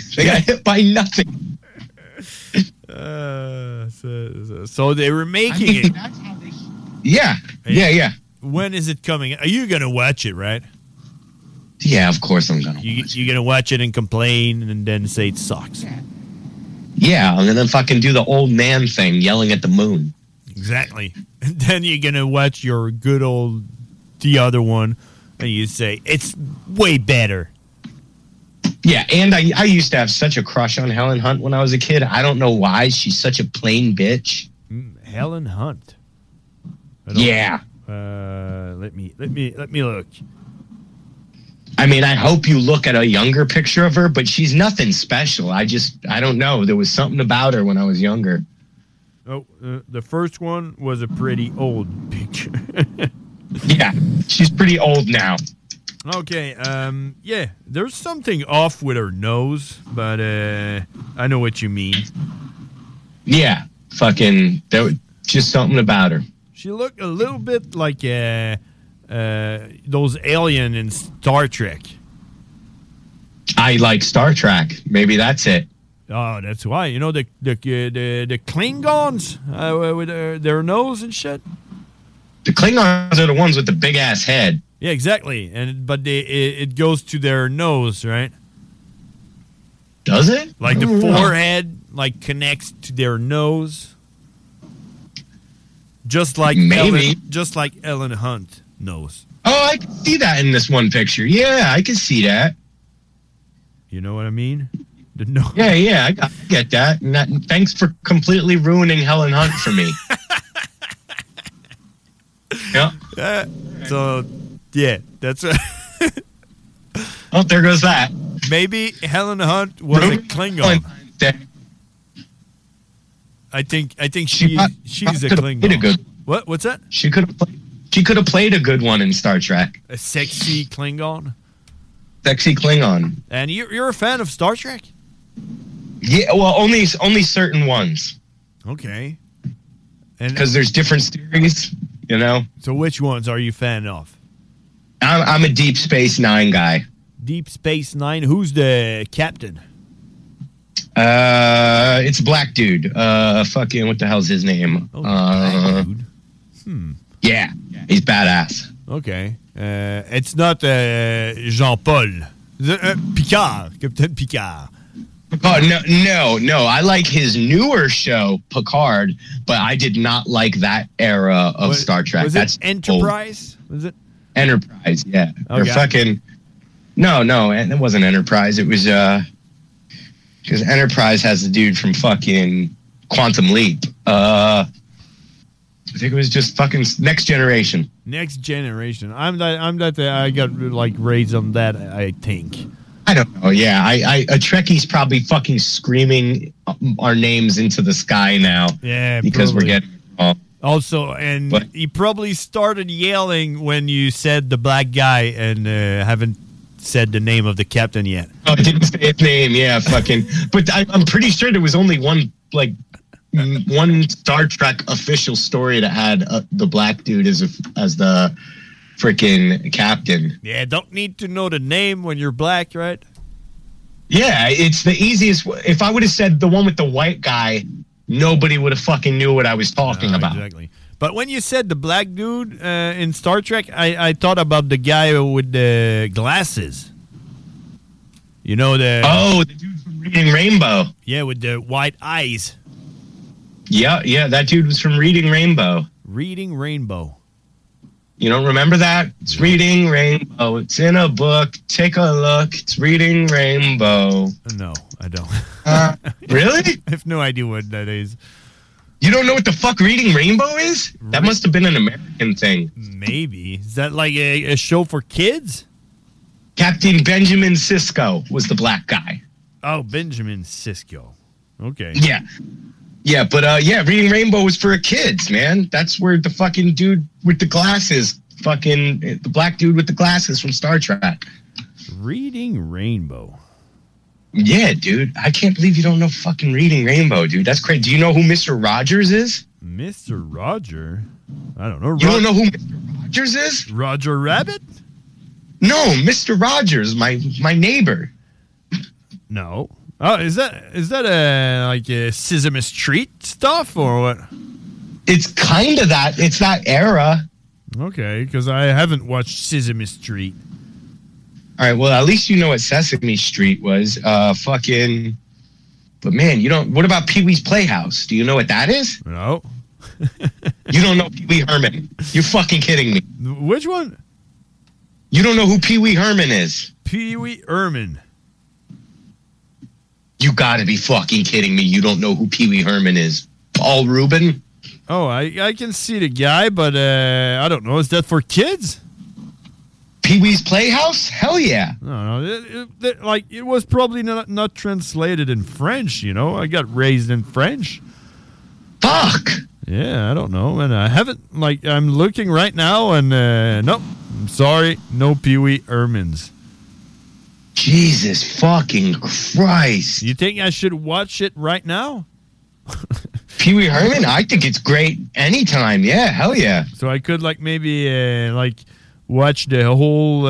So they were making it. That's how they. Yeah. When is it coming? Are you gonna watch it, right? Yeah, of course I'm gonna. You're gonna watch it and complain, and then say it sucks. Yeah, and then fucking do the old man thing, yelling at the moon. Exactly. And then you're going to watch your good old, the other one, and you say, it's way better. Yeah, and I used to have such a crush on Helen Hunt when I was a kid. I don't know why. She's such a plain bitch. Helen Hunt? Yeah. Let me look. I mean, I hope you look at a younger picture of her, but she's nothing special. I don't know. There was something about her when I was younger. Oh, the first one was a pretty old picture. Yeah, she's pretty old now. Okay, yeah, there's something off with her nose, but I know what you mean. Yeah, fucking, there was just something about her. She looked a little bit like those alien in Star Trek. I like Star Trek. Maybe that's it. Oh, that's why. You know the Klingons with their nose and shit. The Klingons are the ones with the big ass head. Yeah, exactly. But it goes to their nose, right? Does it? Like the forehead, like connects to their nose. Just like Ellen Hunt knows. Oh, I can see that in this one picture. Yeah, I can see that. You know what I mean? Yeah, I get that. Thanks for completely ruining Helen Hunt for me. Yeah. So, yeah, that's. Oh, there goes that. Maybe Helen Hunt was a Klingon. I think she's a Klingon. What's that? She could have played a good one in Star Trek. A sexy Klingon. Sexy Klingon. And you're a fan of Star Trek? Yeah, well, only certain ones. Okay. Because there's different series, you know. So which ones are you a fan of? I'm a Deep Space Nine guy. Deep Space Nine. Who's the captain? It's a black dude. Fucking what the hell's his name? Black dude. Yeah, he's badass. Okay. It's not Jean-Paul. Picard. Captain Picard. Oh, no. I like his newer show, Picard, but I did not like that era of Star Trek. Was it Enterprise? Was it? Enterprise, yeah. Okay. Or fucking... No, it wasn't Enterprise. It was, because Enterprise has the dude from fucking Quantum Leap. I think it was just fucking Next Generation. Next Generation. I got like raised on that, I think. I don't know. Yeah, a Trekkie's probably fucking screaming our names into the sky now. Yeah, because probably. we're getting all. Also, he probably started yelling when you said the black guy and haven't said the name of the captain yet. Oh, I didn't say his name. Yeah, fucking. But I'm pretty sure there was only one Star Trek official story that had the black dude as the freaking captain. Yeah, don't need to know the name when you're black, right? Yeah, it's the easiest. If I would have said the one with the white guy, nobody would have fucking knew what I was talking about. Exactly. But when you said the black dude in Star Trek, I thought about the guy with the glasses. You know the dude from Reading Rainbow. Yeah, with the white eyes. Yeah, that dude was from Reading Rainbow. Reading Rainbow. You don't remember that? It's Reading Rainbow. It's in a book. Take a look. It's Reading Rainbow. No, I don't. Really? I have no idea what that is. You don't know what the fuck Reading Rainbow is? That must have been an American thing. Maybe. Is that like a show for kids? Captain Benjamin Sisko was the black guy. Oh, Benjamin Sisko. Okay. Yeah, but Reading Rainbow was for kids, man. That's where the fucking dude with the glasses, the black dude with the glasses from Star Trek. Reading Rainbow. Yeah, dude. I can't believe you don't know fucking Reading Rainbow, dude. That's crazy. Do you know who Mr. Rogers is? Mr. Roger? I don't know. You don't know who Mr. Rogers is? Roger Rabbit? No, Mr. Rogers, my neighbor. No. Oh, is that like a Sesame Street stuff or what? It's kind of that. It's that era. Okay, because I haven't watched Sesame Street. All right, well, at least you know what Sesame Street was. But man, you don't. What about Pee-wee's Playhouse? Do you know what that is? No. You don't know Pee-wee Herman? You're fucking kidding me. Which one? You don't know who Pee-wee Herman is? Pee-wee Herman. You gotta be fucking kidding me. You don't know who Pee-wee Herman is. Paul Rubin? Oh, I can see the guy, but I don't know. Is that for kids? Pee-wee's Playhouse? Hell yeah. No. It was probably not translated in French, you know? I got raised in French. Fuck. Yeah, I don't know. And I haven't, I'm looking right now and, nope. I'm sorry. No Pee-wee Hermans. Jesus fucking Christ. You think I should watch it right now? Pee-wee Herman? I think it's great anytime. Yeah, hell yeah. So I could maybe watch the whole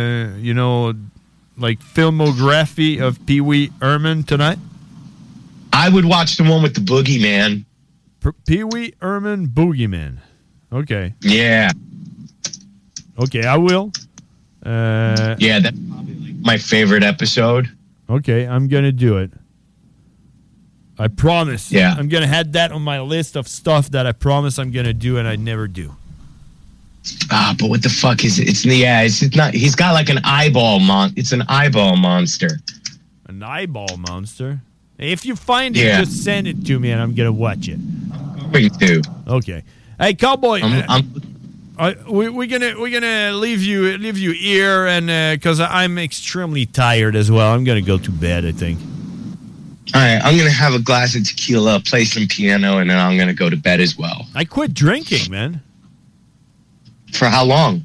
filmography of Pee-wee Herman tonight? I would watch the one with the boogeyman. Pee-wee Herman Boogeyman. Okay. Yeah. Okay, I will. Yeah, that's probably my favorite episode. Okay, I'm going to do it. I promise. Yeah. I'm going to add that on my list of stuff that I promise I'm going to do and I never do. But what the fuck is it? It's not. He's got like an eyeball It's an eyeball monster. An eyeball monster? If you find it, just send it to me and I'm going to watch it. Me too. Okay. Hey, Cowboy. We're gonna leave you here, and because I'm extremely tired as well. I'm gonna go to bed, I think. All right, I'm gonna have a glass of tequila, play some piano, and then I'm gonna go to bed as well. I quit drinking, man. For how long?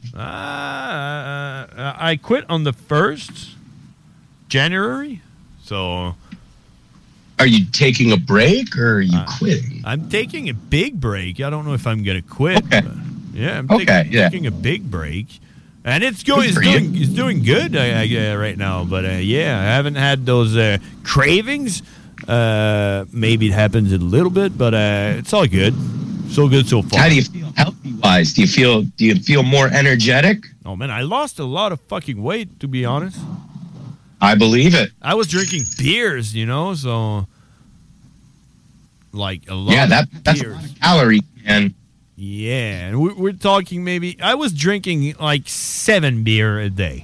I quit on the 1st January. So, are you taking a break or are you quitting? I'm taking a big break. I don't know if I'm gonna quit. Okay. Yeah, I'm taking a big break, and it's doing good right now. But I haven't had those cravings. Maybe it happens a little bit, but it's all good. So good so far. How do you feel healthy-wise? Do you feel more energetic? Oh man, I lost a lot of fucking weight, to be honest. I believe it. I was drinking beers, so like a lot. Yeah, that's beers. A lot of calories, man. Yeah, and we're talking maybe. I was drinking like 7 beer a day.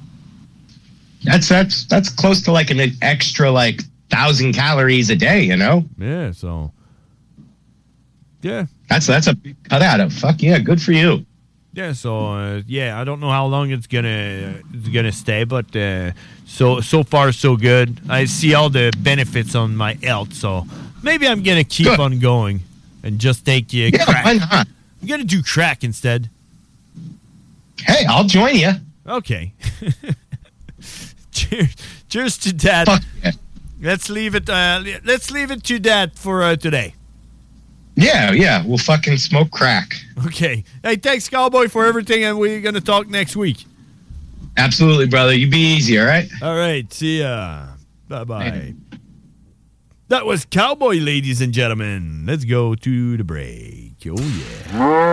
That's close to like an extra 1,000 calories a day, Yeah, so yeah, that's a big cut out of. Fuck yeah, good for you. Yeah, so I don't know how long it's gonna stay, but so far so good. I see all the benefits on my health, so maybe I'm gonna keep on going. And just take crack. Why not? I'm going to do crack instead. Hey, I'll join you. Okay. Cheers to that. Fuck yeah. Let's leave it to that for today. Yeah. We'll fucking smoke crack. Okay. Hey, thanks, Cowboy, for everything, and we're going to talk next week. Absolutely, brother. You be easy, all right? All right. See ya. Bye-bye. That was Cowboy, ladies and gentlemen. Let's go to the break. Oh, yeah.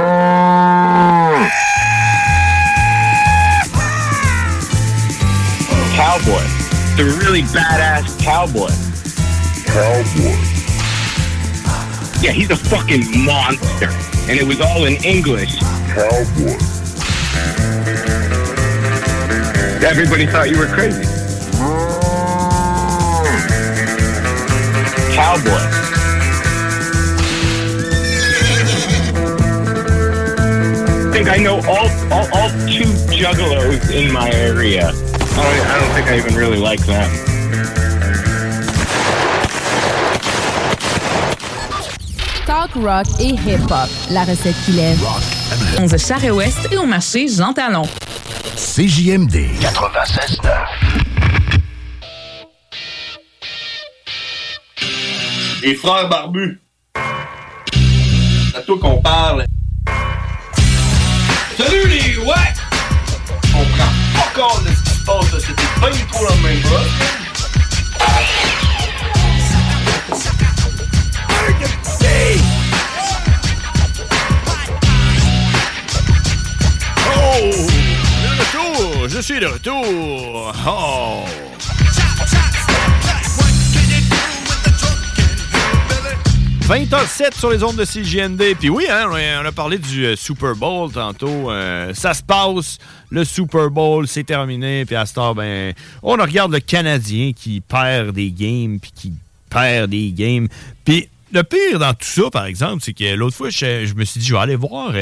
Cowboy. The really badass cowboy. Cowboy. Yeah, he's a fucking monster. And it was all in English. Cowboy. Everybody thought you were crazy. Cowboy. I think I know all two juggalos in my area. I don't think I even really like them. Talk rock et hip-hop. La recette qu'il aime. 11 Charest-Ouest et au marché Jean Talon. CJMD 96.9. Les frères barbus. C'est à toi qu'on parle. Salut les ouais! On prend pas compte de ce qui se passe, là. C'était pas du tout la même chose. Oh! De retour! Je suis de retour! Oh! 20h07 sur les ondes de CJND. Puis oui, hein, on a parlé du Super Bowl tantôt. Ça se passe, le Super Bowl, c'est terminé. Puis à cette heure, ben, on regarde le Canadien qui perd des games, puis qui perd des games. Puis le pire dans tout ça, par exemple, c'est que l'autre fois, je me suis dit, je vais aller voir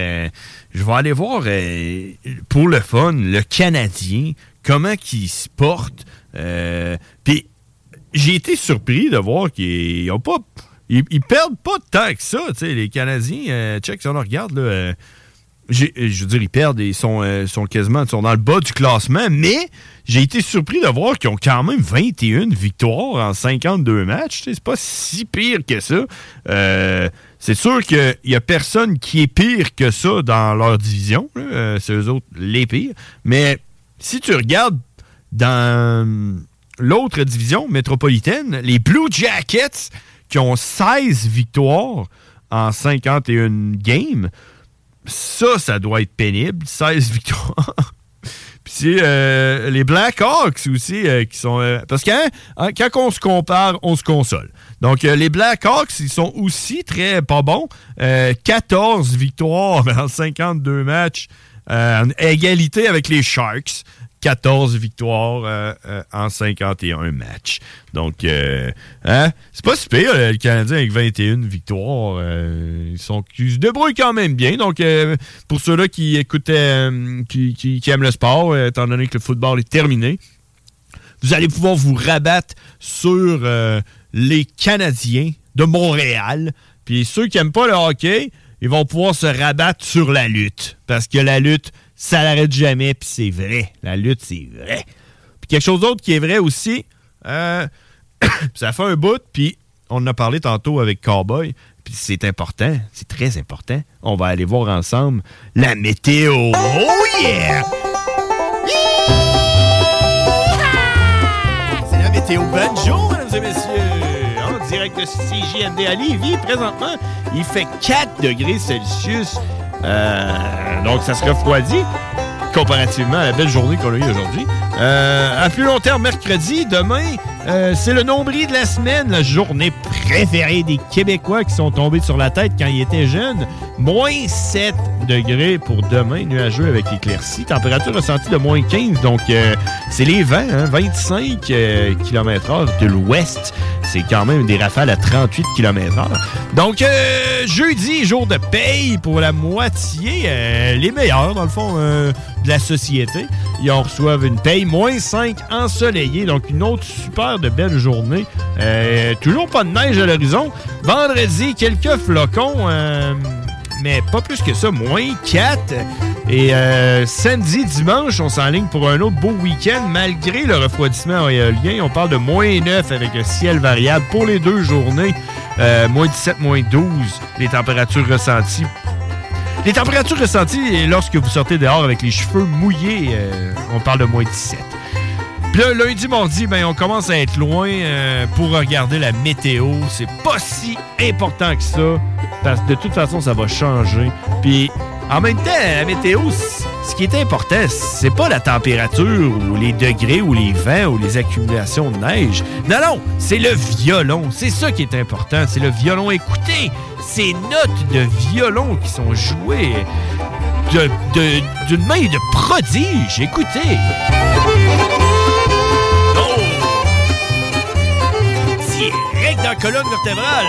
pour le fun, le Canadien, comment il se porte. Puis j'ai été surpris de voir qu'ils n'ont pas... Ils perdent pas tant que ça, tu sais, les Canadiens. Check, si on regarde, là, je veux dire, ils perdent, ils sont quasiment dans le bas du classement, mais j'ai été surpris de voir qu'ils ont quand même 21 victoires en 52 matchs. C'est pas si pire que ça. C'est sûr qu'il y a personne qui est pire que ça dans leur division. C'est eux autres les pires. Mais si tu regardes dans l'autre division métropolitaine, les Blue Jackets qui ont 16 victoires en 51 games, ça doit être pénible, 16 victoires. Puis c'est les Blackhawks aussi qui sont... parce que quand on se compare, on se console. Donc les Blackhawks, ils sont aussi très pas bons. 14 victoires en 52 matchs, égalité avec les Sharks. 14 victoires en 51 matchs. Donc, c'est pas si pire, le Canadien avec 21 victoires. Ils se débrouillent quand même bien. Donc, pour ceux-là qui écoutaient, qui aiment le sport, étant donné que le football est terminé, vous allez pouvoir vous rabattre sur les Canadiens de Montréal. Puis ceux qui n'aiment pas le hockey, ils vont pouvoir se rabattre sur la lutte. Parce que la lutte, ça n'arrête jamais, puis c'est vrai. La lutte, c'est vrai. Puis quelque chose d'autre qui est vrai aussi, ça fait un bout, puis on en a parlé tantôt avec Cowboy, puis c'est important, c'est très important. On va aller voir ensemble la météo. Oh yeah! C'est la météo banjo, mesdames et messieurs. En direct de CJND à Lévis, présentement, il fait 4 degrés Celsius. Donc, ça se refroidit comparativement à la belle journée qu'on a eue aujourd'hui. À plus long terme, mercredi, demain, c'est le nombril de la semaine, la journée préférée des Québécois qui sont tombés sur la tête quand ils étaient jeunes. Moins 7 degrés pour demain, nuageux avec éclaircies. Température ressentie de moins 15, donc c'est les vents, hein, 25 km/h de l'ouest. C'est quand même des rafales à 38 km/h. Donc, jeudi, jour de paye pour la moitié, les meilleurs, dans le fond, de la société. Ils en reçoivent une paye moins 5 ensoleillée, donc une autre super de belle journée. Toujours pas de neige à l'horizon. Vendredi, quelques flocons, mais pas plus que ça, moins 4. Et samedi, dimanche, on s'enligne pour un autre beau week-end, malgré le refroidissement éolien. On parle de -9 avec un ciel variable pour les 2 journées. -17, -12, les températures ressenties. Les températures ressenties lorsque vous sortez dehors avec les cheveux mouillés, on parle de -17. Puis là, lundi, mardi, ben, on commence à être loin pour regarder la météo. C'est pas si important que ça, parce que de toute façon, ça va changer. Puis en même temps, la météo, ce qui est important, c'est pas la température ou les degrés ou les vents ou les accumulations de neige. Non, c'est le violon. C'est ça qui est important. C'est le violon. Écoutez, ces notes de violon qui sont jouées d'une main de prodige. Écoutez. Oh! Direct dans la colonne vertébrale.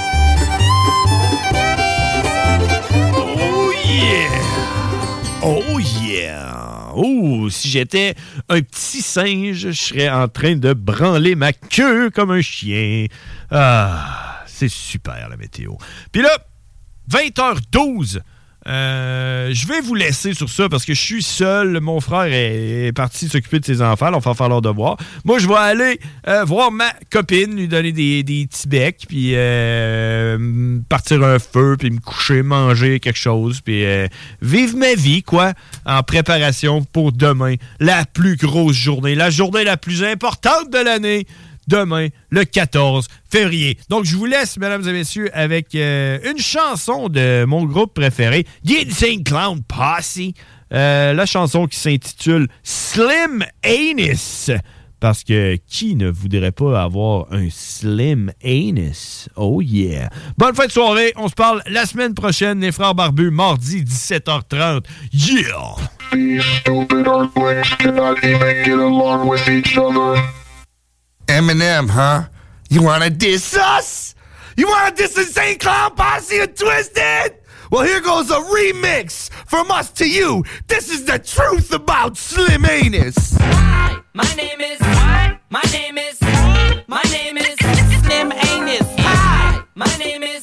Oh yeah! Oh yeah! Oh, si j'étais un petit singe, je serais en train de branler ma queue comme un chien. Ah, c'est super la météo. Puis là, 20h12. Je vais vous laisser sur ça parce que je suis seul. Mon frère est parti s'occuper de ses enfants. On va faire leur devoir. Moi, je vais aller voir ma copine, lui donner des petits becs, puis partir un feu, puis me coucher, manger quelque chose, puis vivre ma vie, quoi, en préparation pour demain. La plus grosse journée, la journée la plus importante de l'année. Demain, le 14 février. Donc, je vous laisse, mesdames et messieurs, avec une chanson de mon groupe préféré, The Insane Clown Posse. La chanson qui s'intitule Slim Anus. Parce que qui ne voudrait pas avoir un Slim Anus? Oh yeah! Bonne fin de soirée. On se parle la semaine prochaine, les Frères Barbus, mardi, 17h30. Yeah! Eminem, huh? You wanna diss us? You wanna diss Insane Clown Posse and Twisted? Well, here goes a remix from us to you. This is the truth about Slim Anus. Hi, my name is Slim Anus. Hi, my name is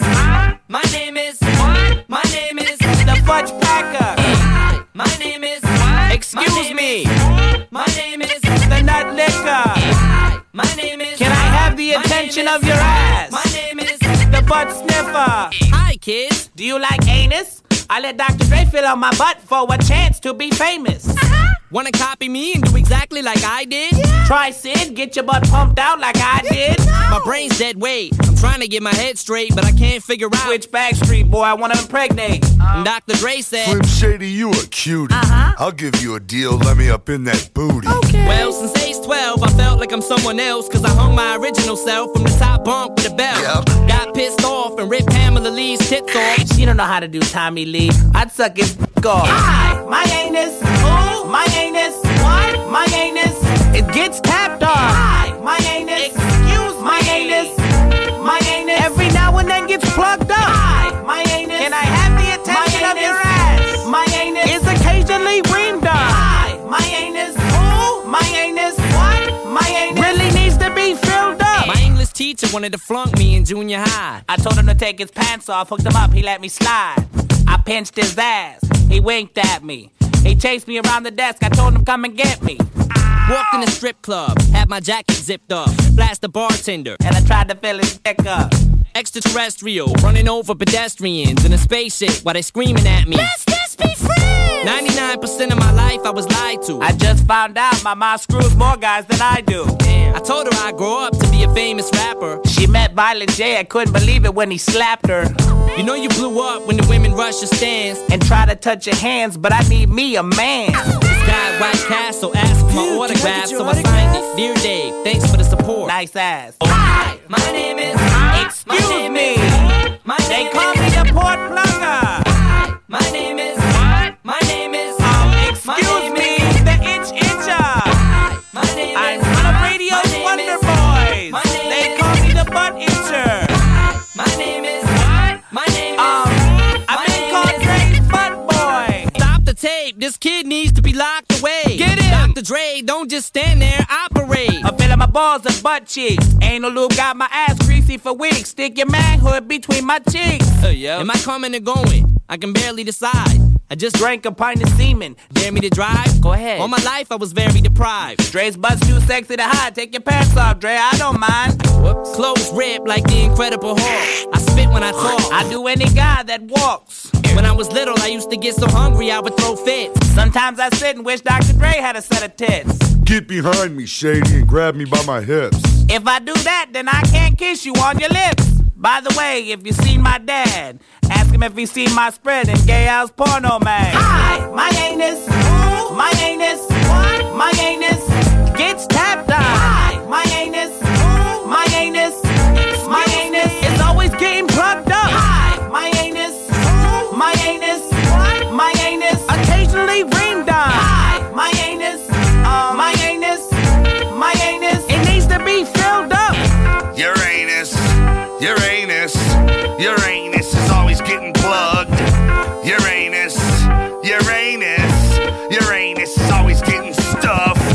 the Fudge Packer. Hi, my name is excuse me. My name is the Nut Licker. My name is. Can I have the attention of your ass? My name is the Butt Sniffer. Hi, kids. Do you like anus? I let Dr. Dre fill out my butt for a chance to be famous. Wanna copy me and do exactly like I did? Yeah. Try Sid, get your butt pumped out like I did. No. My brain's dead weight. I'm trying to get my head straight, but I can't figure out which Backstreet Boy I wanna impregnate. And Dr. Dre said, Slim Shady, you a cutie. I'll give you a deal, let me up in that booty. Okay. Well, since age 12, I felt like I'm someone else, cause I hung my original self from the top bunk with a belt. Yep. Got pissed off and ripped Pamela Lee's tits off. She don't know how to do Tommy Lee. I'd suck his off. Hi, my anus. Ooh, my anus. What? My anus. It gets tapped off. Hi, my anus. Excuse my anus. My anus. Every now and then gets plugged up. Hi, my anus. Can I have the attention of your ass? My anus is occasionally reamed up. Hi, my anus. Ooh, my anus. What? My anus really needs to be filled up. My English teacher wanted to flunk me in junior high. I told him to take his pants off, hooked him up, he let me slide. I pinched his ass, he winked at me. He chased me around the desk, I told him come and get me. Walked in a strip club, had my jacket zipped up, blast the bartender, and I tried to fill his dick up. Extraterrestrial, running over pedestrians in a spaceship while they screaming at me. Let's just be friends! 99% of my life I was lied to. I just found out my mom screws more guys than I do. Damn. I told her I'd grow up to be a famous rapper. She met Violent J, I couldn't believe it when he slapped her. You know you blew up when the women rush your stands and try to touch your hands, but I need me a man. This guy at White Castle asked for my autograph, so I signed it. Dear Dave, thanks for the support. Nice ass. Hi, my name is. Excuse me. They call me the port plugger. Hi, my name is. My name is. Excuse me, the itch itcher. Hi, my name is. I'm one of radio's Wonder Boys. They call me the butt itcher. Hi, my name is. My name is. I've been called Dre's butt boy. Stop the tape. This kid needs to be locked away. Get him. Dr. Dre, don't just stand there. Operate. I'm filling my balls and butt cheeks. Anal lube got my ass greasy for weeks. Stick your manhood between my cheeks. Am I coming or going? I can barely decide. I just drank a pint of semen. Dare me to drive? Go ahead. All my life I was very deprived. Dre's butt's too sexy to hide. Take your pants off, Dre, I don't mind. Whoops. Clothes ripped like the Incredible Hulk. I spit when I talk. I do any guy that walks. When I was little, I used to get so hungry I would throw fits. Sometimes I sit and wish Dr. Dre had a set of tits. Get behind me, Shady, and grab me by my hips. If I do that, then I can't kiss you on your lips. By the way, if you seen my dad, ask him if he seen my spread in Gay House Porno Mag. Hi, my anus, my anus, what? My anus gets tapped on. Hi, my anus, my anus, my anus is always getting plugged up. Hi, my anus, my anus, what? My anus occasionally reamed on. Hi, my anus, my anus, my anus, it needs to be filled up. Uranus, Uranus, Uranus is always getting plugged. Uranus, Uranus, Uranus is always getting stuffed.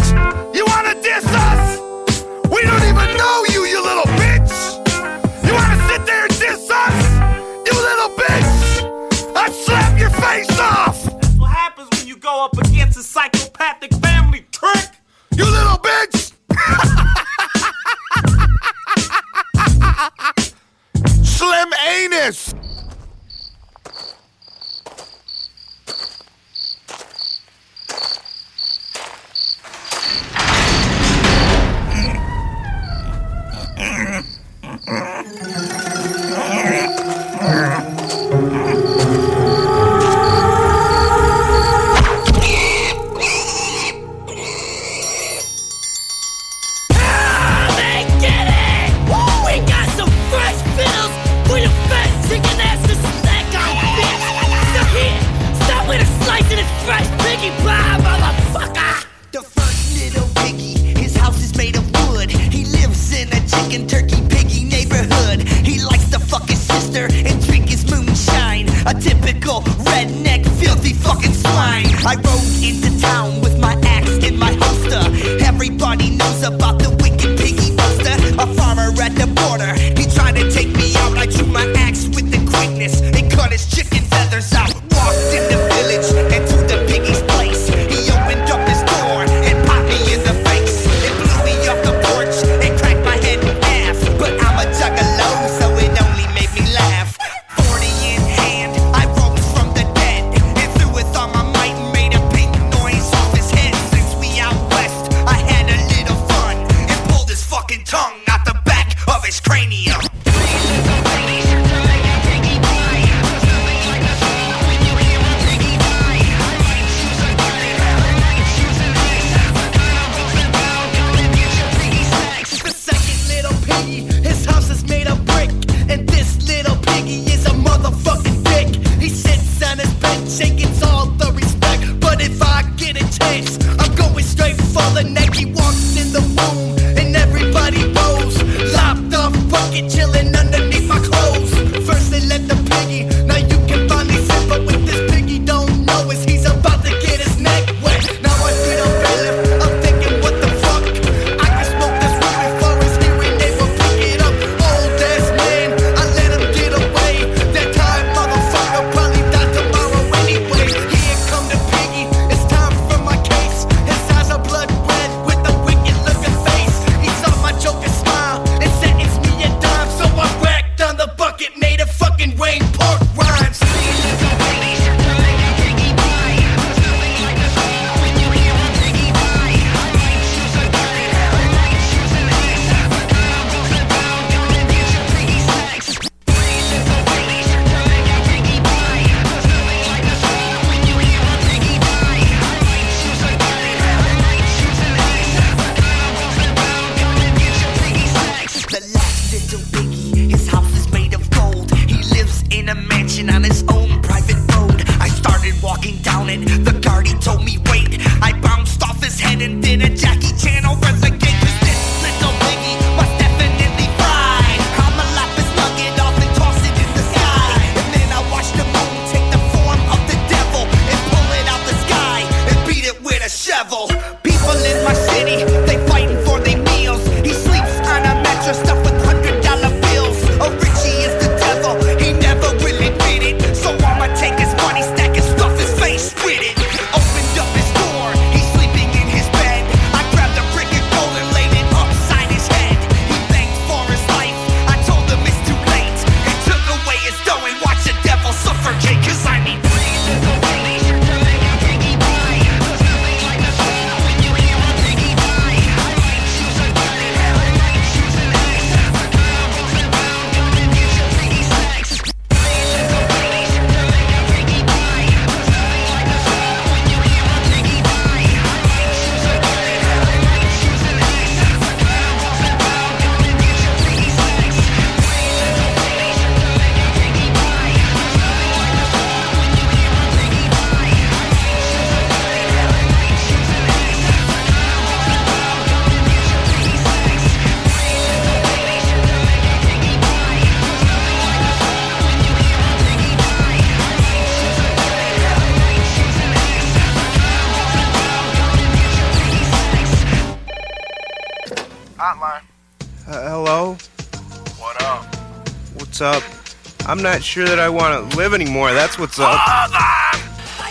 Hotline. Hello? What up? What's up? I'm not sure that I want to live anymore. That's what's up. Hold on!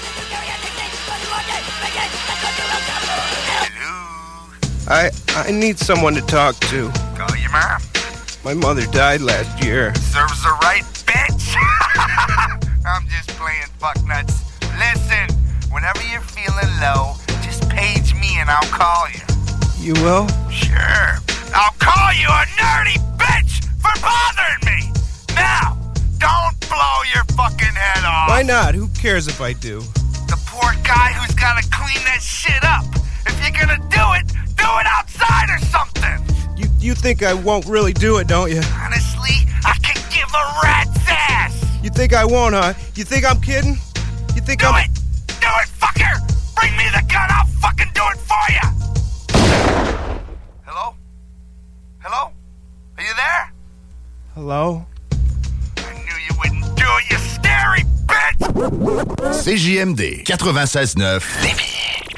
I need someone to talk to. Call your mom. My mother died last year. Serves her right, bitch! I'm just playing fucknuts. Listen, whenever you're feeling low, just page me and I'll call you. You will? Sure. I'll call you a nerdy bitch for bothering me! Now, don't blow your fucking head off. Why not? Who cares if I do? The poor guy who's gotta clean that shit up. If you're gonna do it outside or something. You think I won't really do it, don't you? Honestly, I can give a rat's ass. You think I won't, huh? You think I'm kidding? You think Do it, fucker! Bring me the gun, I'll fucking do it for you! Hello? Hello? Are you there? Hello? I knew you wouldn't do it, you scary bitch! CJMD 96.9 Lévis.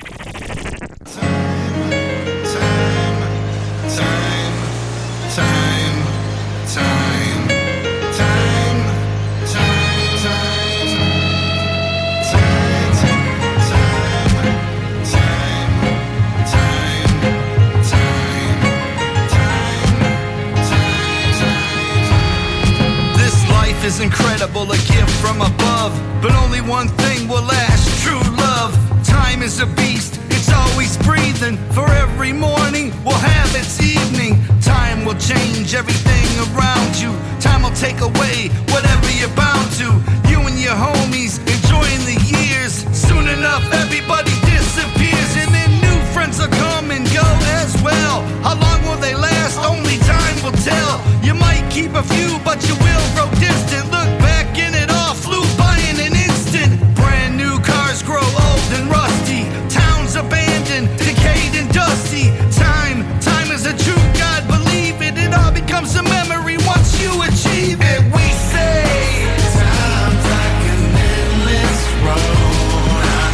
Is incredible, a gift from above, but only one thing will last, true love. Time is a beast, it's always breathing. For every morning will have its evening. Time will change everything around you. Time will take away whatever you're bound to. You and your homies enjoying the years. Soon enough everybody disappears, and then new friends will come and go as well. How long will they last? Only time will tell. You might keep a few, but you will grow distant. Look back and it all flew by in an instant. Brand new cars grow old and rusty. Towns abandoned, decayed and dusty. Time is a true God, believe it. It all becomes a memory once you achieve it. We say time's like an endless road.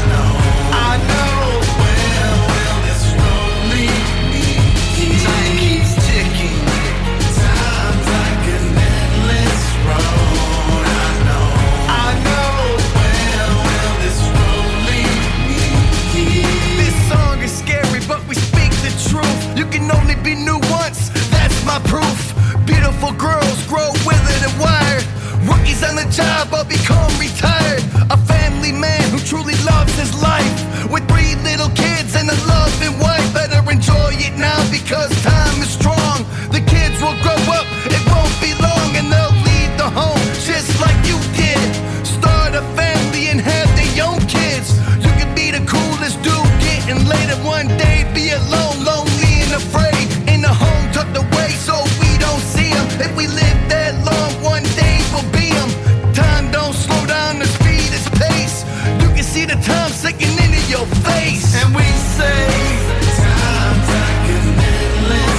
I know. Where will this road lead me? Time keeps ticking. Time's like an endless road. I know. Where will this road lead me? This song is scary, but we speak the truth. You can only be new once, that's my proof. Beautiful girls grow withered and wired. Rookies on the job will become retired. A family man who truly loves his life, with 3 little kids and a loving wife. Better enjoy it now because time is strong. The kids will grow up, it won't be long, and they'll leave the home just like you did. Start a family and have their own kids. You can be the coolest dude getting later one day. Be alone, lonely and afraid. In the home tucked away so we don't see them. If we live that long, one day we'll be them. Time don't slow down, the speed is pace. You can see the time sinking into your face. And we say time's like an endless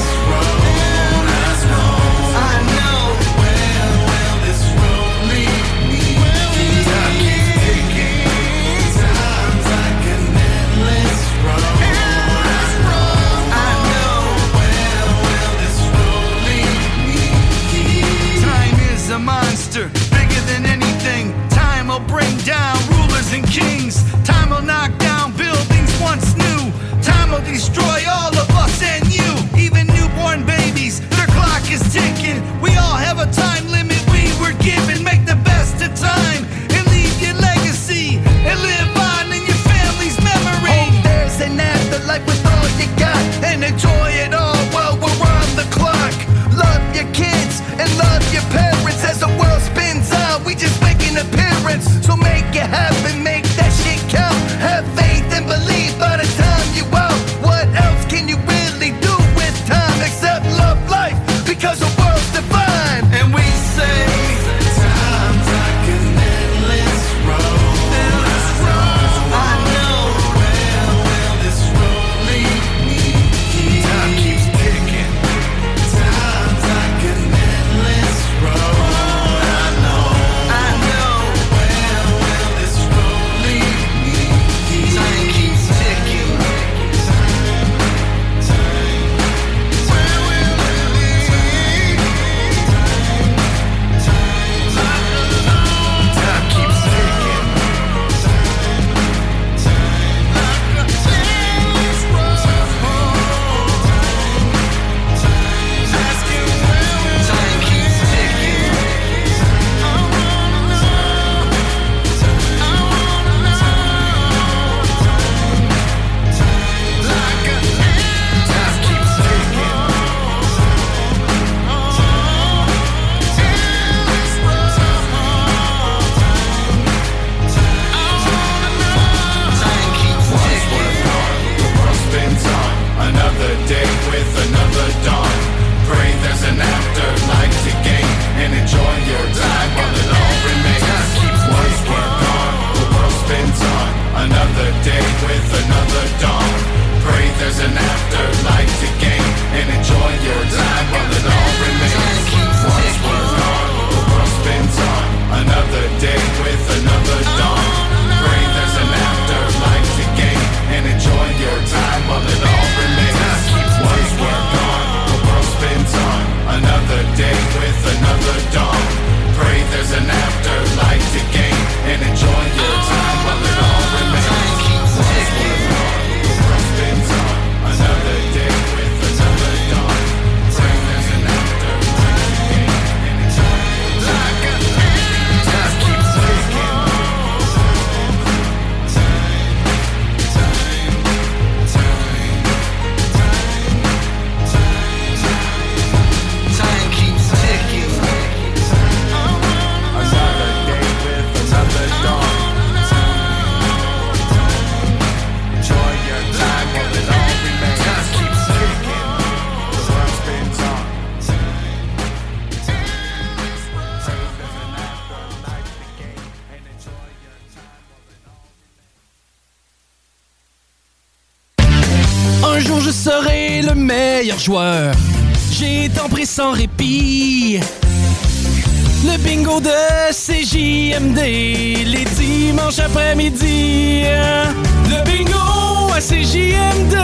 le meilleur joueur. J'ai tant pris sans répit. Le bingo de CJMD, les dimanches après-midi. Le bingo à CJMD,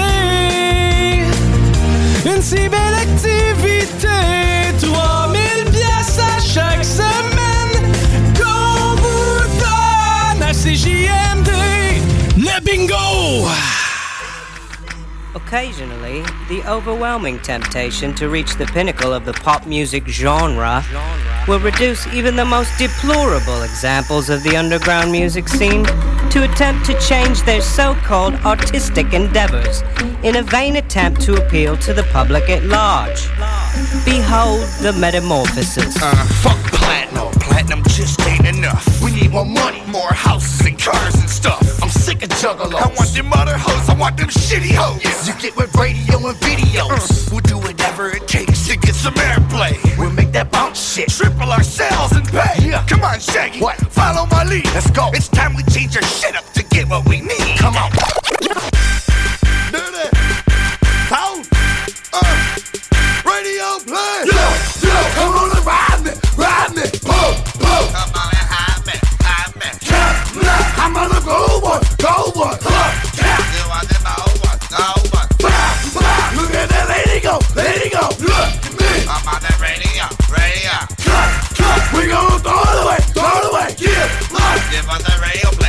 une si belle activité. 3000 pièces à chaque semaine qu'on vous donne à CJMD. Le bingo! Occasionally, the overwhelming temptation to reach the pinnacle of the pop music genre will reduce even the most deplorable examples of the underground music scene to attempt to change their so-called artistic endeavors in a vain attempt to appeal to the public at large. Behold the metamorphosis. Fuck platinum. Platinum just ain't enough. We need more money, more houses and cars and stuff. I'm sick of juggalos. I want them other hoes, I want them shitty hoes. Yeah. You get with radio and videos. We'll do whatever it takes to get some airplay. We'll make that bounce shit. Triple our sales and pay. Yeah. Come on, Shaggy. What? Follow my lead. Let's go. It's time we change our shit up to get what we need. Come on. Do that. How? Radio play. Yo, come on and ride me. Ride me. Pull. Come on and hide me. I'm on the go one. You want the go one. Look at that lady go. Look at me. I'm on the radio. Cut. We gon' throw it away. Give us the radio play.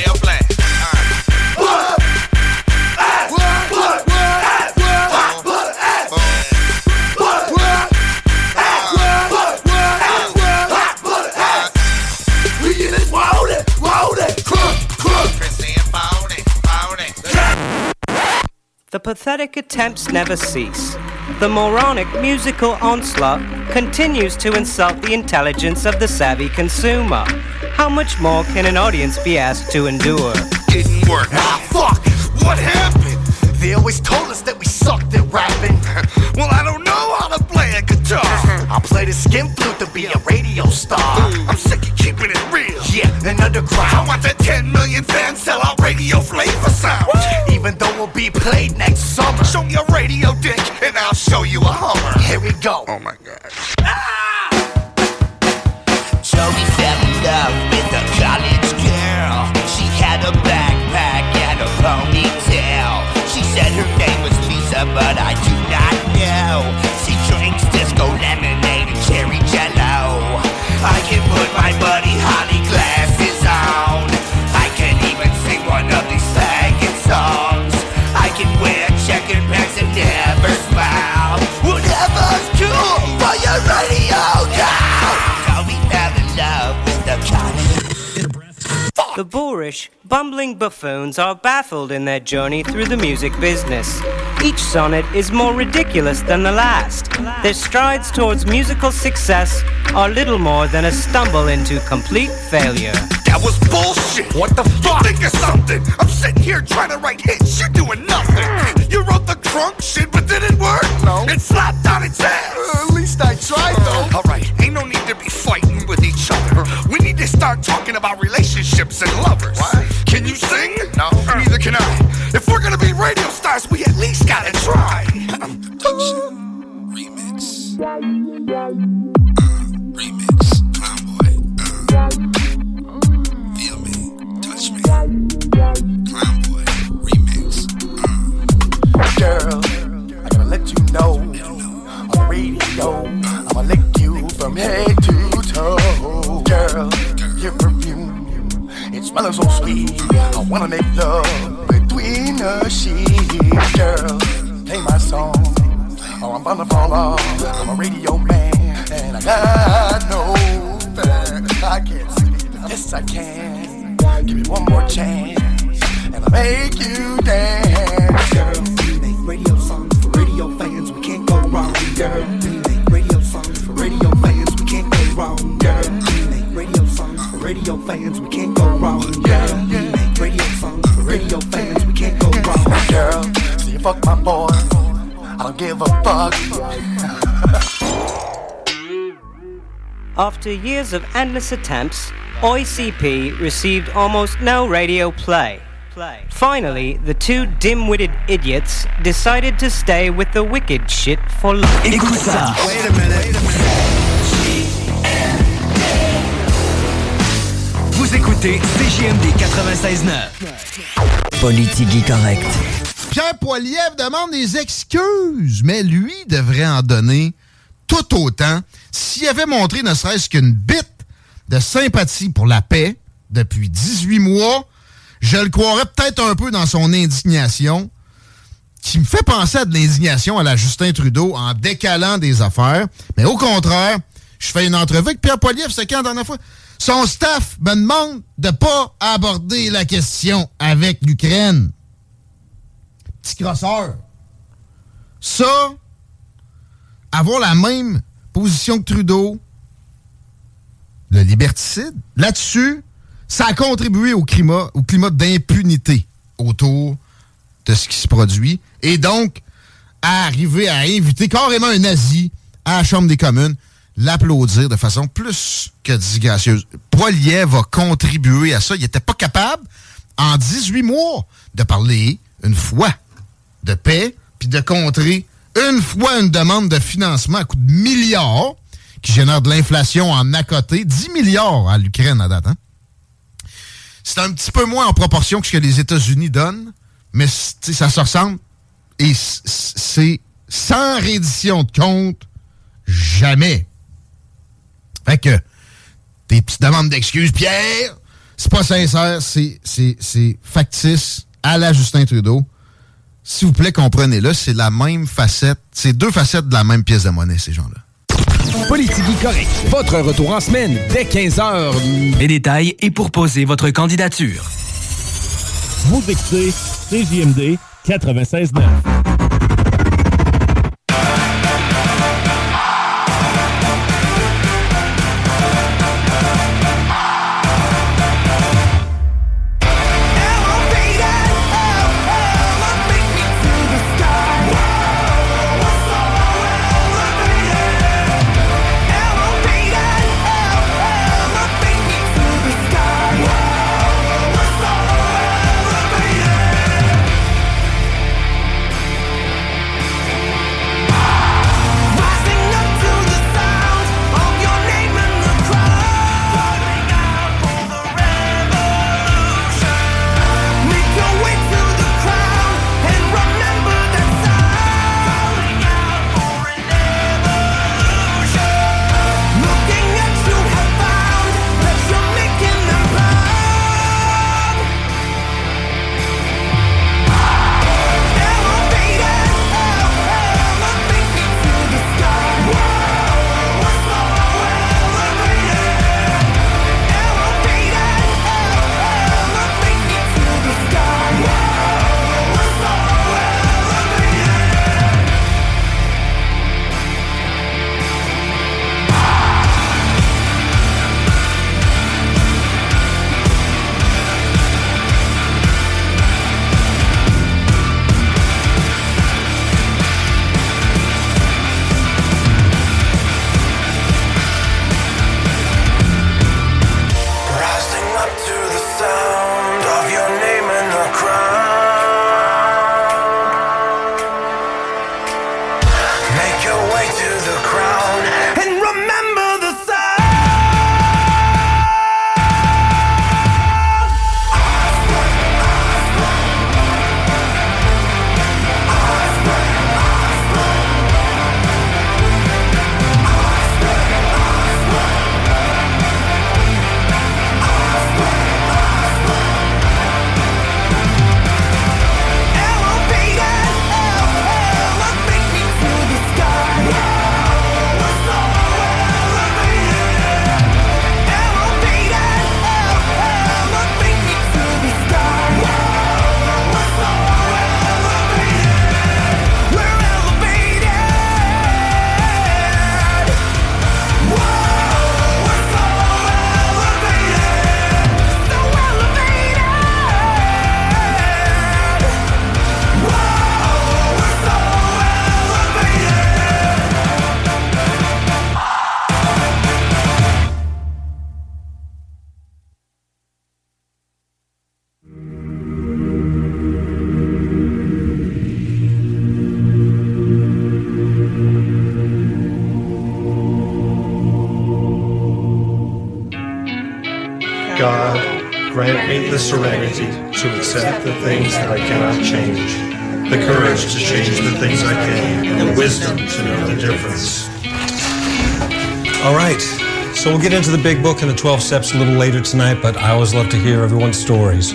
The pathetic attempts never cease. The moronic musical onslaught continues to insult the intelligence of the savvy consumer. How much more can an audience be asked to endure? Didn't work. Fuck! What happened? They always told us that we sucked at rapping. Well, I don't know how to play a guitar. I'll play the skin flute to be a radio star. I'm sick of keeping it real. Yeah, and underground. I want the 10 million fans sell out radio flavor sound. Even though we'll be played next summer. Show me a radio dick and I'll show you a Hummer. Here we go. Oh my God. Joey fell in love with a college girl. She had a backpack and a ponytail. She said her name was Lisa, but I do not know. She drinks disco lemonade and cherry jello. I can put my buddy Holly glasses on. I can even sing one of these faggot songs. I can wear checkered pants and never smile. Whatever's cool for your radio now. So we fell in love with the college. The boorish, bumbling buffoons are baffled in their journey through the music business. Each sonnet is more ridiculous than the last. Their strides towards musical success are little more than a stumble into complete failure. That was bullshit. What the fuck? Think of something. I'm sitting here trying to write hits. You're doing nothing. You wrote the crunk shit, but did it work? No. It slapped on its ass. At least I tried, though. All right, ain't no need to be fighting with each other. We need to start talking about relationships and lovers. What? Can you sing? No. Neither can I. If we're gonna be radio stars, we at least gotta try. Remix. Remix. Clownboy. Feel me. Touch me. Clownboy. Remix. Girl, I gotta let you know. On the radio, I'ma lick you from head to toe. Girl, your perfume, it smells so sweet. I wanna make love between the sheets. Girl, play my song, or I'm gonna fall off. I'm a radio man, and I got no fan. I can't sing it, yes I can. Give me one more chance, and I'll make you dance. Girl, we make radio songs for radio fans, we can't go wrong. Girl, we make radio songs for radio fans, we can't go wrong. Girl, we make radio songs for radio fans, we can't go wrong. Girl, we make radio songs for radio fans, we can't go wrong. Girl, so you fuck my boy, I don't give a fuck. After years of endless attempts, OICP received almost no radio play. Finally, the two dim-witted idiots decided to stay with the wicked shit for life. Écoute ça. Wait a minute. Vous écoutez CJMD 96.9. Politique correcte. Pierre Poilievre demande des excuses, mais lui devrait en donner tout autant s'il avait montré ne serait-ce qu'une bite de sympathie pour la paix depuis 18 mois. Je le croirais peut-être un peu dans son indignation, qui me fait penser à de l'indignation à la Justin Trudeau en décalant des affaires. Mais au contraire, je fais une entrevue avec Pierre Poilievre, c'est quand la dernière fois? Son staff me demande de pas aborder la question avec l'Ukraine. Petit crosseur. Ça, avoir la même position que Trudeau, le liberticide, là-dessus, ça a contribué au climat d'impunité autour de ce qui se produit. Et donc, à arriver à inviter carrément un nazi à la Chambre des communes, l'applaudir de façon plus que disgracieuse. Poilievre a contribué à ça. Il n'était pas capable, en 18 mois, de parler une fois de paix, puis de contrer une fois une demande de financement à coût de milliards, qui génère de l'inflation en à côté, 10 milliards à l'Ukraine à date. Hein? C'est un petit peu moins en proportion que ce que les États-Unis donnent, mais ça se ressemble. Et c'est sans reddition de compte, jamais. Fait que, tes petites demandes d'excuses, Pierre, c'est pas sincère, c'est factice à la Justin Trudeau. S'il vous plaît, comprenez-le, c'est la même facette, c'est deux facettes de la même pièce de monnaie, ces gens-là. Politique correct. Votre retour en semaine dès 15h. Les détails et pour poser votre candidature. Vous écoutez CJMD 96.9. me the serenity to accept the things that I cannot change, the courage to change the things I can, and the wisdom to know the difference. All right, so we'll get into the big book and the 12 steps a little later tonight, but I always love to hear everyone's stories.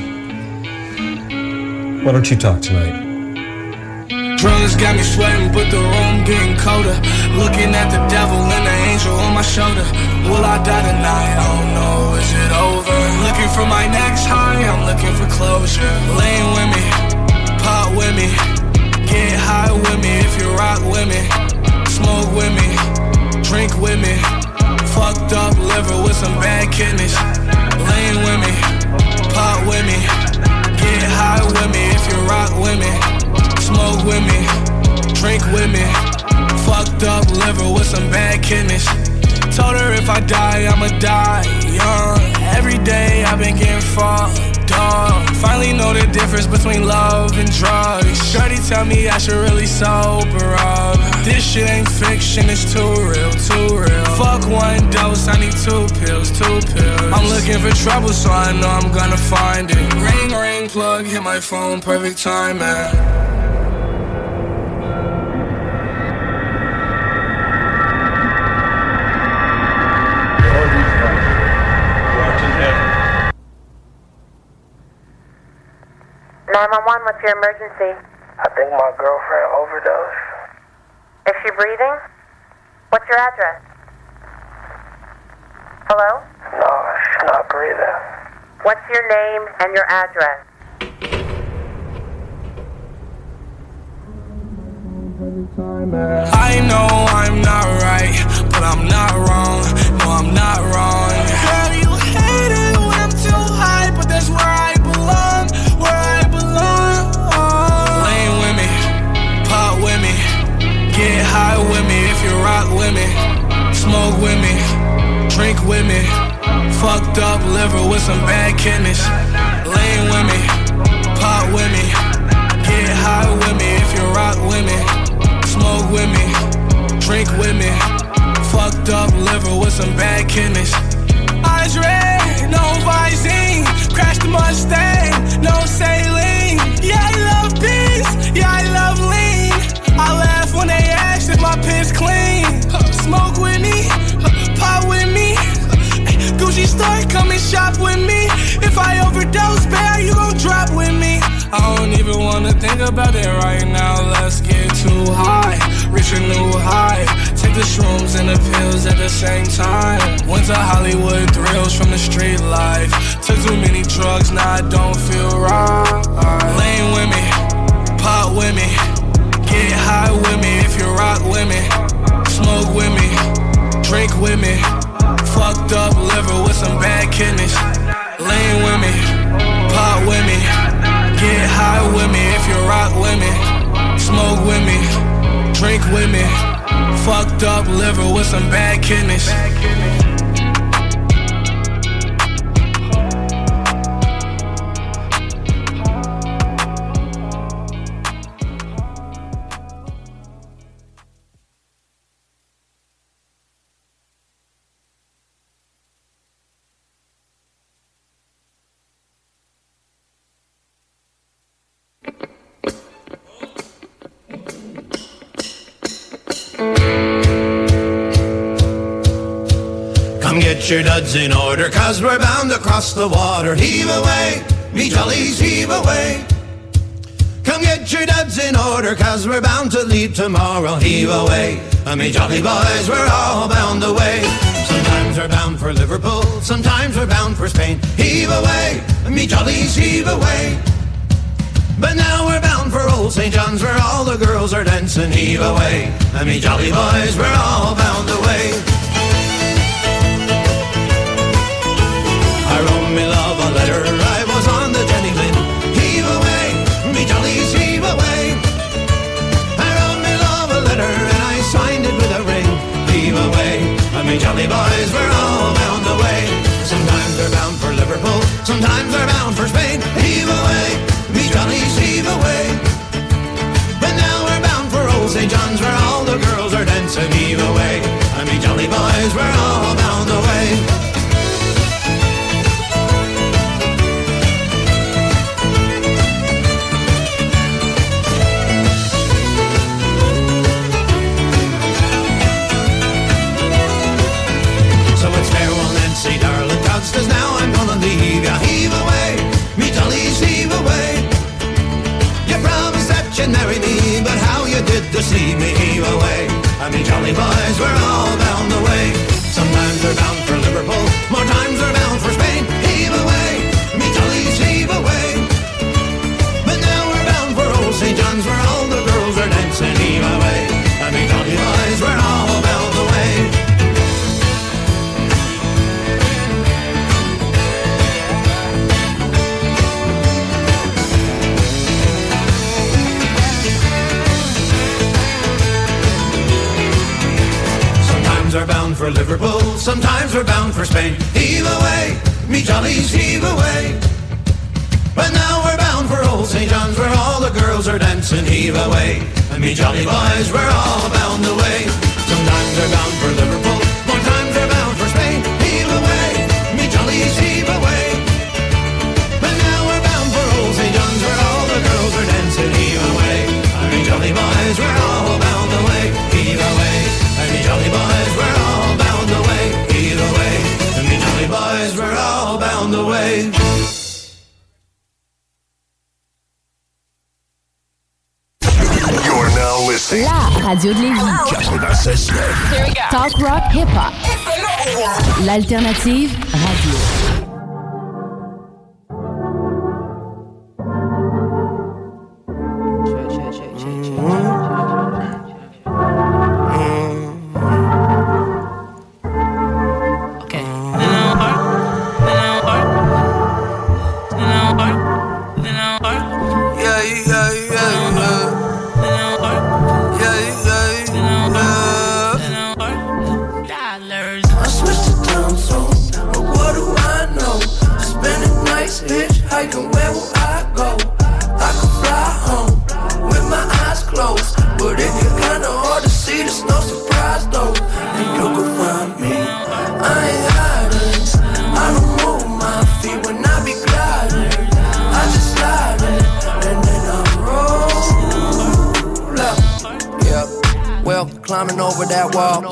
Why don't you talk tonight? Drugs got me sweating, but the room getting colder. Looking at the devil and the angel on my shoulder. Will I die tonight? I don't know, is it over? Looking for my next high, I'm looking for closure. Laying with me, pop with me, get high with me if you rock with me. Smoke with me, drink with me. Fucked up liver with some bad kidneys. Laying with me, pop with me, get high with me if you rock with me. Smoke with me, drink with me. Fucked up liver with some bad kidneys. Told her if I die, I'ma die young. Every day I've been getting fucked up. Finally know the difference between love and drugs. Shorty tell me I should really sober up. This shit ain't fiction, it's too real, too real. Fuck one dose, I need 2 pills, 2 pills. I'm looking for trouble, so I know I'm gonna find it. Ring, ring, plug, hit my phone, perfect time, man. What's your emergency? I think my girlfriend overdosed. Is she breathing? What's your address? Hello? No, she's not breathing. What's your name and your address? I know I'm not right, but I'm not wrong. No, I'm not wrong. Girl, you hate it when I'm too high, but that's where I belong. Where I belong. Laying with me, pop with me, get high with me if you rock with me. Smoke with me, drink with me. Fucked up liver with some bad kidneys. Laying with me, pop with me, get high with me if you rock with me. Smoke with me, drink with me. Fucked up liver with some bad kidneys. Eyes red, no Visine. Crashed the Mustang, no saline. Yeah, I love peace, yeah, I love lean. I laugh when they ask if my piss clean. Smoke with me, pop with me. Gucci store, come and shop with me. If I overdose, babe, you gon' drop with me. I don't even wanna think about it right now. Let's get too high, reach a new high. Take the shrooms and the pills at the same time. Went to Hollywood thrills from the street life. Took too many drugs, now I don't feel right. Laying with me, pop with me, get high with me if you rock with me. Smoke with me, drink with me. Fucked up liver with some bad kidneys. Laying with me, pop with me, get high with me if you rock with me. Smoke with me, drink with me. Fucked up liver with some bad kidneys. Get your duds in order, 'cause we're bound to cross the water. Heave away, me jollies, heave away. Come get your duds in order, 'cause we're bound to leave tomorrow. Heave away, me jolly boys, we're all bound away. Sometimes we're bound for Liverpool, sometimes we're bound for Spain. Heave away, me jollies, heave away. But now we're bound for Old St. John's, where all the girls are dancing. Heave away, me jolly boys, we're all bound away. I wrote me love a letter, I was on the Jenny Lind. Heave away, me jollies, heave away. I wrote me love a letter and I signed it with a ring. Heave away, me jolly boys, we're all bound away. Sometimes we're bound for Liverpool, sometimes we're bound for Spain. Heave away, me jollies, heave away. But now we're bound for Old St. John's, where all the girls are dancing. Heave away, me jolly boys, we're all bound away. we're all bound the way. Sometimes we're bound for Liverpool, more times we're bound for Spain. Heave away, me jollies, heave away. But now we're bound for old St. John's, where all the girls are dancing. Heave away, and me jolly boys, we're all bound the way. Sometimes we're bound for Liverpool, sometimes we're bound for Spain. Heave away, me jollies, heave away. But now we're bound for old St. John's, where all the girls are dancing. Heave away, and me jolly boys, we're all bound away. Sometimes we're bound for Liverpool, more times we're bound for Spain. Heave away, me jollies, heave away. But now we're bound for old St. John's, where all the girls are dancing. Heave away, and me jolly boys, we're all bound away. Heave away, and me jolly boys, we're all bound away. Heave away, and me jolly boys, we're all bound away. You're now listening. La radio de Lévis. 96.9. Talk rock hip-hop. L'alternative radio. Climbing over that wall.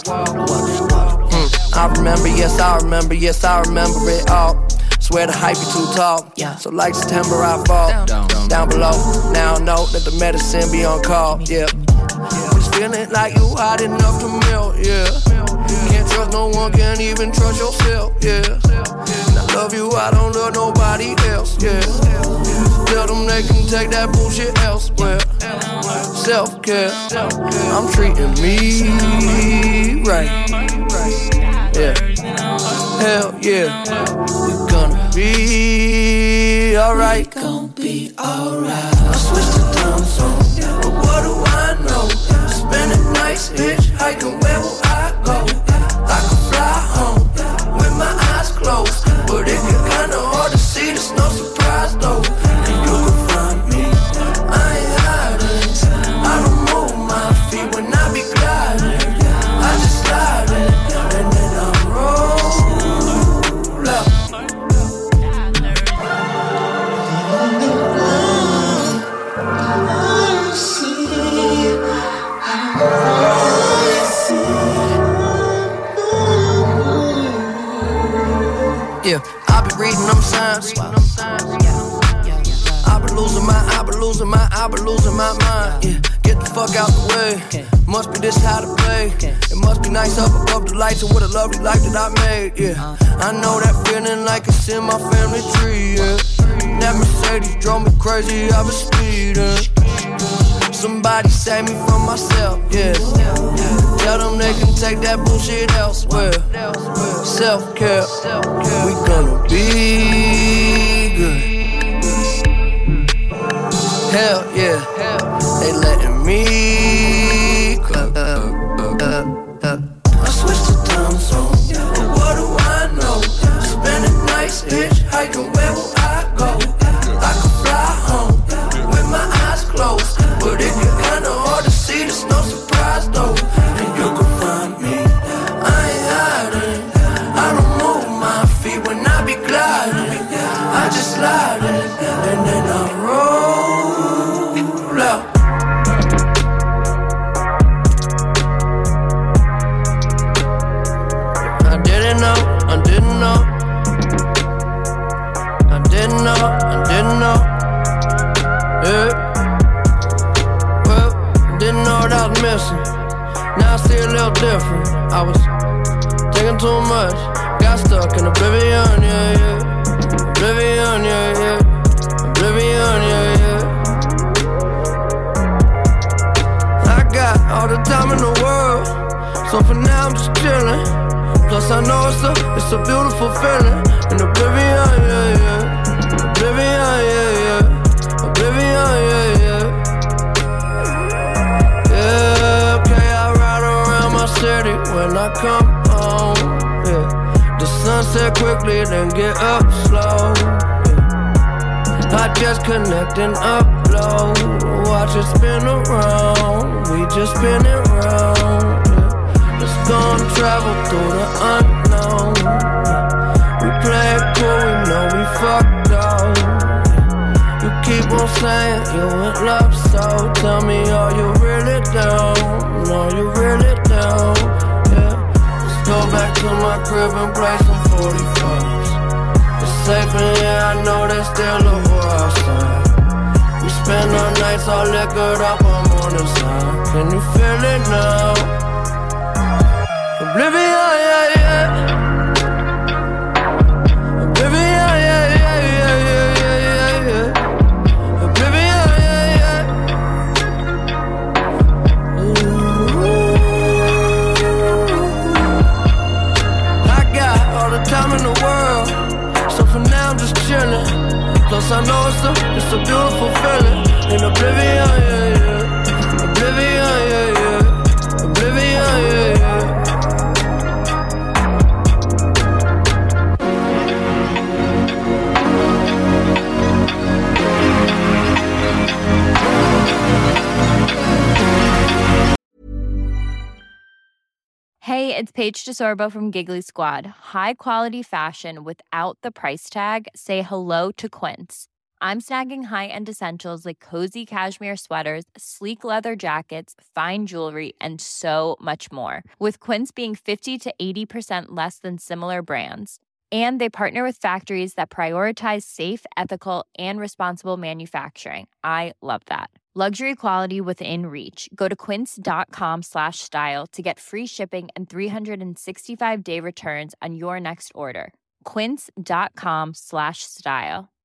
Yes, I remember it all. Swear the hype is too tall. So like September I fall down below. Now I know that the medicine be on call. Yeah, just feeling like you hot enough to melt. Yeah, can't trust no one, can't even trust yourself. Yeah, and I love you, I don't love nobody else. Yeah, tell them they can take that bullshit elsewhere. Self-care, I'm treating me right. Yeah, hell yeah, we gonna be alright. Gonna be alright. I switched the time zone, but what do I know? Spending nights hitchhiking, where will I go? I could fly home with my eyes closed, but it get kinda hard to see. There's no surprise though, and you can find me. I ain't hiding. I don't move my feet when I be gliding. I just slide in, and then I roll up. Yeah, I be reading them signs. I be losing my mind. Yeah, get the fuck out the way. Must be this how to play. It must be nice up above the lights and what a lovely life that I made. Yeah, I know that feeling like it's in my family tree. Yeah, that Mercedes drove me crazy. I was speeding. Somebody save me from myself. Yeah, tell them they can take that bullshit elsewhere. Self-care, we gonna be good. Hell yeah, they letting me go. I switched the time zone, but what do I know? Spending nights hitchhiking, where will I go? I could fly home with my eyes closed, but it get kinda hard to see. There's no surprise though, and you can find me. I ain't hiding. I don't move my feet when I be gliding. I just slide in, and then I roll. Now I see a little different. I was thinking too much, got stuck in oblivion, yeah, yeah. Oblivion, yeah, yeah. Oblivion, yeah, yeah. I got all the time in the world, so for now I'm just chilling. Plus I know it's a beautiful feeling. In oblivion, yeah, yeah. Oblivion, yeah, yeah. Oblivion, yeah, yeah. Yeah, okay, I ride around my city when I come home, yeah. The sunset quickly, then get up slow, yeah. I just connect and upload. Watch it spin around. We just spin it round, yeah. Let's go and travel through the unknown, yeah. We play it cool, we know we fucked up, yeah. You keep on saying you in love, so tell me, are you really down? Are you really down? Yeah. Let's go back to my crib and play some 45s. It's safe in here, I know there's still a war outside. We spend our nights all liquored up on morning side. Can you feel it now? Oblivion, yeah, yeah. Oblivion, yeah, yeah, yeah, yeah, yeah, yeah, yeah. Oblivion, yeah, yeah. Ooh. I got all the time in the world, so for now I'm just chilling. Plus I know it's a beautiful feeling. In oblivion, yeah, yeah. Oblivion, yeah, yeah. Oblivion, yeah, yeah. Hey, it's Paige DeSorbo from Giggly Squad. High quality fashion without the price tag. Say hello to Quince. I'm snagging high-end essentials like cozy cashmere sweaters, sleek leather jackets, fine jewelry, and so much more. With Quince being 50 to 80% less than similar brands. And they partner with factories that prioritize safe, ethical, and responsible manufacturing. I love that. Luxury quality within reach. Go to quince.com/style to get free shipping and 365-day returns on your next order. Quince.com/style.